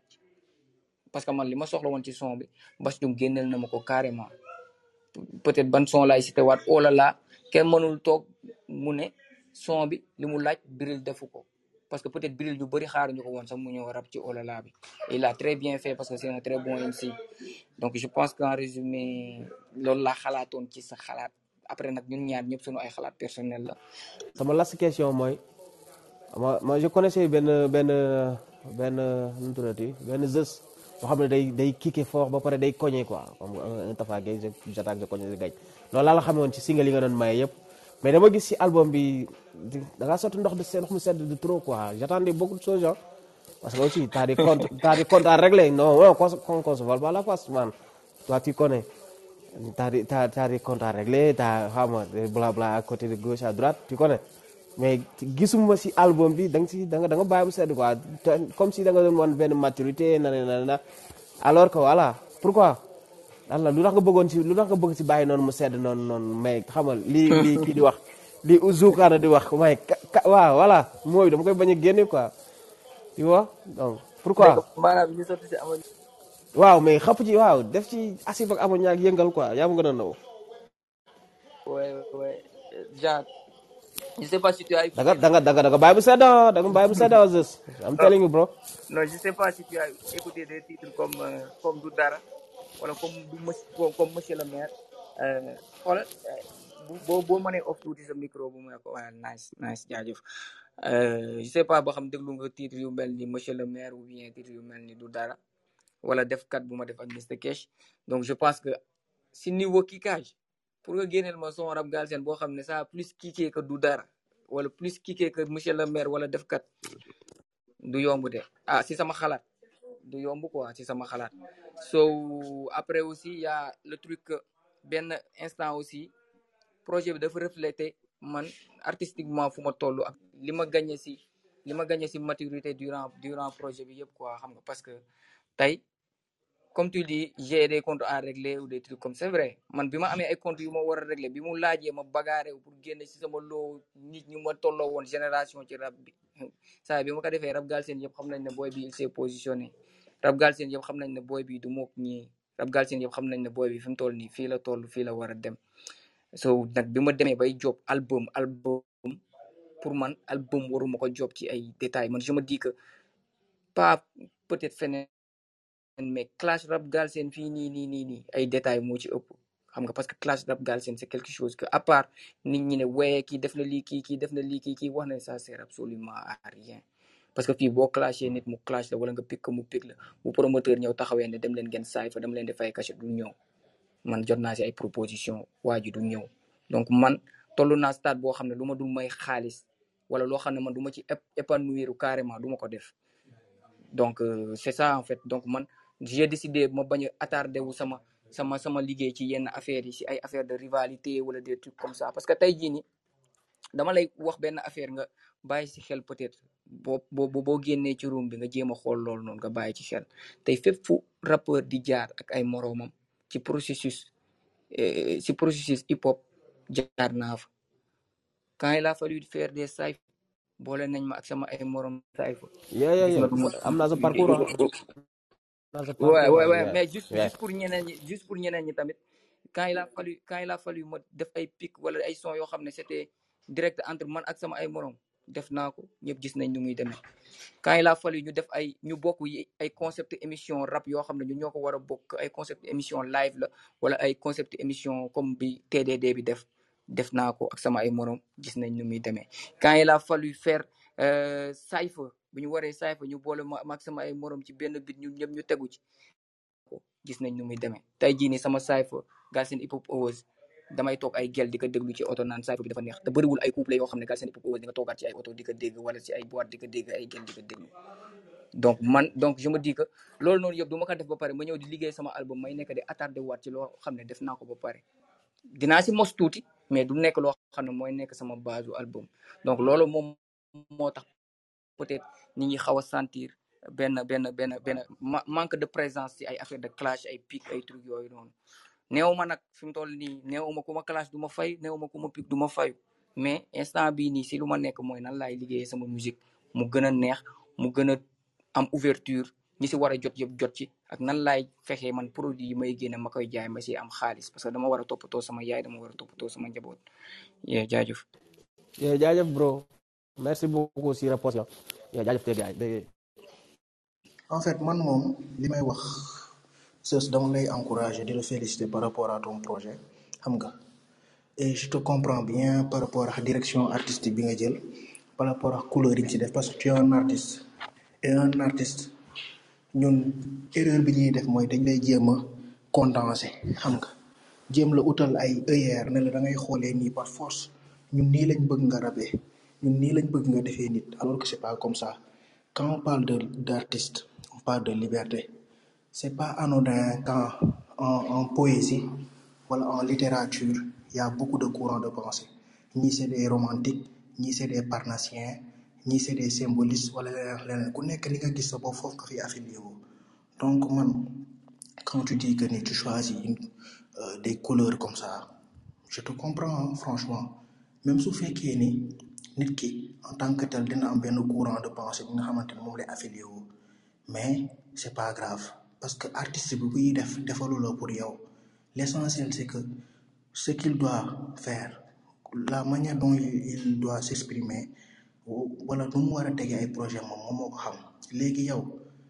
parce que man li ma soxla woon ci son bi Bass Thioung génneel na ma ko carrément peut-être ban son laay cité waat oh là là kenn mënul toog mu ne son bi li mu laaj Bril defu ko parce que peut-être Bril ñu bëri xaaruñu ko woon sax mu ñëw rap ci Olala bi et il a très bien fait parce que c'est un très bon M C donc je pense qu'en résumé loolu laa xalaatoon ci sa xalaat après nag ñun ñaar ñëpp suñu ay xalaat personnel la. sama last question mooy ma ma je connaissais benn benn benn nu mu tuddati benn Zeus boo xam ne day day kické fort ba pare day cogné quoi comme un Tafa Gueye j'attaque je cogne je gagne loolu laa la xamoon ci single yi nga doon maye yëpp mais dama gis ci album bi da ngaa sotti ndox de seen ndox mu sedd de trop quoi j'attendais beaucoup de choses parce que aussi t'as des comptes t'as des comptes à régler non non qu'on qu'on se vole pas la face man toi tu connais t'as des t'as t'as des comptes à régler t'as xam nga blabla à côté de gauche à droite tu connais mais gisuma ci album bi da nga ci da nga da nga bàyyi mu sedd quoi comme si da nga doon wan benn maturité na na na alors que voilà pourquoi Allah lu tax nga bëggoon ci lu tax nga bëgg ci bàyyi noonu mu sedd noonu noonu mais xam nga lii lii kii di wax lii Zoukana di wax waaye waaw voilà mooy dama koy bañ a génne quoi tu vois donc pourquoi maanaam ñu sotti ci amoon. waaw mais xapp ci waaw def ci asif ak amoon ñaak yëngal quoi yaa ma gën a naw. ouais ouais genre je sais pas si tu as écouté. da nga da nga da nga da nga bàyyi bu sedd da nga bàyyi bu sedd Zeus I'm telling you bro. non je sais pas si tu as écouté des titres comme euh, comme du dara wala comme du monsieur comme monsieur le maire xoolal boo boo mënee off tuuti sa micro bu mu ne ko waaye nice nice jaajëf je sais pas boo xam déglu nga titre yu mel ni monsieur le maire ou bien titre yu mel ni du dara wala def kat bu ma def ak mister Cash donc je pense que si niveau kickage pour nga génneel ma son rap Galsen boo xam ne ça plus kické que du dara wala plus kické que monsieur le maire wala def kat du yomb de ah si sama xalaat du yomb quoi si sama xalaat so après aussi y a le truc que benn instant aussi projet bi dafa refléter man artistiquement fu ma toll ak li ma gagné si li ma gagné si maturité durant durant projet bi yëpp quoi xam nga parce que tey comme tu dis j'ai des comptes à régler ou des trucs comme c'est vrai man bi ma amee ay comptes yu ma war a régler bi mu laajee ma bagarre pour génne si sama loo nit ñu ma tolloo woon génération ci rap bi saa bi ma ko defee rap Galsen yëpp xam nañ ne booy bi il s'est positionné rap Galsen yëpp xam nañ ne booy bi du mook ñii rap Galsen yëpp xam nañ ne booy bi fi mu toll nii fii la toll fii la war a dem so nag bi ma demee bay job album album pour man album waruma ko job ci ay détails man je me dis que pas peut-être feneen mais clash rap Galsen fii nii nii nii nii ay détails moo ci ëpp xam nga parce que clash rap Galsen c'est quelque chose que à part nit ñi ne weye kii def na lii kii kii def na lii kii kii wax na ça sert absolument à rien parce que fii boo clashé nit mu clash la wala nga pick mu pick la bu promoteur ñëw taxawee ne dem leen ngeen saay fa dem leen di fay cachet du ñëw man jot naa si ay proposition waa ji du ñëw donc man tollu naa stade boo xam ne lu ma dul may xaalis wala loo xam ne man du ma ci épanouir carrément du ma ko def donc euh, c'est ça en fait donc man j'ai décidé ma bañ a attardé wu sama sama sama liggéey ci yenn affaires yi ci ay affaires de rivalité wala des trucs comme ça parce que tey jii nii dama lay wax benn affaire nga bàyyi ci xel peut-être boo boo boo génnee ci room bi nga jéem a xool loolu noonu nga bàyyi ci xel tey fépp fu rappeur di jaar ak ay moroomam ci processus ci processus hip hop jaar naa fa quand il a fallu faire des cyphes boole nañ ma ak sama ay morom cyphes. yeah yeah yeah am naa sa parcours ouais ouais ouais mais juste juste pour ñeneen ñi juste pour ñeneen ñi tamit quand il a fallu quand il a fallu ma def ay pic wala ay son yoo xam ne c'était direct entre man ak sama ay morom def naa ko ñëpp gis nañ nu muy demee quand il a fallu ñu def ay ñu bokk ay concept émission rap yoo xam ne ñu ñoo ko war a bokk ay concept émission live la wala ay concept émission comme bi T D D bi def def naa ko ak sama ay morom gis nañ nu muy demee quand il a fallu faire euh, cypher bu ñu waree cypher ñu boole ma ak sama ay morom ci benn bit ñu ñëpp ñu tegu ci gis nañ nu muy demee tey jii nii sama cypher Galsen Hip Hop Awards damay toog ay gel di ko déglu ci oto naan cypher bi dafa neex te bëriwul ay couple yoo xam ne Galsen Hip Hop Awards di nga toogaat ci ay oto di ko dégg wala ci ay boîte di ko dégg ay gel di ko déglu donc man donc je me dis que loolu noonu yëpp du ma ko def ba pare ma ñëw di liggéey sama album may nekk di attardé waat ci loo xam ne def naa ko ba pare dinaa si mos tuuti mais du nekk loo xam ne mooy nekk sama base u album donc loolu moom moo tax peut-être nit ñi xaw a sentir benn benn benn benn manque de présence ci ay affaire de clash ay pic ay trucs yooyu noonu néew ma nag fi mu toll nii néew ma ku ma clash du ma fay néew ma ku ma pic du ma fayu mais instant bii nii si lu ma nekk mooy nan laay liggéeyee sama musique mu gën a neex mu gën a am ouverture ñi si war a jot yëpp jot ci ak nan laay fexee man produit yi may génne ma koy jaay ma si am xaalis parce que dama war a toppatoo sama yaay dama war a toppatoo sama njaboot yee jaajëf yee jaajëf bro merci beaucoup si réponse la yow jaajëf te gars yi. En fait man moom li may wax sës dama lay encourager di la féliciter par rapport à ton projet xam nga et je te comprends bien par rapport à direction artistique bi nga jël par rapport à couleur yi nga ci def parce que tu es un artiste et un artiste ñun erreur bi ñuy def mooy dañ lay jéem a condenser xam nga jéem la utal ay œillères ne la da ngay xoolee nii par force ñun nii lañ bëgg nga rabee ñun nii lañ bëgg nga defee nit alors que c'est pas comme ça quand on parle de d'artiste on parle de liberté c'est pas anodin quand en en poésie wala en littérature il y a beaucoup de courants de pensée ñii c'est des romantiques ñii c'est des parnassiens ñii c'est des symbolistes wala leneen leneen ku nekk li nga gis sa bopp foofu nga fi affilié wu donc man quand tu dis que ni tu choisis une, euh, des couleurs comme ça je te comprends hein, franchement même su fekkee ni nit ki en tant que tel dina am benn courant de pensée bi nga xamante ne moom lay affilié wu mais c'est pas grave parce que artiste bi buy def defalu la pour yow l'essentiel c'est que ce qu'il doit faire la manière dont il, il doit s'exprimer wala nu mu war a tegee ay projet moom moom moo ko xam léegi yow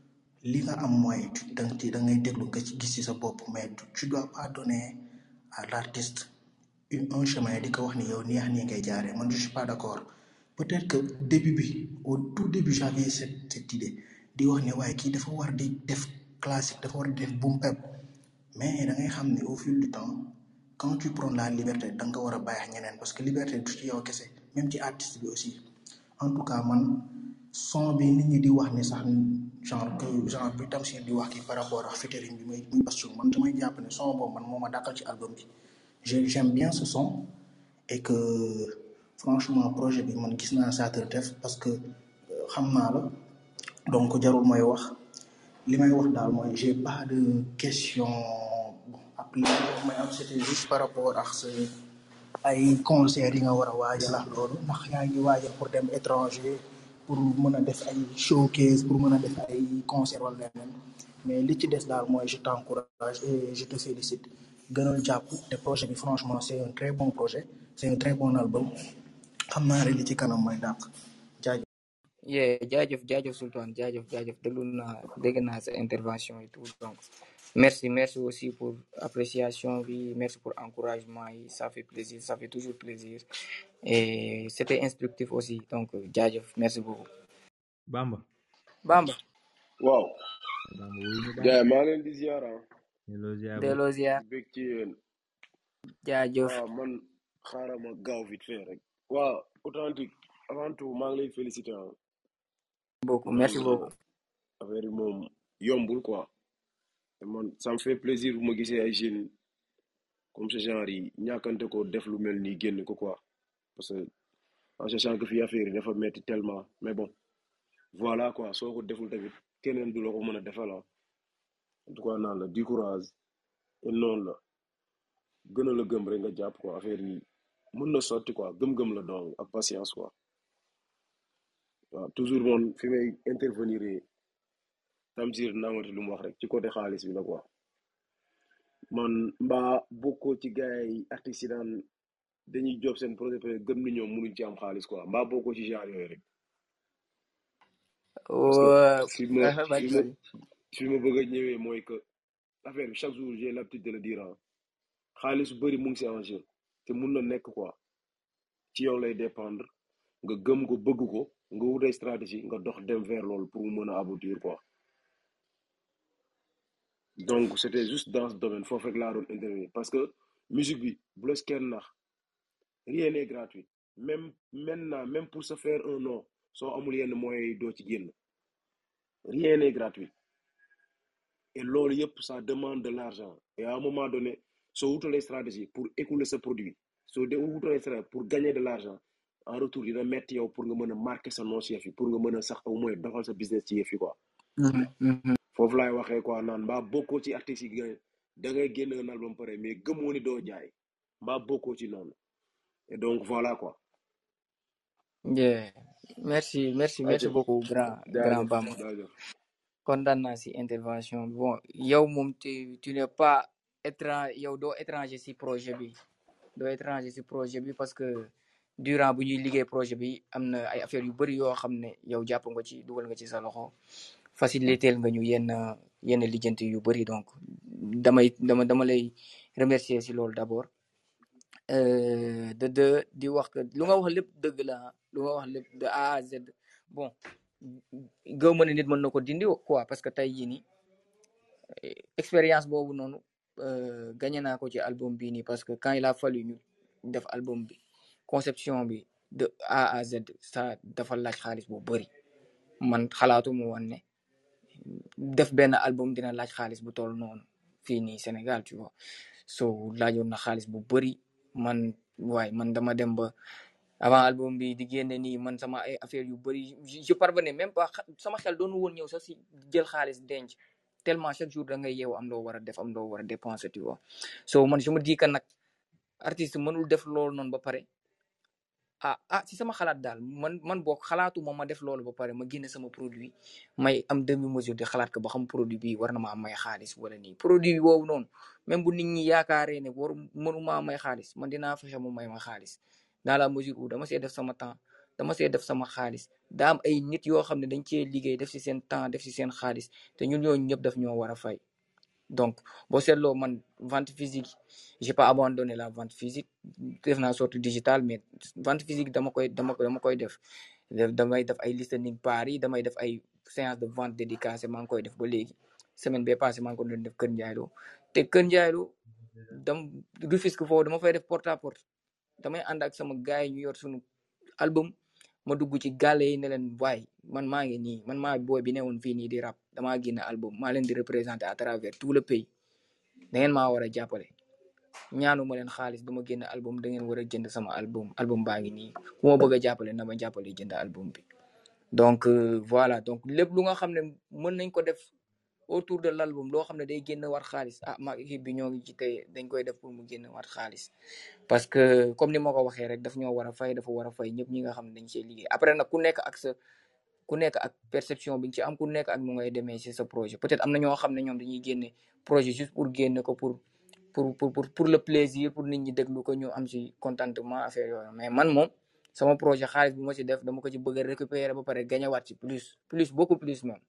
li nga am mooy danga ci da ngay déglu nga ci gis ci sa bopp mais tu dois pas donner à l'artiste une un chemin di ko wax ni yow nii ak nii ngay jaaree man je suis pas d'accord peut-être que début bi au tout début j'avais cette cette idée di wax ne waaye kii dafa war di def classique dafa war di def boom bap mais da ngay xam ne au fil du temps quand tu prends la liberté da nga ko war a bàyyi ak ñeneen parce que liberté du ci yow kese même ci artiste bi aussi en tout cas man son bi nit ñi di wax ni sax genre que genre bi Tamsir di wax ki par rapport ak featuring bi muy muy Bassirou man damay jàpp ne son boobu man moo ma dàqal ci album bi j'aime bien ce son et que franchement projet bi man gis naa saa def parce que xam naa la donc jarul mooy wax li may wax daal mooy j'ai pas de question bon après may am c'était juste par rapport ak sa ay concert yi nga war a waajal ak loolu ndax yaa ngi waajal pour dem étranger pour mën a def ay showcase pour mën a def ay concert wala leneen mais li ci des daal mooy je t'encourage et je te félicite gënal jàpp te projet bi franchement c'est un très bon projet c'est un très bon album xam naa rek li ci kanam mooy dàq jaajëf. yeah jaajëf jaajëf Sultan jaajëf jaajëf déglu naa dégg naa sa intervention et tout donc merci merci aussi pour appréciation bi merci pour encouragement yi ça fait plaisir ça fait toujours plaisir et c'était instructif aussi donc jaajëf merci beaucoup. Bamba. Bamba. waaw. Bamba wuyu ñu gars maa leen di ziar ah. delloo ziar delloo ziar. bég ci yéen. jaajëf. waaw man xaaral ma gaaw vite fait rek. waaw authentique avant tout maa ngi lay féliciter ah. beaucoup merci beaucoup. affaire yi moom yombul quoi. man ça me fait plaisir bu ma gisee ay jeunes comme ce genre yi ñàkkante ko def lu mel nii génn ko quoi parce que en sachant que fii affaire yi dafa metti tellement mais bon voilà quoi soo ko deful tamit keneen du la ko mën a defal en tout cas naan la du courage et noonu la gën a la gëm rek nga jàpp quoi affaire yi mën na sotti quoi gëm-gëm la donc ak patience quoi waaw toujours moom fi may intervenir Tamsir naamati lu mu wax rek ci côté xaalis bi la quoi man mbaa bokkoo ci gars yi artistes yi daan dañuy job seen projet peut gëm ni ñoom mënuñ ci am xaalis quoi mbaa bokkoo ci genre yooyu rek parce que fi ma fi ma fi ma bëgg a ñëwee mooy que affaire bi chaque jour j'ai l'habitude de le dire xaalis bu bëri mu ngi si en jeu te mun na nekk quoi ci yow lay dépendre nga gëm ko bëgg ko nga wutay stratégie nga dox dem vers loolu pour mu mën a aboutir quoi donc c'était juste dans ce domaine foofu rek laa doon intervenir parce que musique bi bu la kenn nax rien n'est gratuit même maintenant même pour se faire un nom soo amul yenn moyens yi doo ci génn rien n'est gratuit et loolu yëpp ça demande de l'argent et à un moment donné soo wutalee stratégie pour écouler ce produit soo de wutalee stratégie pour gagner de l'argent en retour dina metti yow pour nga mën a marquer sa nom ci yëf yi pour nga mën a sax au moins doxal sa business ci yëf yi quoi foofu laay waxee quoi naan mbaa bokkoo ci artistes yi nga da ngay génn un album pare mais gëmoo ni doo jaay mbaa bokkoo ci noonu et donc voilà quoi. yeah merci merci merci beaucoup grand grand Bamba kontaan naa si intervention bi bon yow moom tu tu n'es pas étranger yow doo étranger si projet bi doo étranger si projet bi parce que durant bu ñuy liggéey projet bi am na ay affaires yu bëri yoo xam ne yow jàpp nga ci dugal nga ci sa loxo faciliter nga ñu yenn yenn lijjanti yu bëri donc damay dama dama lay remercier si loolu d'abord euh, de de di wax que lu nga wax lépp dëgg la lu nga wax lépp de A à Z bon gëw ma ne nit mën na ko dindi quoi parce que tey jii nii expérience boobu noonu euh, gagné naa ko ci album bii nii parce que quand il a fallu ñu def album bi conception bi de A à Z ça dafa laaj xaalis bu bëri man xalaatu mu woon ne def benn album dina laaj xaalis bu toll noonu fii nii Sénégal tu vois so laajoon na xaalis bu bëri man waaye man dama dem ba avant album bi di génne nii man sama ay affaire yu bëri je parvenais même pas sama xel doonu woon ñëw sax si jël xaalis denc tellement chaque jour da ngay yeewu am loo war a def am loo war a dépenser tu vois so man je me dis que nag artiste mënul def loolu noonu ba pare ah ah si sama xalaat daal man man boog xalaatu ma ma def loolu ba pare ma génne sama produit may am demi mesure de xalaat ko ba xam produit bi war na maa may xaalis wala nii produit boobu noonu même bu nit ñi yaakaaree ne waru mënuma may xaalis man dinaa fexe mu may ma xaalis dans la mesure où dama see def sama temps dama see def sama xaalis daa am ay nit yoo xam ne dañ cee liggéey def si seen temps def si seen xaalis te ñun ñooñu ñëpp daf ñoo war a fay donc boo seetloo man vente physique j'ai pas abandonné la vente physique def naa sorte digitale mais vente physique dama koy dama dama koy def damay def ay listening party damay def ay séance de vente dédicacée maa ngi koy def ba léegi semaine bee passé maa ngi ko doon def Kër Ndiaye Lo te Kër Ndiaye Lo dam Rufisque foofu dama fay def porte à porte damay ànd ak sama gars yi ñu yor suñu album ma dugg ci gàlle yi ne leen waay man maa ngi nii man maa booy bi ne woon fii nii di rap damaa génne album maa leen di représenter à travers tout le pays da ngeen maa war a jàppale ñaanu ma leen xaalis ba ma génne album da ngeen war a jënd sama album album baa ngi nii ku ma bëgg a jàppale na ma jàppale jënd album bi donc euh, voilà donc lépp lu nga xam ne mën nañ ko def autour de l'album loo xam ne day génn war xaalis ah ma équipe bi ñoo ngi ci tey dañ koy def pour mu génn war xaalis parce que comme ni ma ko waxee rek daf ñoo war a fay dafa war a fay ñëpp ñi nga xam ne dañ see liggéey après nag ku nekk ak sa ku nekk ak perception bi nga ci am ku nekk ak nu ngay demee ci sa projet peut-être am na ñoo xam ne ñoom dañuy génne projet juste pour génne ko pour pour pour pour pour le plaisir pour nit ñi déglu ko ñu am ci contentement affaire yooyu mais man moom sama projet xaalis bu ma ci def dama ko ci bëgg a récupérer ba pare gagné waat ci plus plus beaucoup plus même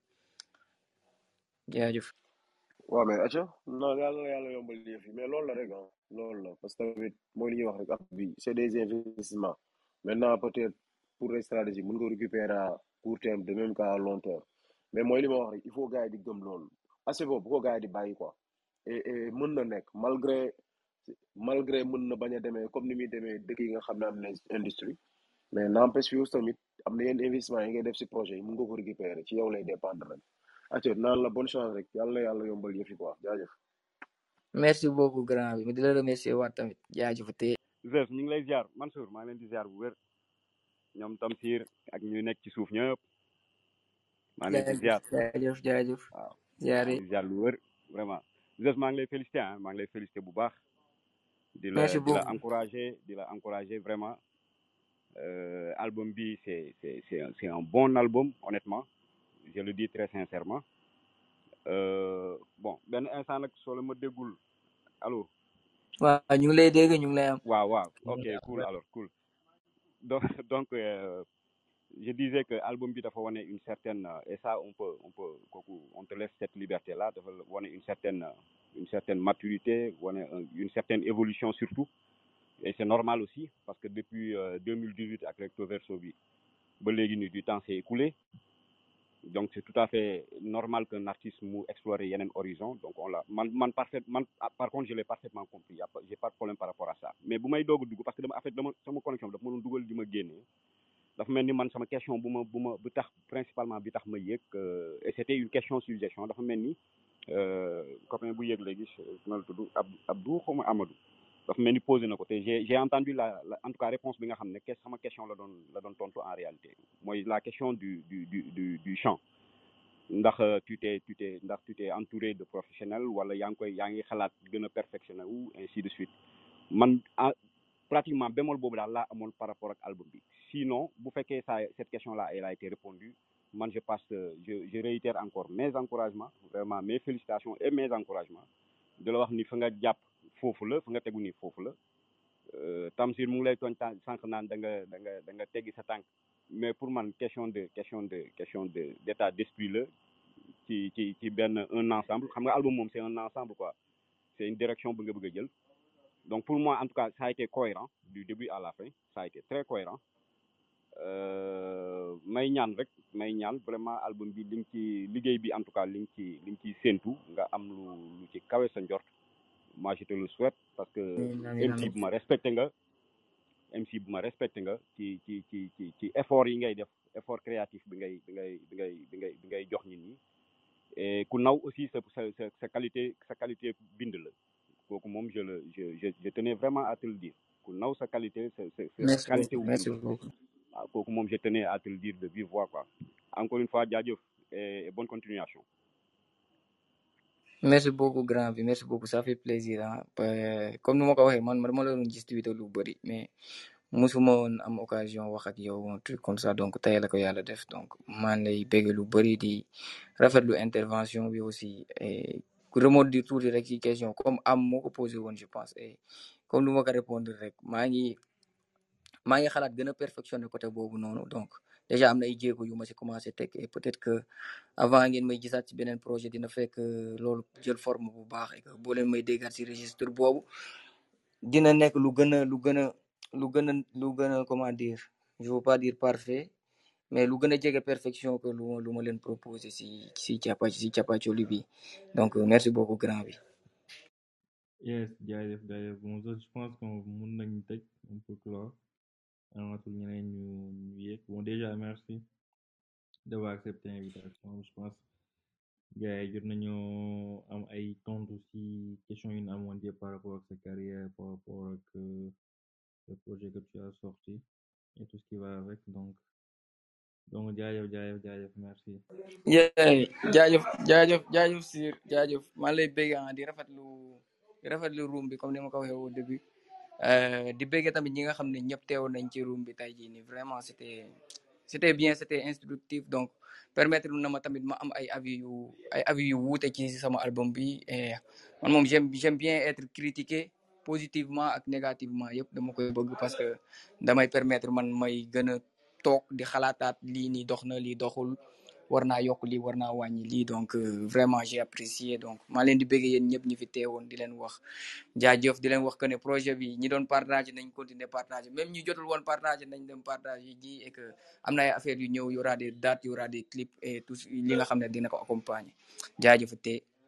jaajëf. waaw mais acca non yàlla na yàlla yombal yëf yi mais loolu la rek ah loolu la parce que tamit mooy li ñuy wax rek ak bi c'est des investissements maintenant peut-être pour les stratégies mën nga récupérer à court terme de même qu'à long terme mais mooy li ma wax rek il faut gars yi di gëm loolu assez boobu bu ko gars yi di bàyyi quoi et et mën na nekk malgré malgré mën na bañ a demee comme ni muy demee dëkk yi nga xam ne am nañ industrie mais n'empêche fi aussi tamit am na yenn investissement yi ngay def si projet yi mën nga ko récupérer ci yow lay dépendre rek acca naan la bonne chance rek yàlla na yàlla yombal yëf yi quoi jaajëf. merci beaucoup grand bi ma di la remercier waat tamit jaajëf te Zef ñu ngi lay ziar Mansour maa ngi leen di ziar bu wér ñoom Tamsir ak ñu nekk ci suuf ñëpp maa ngi leen di ziar jaajëf jaajëf waaw jaare maa ngi di ziar lu wér vraiment Zef maa ngi lay féliciter ah maa ngi lay féliciter bu baax di la merci di la beaucoup encourager di la encourager vraiment euh, album bi c'est c'est c'est un, c'est un bon album honnêtement je le dis très sincèrement euh, bon benn instant nag soo la ma déggul allo waaw ñu ngi lay dégg ñu ngi lay am waaw waaw ok cool alors cool donc donc euh, je disais que album bi dafa wane une certaine et ça on peut on peut kooku on te laisse cette liberté là dafa wane une certaine une certaine maturité wane une certaine évolution surtout et c'est normal aussi parce que depuis euh, deux mille dix-huit ak Recto Verso bi ba léegi ni du temps s'est écoulé donc c'est tout à fait normal qu'un artiste mu explorer yeneen horizon donc on l'a man man parfait man par contre je l'ai parfaitement compris y a pas j'ai pas de problème par rapport à ça mais bu may doog a dugg parce que dama en fait dama sama connexion dafa ma doon dugal di ma génnee dafa mel ni man sama question bu ma bu ma bu tax principalement bi tax ma yëg et c'était une question suggestion dafa mel ni copain bu yëg léegi na la tudd Ab Abdou xaw ma Amadou dafa mel ni posé na ko te j'ai j'ai entendu la, la en tout cas réponse bi nga xam ne sama question la doon la doon tontu en réalité mooy la question du du du du du chant ndax tu t'es tu t'es ndax tu t'es entouré de professionnels wala yaa ngi koy yaa ngi xalaat gën a perfectionner ou ainsi de suite man pratiquement bémol boobu daal laa amoon par rapport ak album bi sinon bu fekkee ça cette question là elle a été répondue man je passe je je réitère encore mes encouragements vraiment mes félicitations et mes encouragements de la wax ni fa nga jàpp foofu la fa nga tegu nii foofu la Euh, Tamsir mu ngi lay tooñ tànk sànq naan da nga da nga da nga teggi sa tànk mais pour man question de question de question de d'état d'esprit la ci ci ci benn un ensemble xam nga album moom c'est un ensemble quoi c'est une direction bu nga bëgg a jël donc pour moi en tout cas ça a été cohérent du début à la fin ça a été très cohérent euh, may ñaan rek may ñaan vraiment album bi li nga ci liggéey bi en tout cas li nga ci li nga ciy séentu nga am lu lu ci kawe sa njort moi je te le souhaite parce que M C bu ma respecté nga M C bu ma respecté nga ci ci ci ci ci effort yi ngay def effort créatif bi ngay bi ngay bi ngay bi ngay bi ngay jox nit ñi et ku naw aussi sa sa sa sa qualité sa qualité bind la kooku moom je le je je je tenais vraiment à te le dire ku naw sa qualité sa sa sa merci qualité beaucoup wu merci bind beaucoup waaw kooku moom je tenais à te le dire de vive voix quoi encore une fois jaajëf et bonne continuation. merci beaucoup grand bi merci beaucoup ça fait plaisir ah comme nu ma ko waxee man man dama la doon gis Twitter lu bëri mais musuma woon am occasion wax ak yow un truc comme ça donc tey la ko yàlla def donc maa ngi lay bëgg lu bëri di rafetlu intervention bi aussi et remonte di tuuti rek ci question comme am moo ko posé woon je pense et comme nu ma ko répondre rek maa ngi maa ngi xalaat gën a perfectionner côté boobu noonu donc déjà am na ay jéego yu ma ci commencé teg et peut-être que avant ngeen may gisaat ci beneen projet dina fekk loolu jël forme bu baax et que boo leen may déggaat ci registre boobu dina nekk lu gën a lu gën a lu gën a lu gën a comment dire je veux pas dire parfait mais lu gën a jege perfection que lu lu ma leen proposé ci ci càppa ci càppacoli bi donc merci beaucoup grand bi. yes jaajëf jaajëf bon je pense que mun nañu tëj un peu clore amatul ñeneen ñu ñu yéeg bon déjà merci d'avoir accepté l'invitation je pense gars yi jot nañoo am ay tontu ci question yu ñu amoon yëpp par rapport ak sa carrière par rapport ak le projet que tu as sorti et tout ce qui va avec donc donc jaajëf jaajëf jaajëf merci. yeah jaajëf jaajëf jaajëf Sir jaajëf maa lay bëgg ah di rafetlu di rafetlu room bi comme ni ma ko waxee au début di bëgg tamit ñi nga xam ne ñëpp teewoon nañ ci room bi tey jii nii vraiment c'était c'était bien c'était instructif donc permettre na ma tamit ma am ay avis yu ay avis yu wuute ci sama album bi et man moom j'aime j'aime bien être critiqué positivement ak négativement yëpp dama koy bëgg parce que damay permettre man may gën a toog di xalaataat lii nii dox na lii doxul war naa yokk lii war naa wàññi lii donc vraiment j'ai apprécié donc maa leen di bëgg yéen ñëpp ñi fi teewoon di leen wax jaajëf di leen wax que ne projet bi ñi doon partager nañ continuer partager même ñi jotul woon partager nañ dem partager ji et que am na ay affaires yu ñëw y aura des dates y aura des clips et tout li nga xam ne dina ko accompagner jaajëf te